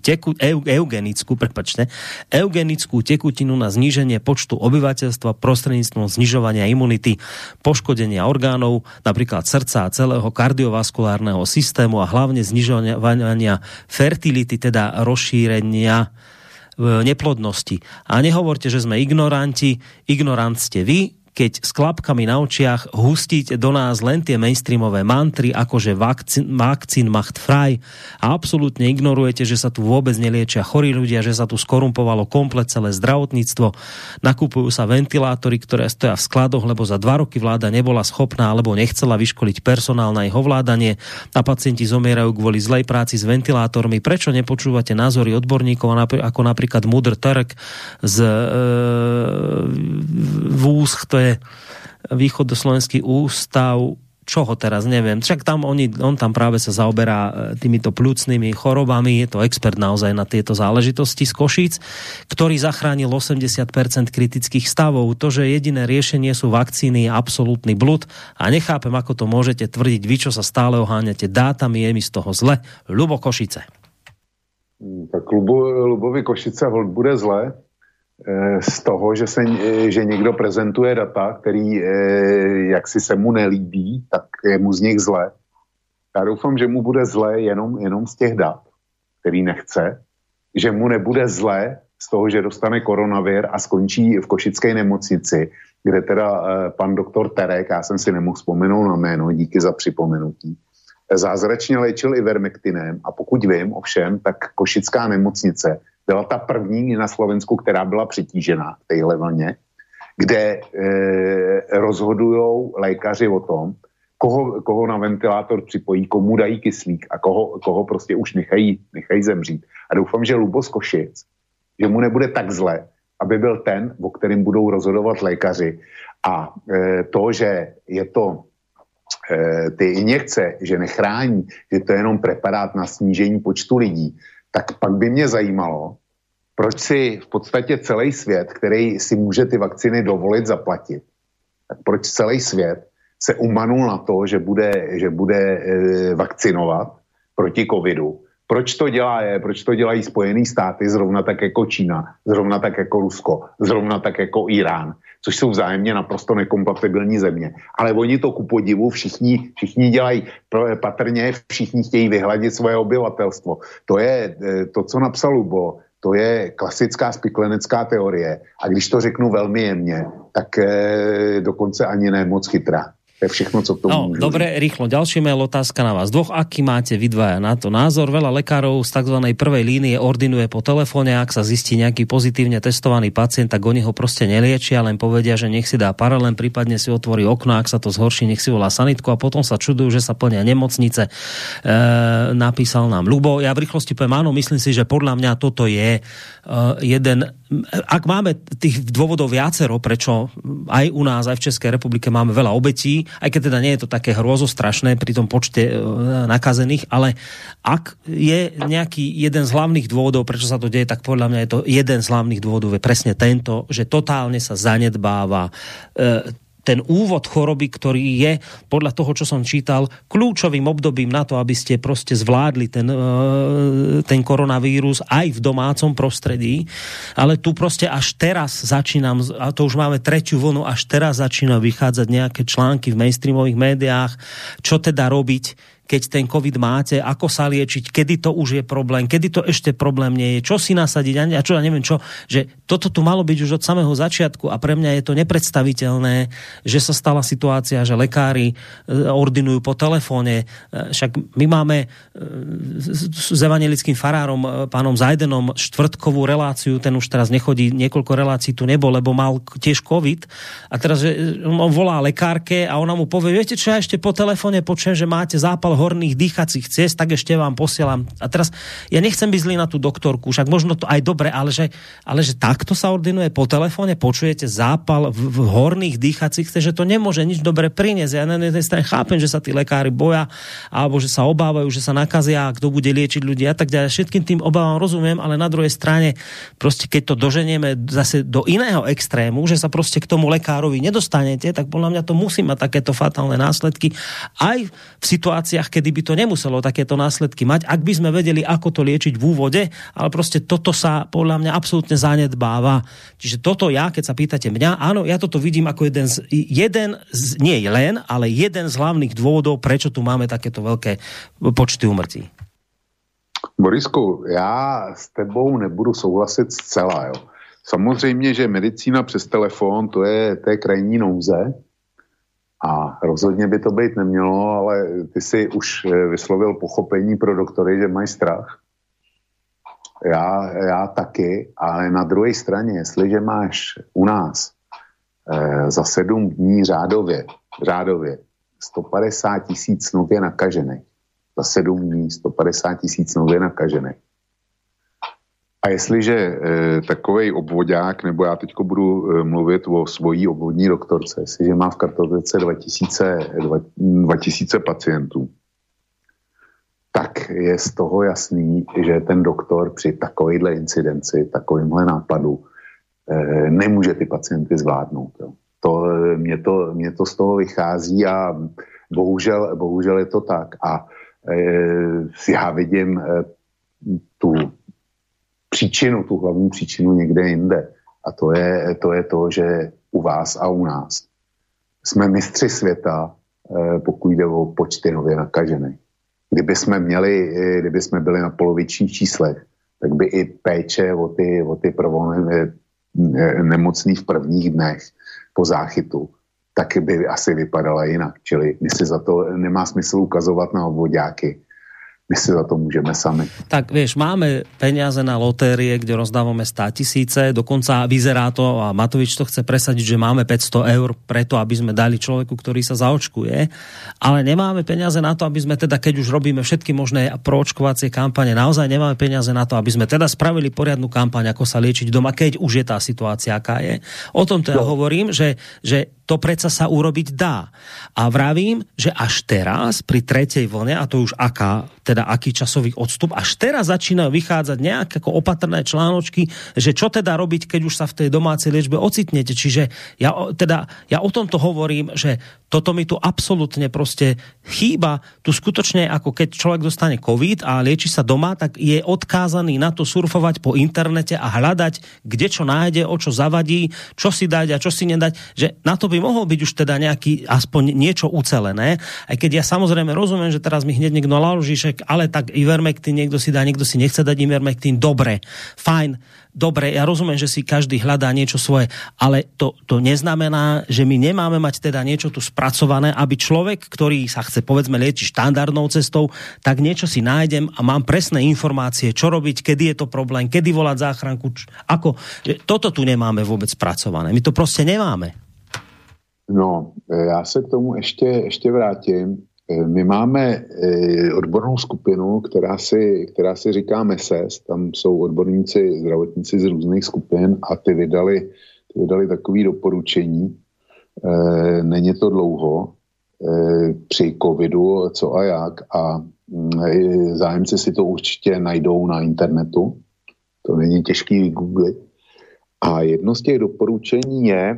eugenickú tekutinu na zníženie počtu obyvateľstva prostredníctvom znižovania imunity, poškodenia orgánov, napríklad srdca a celého kardiovaskulárneho systému a hlavne znižovania fertility, teda rozšírenia neplodnosti. A nehovorte, že sme ignoranti. Ignorant ste vy, keď s klapkami na očiach hustíte do nás len tie mainstreamové mantry, akože vakcín macht frei a absolútne ignorujete, že sa tu vôbec neliečia chorí ľudia, že sa tu skorumpovalo komplet celé zdravotníctvo. Nakupujú sa ventilátory, ktoré stoja v skladoch, lebo za 2 roky vláda nebola schopná alebo nechcela vyškoliť personál na ich ovládanie a pacienti zomierajú kvôli zlej práci s ventilátormi. Prečo nepočúvate názory odborníkov, ako napríklad Mudr Turk z VÚS, to je Východoslovenský ústav, čoho teraz neviem. Však tam on tam práve sa zaoberá týmito pľúcnymi chorobami, je to expert naozaj na tieto záležitosti z Košíc, ktorý zachránil 80% kritických stavov. To, že jediné riešenie sú vakcíny, je absolútny blud a nechápem, ako to môžete tvrdiť vy, čo sa stále oháňate dátami, je mi z toho zle. Ľubo Košice. Tak Ľubovi Košice bude zle z toho, že někdo prezentuje data, který jaksi se mu nelíbí, tak je mu z nich zle. Já doufám, že mu bude zle jenom z těch dat, který nechce, že mu nebude zle z toho, že dostane koronavir a skončí v košické nemocnici, kde teda pan doktor Terek, já jsem si nemohl vzpomenout na jméno, díky za připomenutí, zázračně léčil ivermektinem a pokud vím ovšem, tak košická nemocnice byla ta první na Slovensku, která byla přetížená v téhle vlně, kde rozhodujou lékaři o tom, koho na ventilátor připojí, komu dají kyslík a koho prostě už nechají zemřít. A doufám, že Lubo z Košic, že mu nebude tak zle, aby byl ten, o kterým budou rozhodovat lékaři. A to, že je to ty injekce, že nechrání, že to je jenom preparát na snížení počtu lidí, tak pak by mě zajímalo, proč si v podstatě celý svět, který si může ty vakcíny dovolit zaplatit, tak proč celý svět se umanul na to, že bude vakcinovat proti covidu. Proč to dělají Spojené státy, zrovna tak jako Čína, zrovna tak jako Rusko, zrovna tak jako Irán, což jsou vzájemně naprosto nekompatibilní země. Ale oni to ku podivu všichni dělají, patrně všichni chtějí vyhladit svoje obyvatelstvo. To je to, co napsal Lubo, to je klasická spiklenecká teorie. A když to řeknu velmi jemně, tak dokonce ani ne moc chytrá. To je všechno, co k tomu môžu. Dobre, rýchlo. Ďalší mail, otázka na vás. Aký máte vy dvaja na to názor? Veľa lekárov z tzv. Prvej línie ordinuje po telefóne, ak sa zistí nejaký pozitívne testovaný pacient, tak oni ho proste neliečia, len povedia, že nech si dá paralén, prípadne si otvorí okno, ak sa to zhorší, nech si volá sanitku a potom sa čudujú, že sa plnia nemocnice. Napísal nám Ľubo. Ja v rýchlosti poviem, áno, myslím si, že podľa mňa toto je jeden... Ak máme tých dôvodov viacero, prečo aj u nás, aj v Českej republike máme veľa obetí, aj keď teda nie je to také hrôzostrašné pri tom počte nakazených, ale ak je nejaký jeden z hlavných dôvodov, prečo sa to deje, tak podľa mňa je to jeden z hlavných dôvodov je presne tento, že totálne sa zanedbáva ten úvod choroby, ktorý je podľa toho, čo som čítal, kľúčovým obdobím na to, aby ste proste zvládli ten koronavírus aj v domácom prostredí. Ale tu proste až teraz začínam, a to už máme 3. vlnu, až teraz začína vychádzať nejaké články v mainstreamových médiách, čo teda robiť, keď ten COVID máte, ako sa liečiť, kedy to už je problém, kedy to ešte problém nie je, čo si nasadiť a čo, ja neviem čo, že toto tu malo byť už od samého začiatku a pre mňa je to nepredstaviteľné, že sa stala situácia, že lekári ordinujú po telefóne. Však my máme s evanjelickým farárom, pánom Zajdenom, štvrtkovú reláciu, ten už teraz nechodí, niekoľko relácií tu nebol, lebo mal tiež COVID a teraz že on volá lekárke a ona mu povie, viete čo, ja ešte po telefóne počujem, že máte zápal horných dýchacích ciest, tak ešte vám posielam. A teraz ja nechcem byť zlý na tú doktorku, však možno to aj dobre, ale že takto sa ordinuje po telefóne, počujete zápal v horných dýchacích ciest, že to nemôže nič dobre priniesť. Ja na jednej strane chápem, že sa tí lekári boja, alebo že sa obávajú, že sa nakazia, kto bude liečiť ľudí a tak ďalej. Všetkým tým obávam rozumiem, ale na druhej strane proste keď to doženieme zase do iného extrému, že sa proste k tomu lekárovi nedostanete, tak podľa mňa to musí mať takéto fatálne následky aj v situáciách, kedy by to nemuselo takéto následky mať, ak by sme vedeli, ako to liečiť v úvode, ale proste toto sa podľa mňa absolútne zanedbáva. Čiže toto keď sa pýtate mňa, áno, ja toto vidím ako jeden z hlavných dôvodov, prečo tu máme takéto veľké počty úmrtí. Borisku, já s tebou nebudu souhlasit zcela, jo. Samozřejmě, že medicína přes telefon, to je krajní nouze a rozhodně by to být nemělo, ale ty si už vyslovil pochopení pro doktory, že mají strach. Já taky, ale na druhé straně, jestliže máš u nás za 7 dní řádově 150 000 nově nakažených, za 7 dní 150 000 nově nakažených. A jestliže takovej obvodák, nebo já teďko budu mluvit o svojí obvodní doktorce, jestliže má v kartotéce 2000 pacientů, tak je z toho jasný, že ten doktor při takovejhle incidenci, takovýmhle nápadu nemůže ty pacienty zvládnout. Jo. Mě to z toho vychází a bohužel je to tak. A já vidím tu hlavní příčinu někde jinde. A to je to, že u vás a u nás jsme mistři světa, pokud jde o počty nově nakažených. Kdyby jsme byli na polovičních číslech, tak by i péče o ty nemocný v prvních dnech po záchytu, tak by asi vypadala jinak. Čili my si za to nemá smysl ukazovat na obvoďáky. My si za to môžeme sami. Tak vieš, máme peniaze na lotérie, kde rozdávame 100 000, dokonca vyzerá to, a Matovič to chce presadiť, že máme 500 eur preto, aby sme dali človeku, ktorý sa zaočkuje, ale nemáme peniaze na to, aby sme teda, keď už robíme všetky možné proočkovacie kampane, naozaj nemáme peniaze na to, aby sme teda spravili poriadnu kampaň, ako sa liečiť doma, keď už je tá situácia, aká je. O tom teda hovorím, že to predsa sa urobiť dá. A vravím, že až teraz, pri tretej vlne, a to už aký časový odstup, až teraz začínajú vychádzať nejaké ako opatrné článočky, že čo teda robiť, keď už sa v tej domácej liečbe ocitnete. Čiže ja o tomto hovorím, že toto mi tu absolútne proste chýba. Tu skutočne, ako keď človek dostane COVID a lieči sa doma, tak je odkázaný na to surfovať po internete a hľadať, kde čo nájde, o čo zavadí, čo si dať a čo si nedať, že na to by mohol byť už teda nejaký, aspoň niečo ucelené. Aj keď ja samozrejme rozumiem, že teraz mi hneď niekto naloží, ale tak Ivermectin niekto si dá, niekto si nechce dať Ivermectin, dobre, fajn, dobre, ja rozumiem, že si každý hľadá niečo svoje, ale to neznamená, že my nemáme mať teda niečo tu spracované, aby človek, ktorý sa chce povedzme liečiť štandardnou cestou, tak niečo si nájdem a mám presné informácie, čo robiť, kedy je to problém, kedy volať záchranku, toto tu nemáme vôbec spracované. My to proste nemáme. No, já se k tomu ještě vrátím. My máme odbornou skupinu, která si říká MESES, tam jsou odborníci, zdravotníci z různých skupin a ty vydali takové doporučení. Není to dlouho při covidu, co a jak, a zájemci si to určitě najdou na internetu. To není těžký vygooglit. A jedno z těch doporučení je,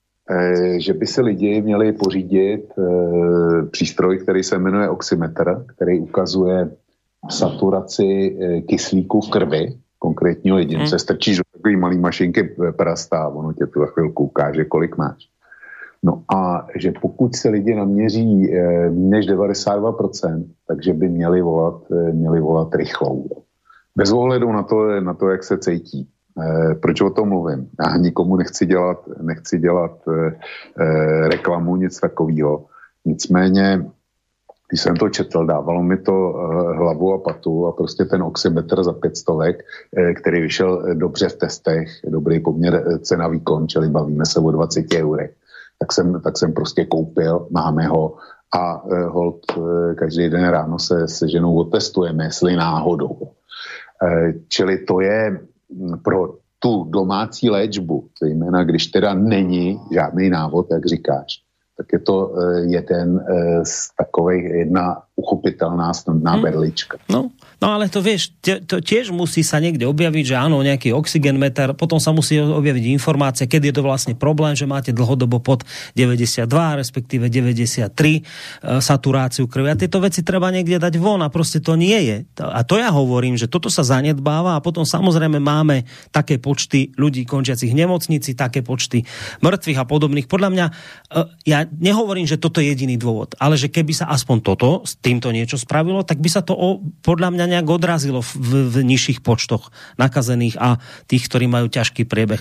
že by si lidi měli pořídit přístroj, který se jmenuje oximetr, který ukazuje saturaci kyslíku v krvi konkrétního jedince. Strčíš do takový malý mašinky prsta a ono tě tu za chvilku ukáže, kolik máš. No a že pokud se lidi naměří než 92%, takže by měli volat rychlou. Bez ohledu na to, jak se cítí. Proč o tom mluvím? Já nikomu nechci dělat reklamu, nic takového. Nicméně, když jsem to četl, dávalo mi to hlavu a patu a prostě ten oximetr za 500, který vyšel dobře v testech, dobrý poměr cena výkon, čili bavíme se o 20 eurech, tak jsem prostě koupil, máme ho a holt každý den ráno se ženou otestujeme, jestli náhodou. Čili to je pro tu domácí léčbu, zejména když teda není žádný návod, jak říkáš, tak je to jedna uchopitelná snadná berlička. No ale to vieš, to tiež musí sa niekde objaviť, že áno, nejaký oxygenmeter, potom sa musí objaviť informácia, kedy je to vlastne problém, že máte dlhodobo pod 92, respektíve 93 saturáciu krvi. A tieto veci treba niekde dať von a proste to nie je. A to ja hovorím, že toto sa zanedbáva a potom samozrejme máme také počty ľudí končiacich v nemocnici, také počty mŕtvych a podobných. Podľa mňa, ja nehovorím, že toto je jediný dôvod, ale že keby sa aspoň toto s týmto niečo spravilo, tak by sa to podľa mňa nejak odrazilo v nižších počtoch nakazených a tých, ktorí majú ťažký priebeh.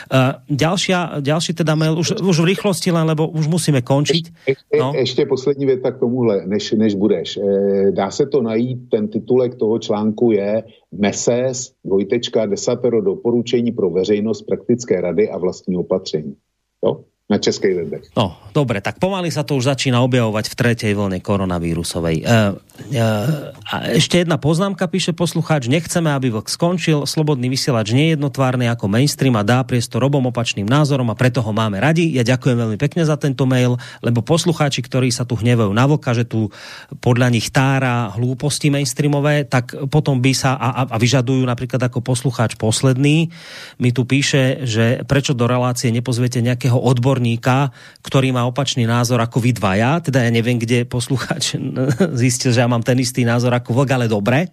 Ďalší teda mail, už v rýchlosti, len lebo už musíme končiť. Ešte poslední věta k tomuhle, než budeš. Dá se to najít, ten titulek toho článku je MESES, desatero doporučení pro veřejnost, praktické rady a vlastní opatření. Jo? Na českej webech. No, dobre, tak pomaly sa to už začína objavovať v tretej vlne koronavírusovej. A ešte jedna poznámka, píše poslucháč, nechceme, aby vlk skončil, slobodný vysielač nie je jednotvárny ako mainstream a dá priestor obom opačným názorom a preto ho máme radi. Ja ďakujem veľmi pekne za tento mail, lebo poslucháči, ktorí sa tu hnevajú na vlka, že tu podľa nich tára hlúposti mainstreamové, tak potom by sa a vyžadujú napríklad ako poslucháč posledný, mi tu píše, že prečo do relácie nepozviete nejakého odborníka, ktorý má opačný názor ako vy dvaja, teda ja neviem, kde poslucháč zistil, že ja mám ten istý názor ako vlk, ale dobre.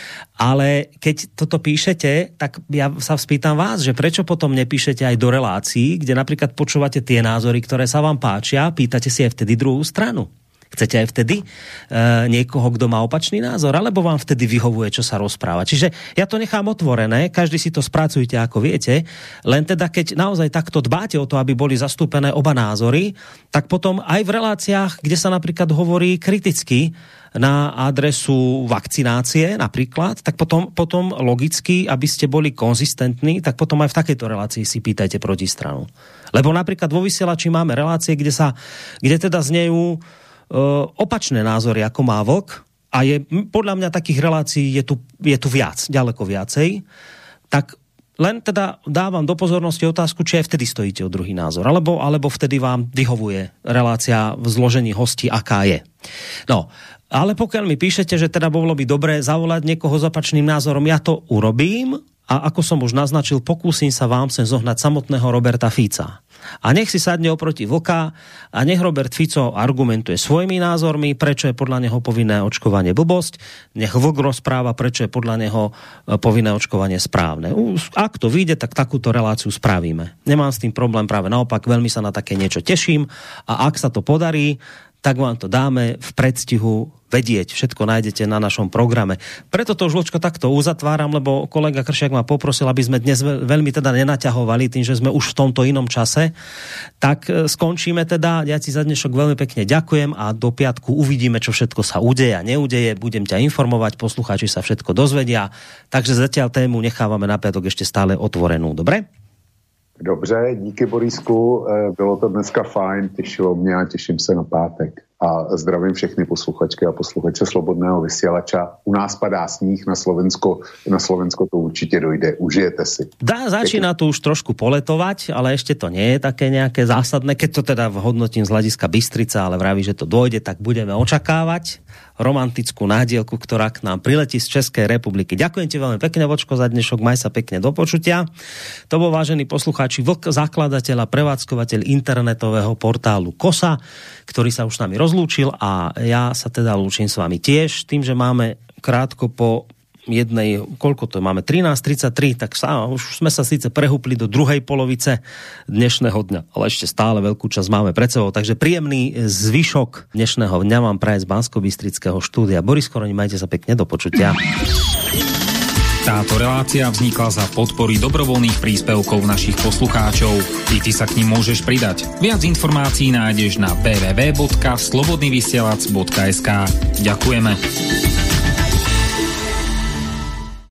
Ale keď toto píšete, tak ja sa spýtam vás, že prečo potom nepíšete aj do relácií, kde napríklad počúvate tie názory, ktoré sa vám páčia, pýtate si aj vtedy druhú stranu. Chcete aj vtedy niekoho, kto má opačný názor, alebo vám vtedy vyhovuje, čo sa rozpráva. Čiže ja to nechám otvorené, každý si to spracujte, ako viete, len teda keď naozaj takto dbáte o to, aby boli zastúpené oba názory, tak potom aj v reláciách, kde sa napríklad hovorí kriticky na adresu vakcinácie napríklad, tak potom logicky, aby ste boli konzistentní, tak potom aj v takejto relácii si pýtajte protistranu. Lebo napríklad vo vysielači máme relácie, kde teda znejú opačné názory, ako má vlk, a je podľa mňa takých relácií je tu viac, ďaleko viacej, tak len teda dávam do pozornosti otázku, či aj vtedy stojíte o druhý názor, alebo vtedy vám vyhovuje relácia v zložení hostí, aká je. No, ale pokiaľ mi píšete, že teda bolo by dobré zavolať niekoho s opačným názorom, ja to urobím a ako som už naznačil, pokúsim sa vám sem zohnať samotného Roberta Fica. A nech si sadne oproti vlka a nech Robert Fico argumentuje svojimi názormi, prečo je podľa neho povinné očkovanie blbosť, nech vlk rozpráva, prečo je podľa neho povinné očkovanie správne. Ak to vyjde, tak takúto reláciu spravíme. Nemám s tým problém, práve naopak, veľmi sa na také niečo teším a ak sa to podarí, tak vám to dáme v predstihu vedieť. Všetko nájdete na našom programe. Preto to už, Vlčko, takto uzatváram, lebo kolega Kršiak ma poprosil, aby sme dnes veľmi teda nenaťahovali tým, že sme už v tomto inom čase. Tak skončíme teda. Ja ti za dnešok veľmi pekne ďakujem a do piatku uvidíme, čo všetko sa udeje a neudeje. Budem ťa informovať, poslucháči sa všetko dozvedia. Takže zatiaľ tému nechávame na piatok ešte stále otvorenú. Dobre? Dobře, díky Borisku, bylo to dneska fajn, těšilo mě a těším se na pátek. A zdravím všechny posluchačky a posluchače Slobodného vysielača. U nás padá sníh, na Slovensko to určitě dojde. Užijete si. Začína to už trošku poletovať, ale ešte to nie je také nejaké zásadné. Keď to teda hodnotím z hľadiska Bystrica, ale vraví, že to dojde, tak budeme očakávať romantickú nádielku, ktorá k nám priletí z Českej republiky. Ďakujem ti veľmi pekne, Vočko, za dnešok. Maj sa pekne, do počutia. To bol, vážený poslucháči, Vlk, zakladateľ a prevádzkovateľ internetového portálu KOSA, ktorý sa už s nami rozlúčil a ja sa teda lúčim s vami tiež, tým, že máme krátko po jednej, koľko to máme, 13:33, tak už sme sa síce prehúpli do druhej polovice dnešného dňa, ale ešte stále veľkú časť máme pred sebou, takže príjemný zvyšok dnešného dňa vám praje z Banskobystrického štúdia. Boris Koroni, majte sa pekne, do počutia. Táto relácia vznikla za podpory dobrovoľných príspevkov našich poslucháčov. I ty sa k nim môžeš pridať. Viac informácií nájdeš na www.slobodnyvysielac.sk. Ďakujeme.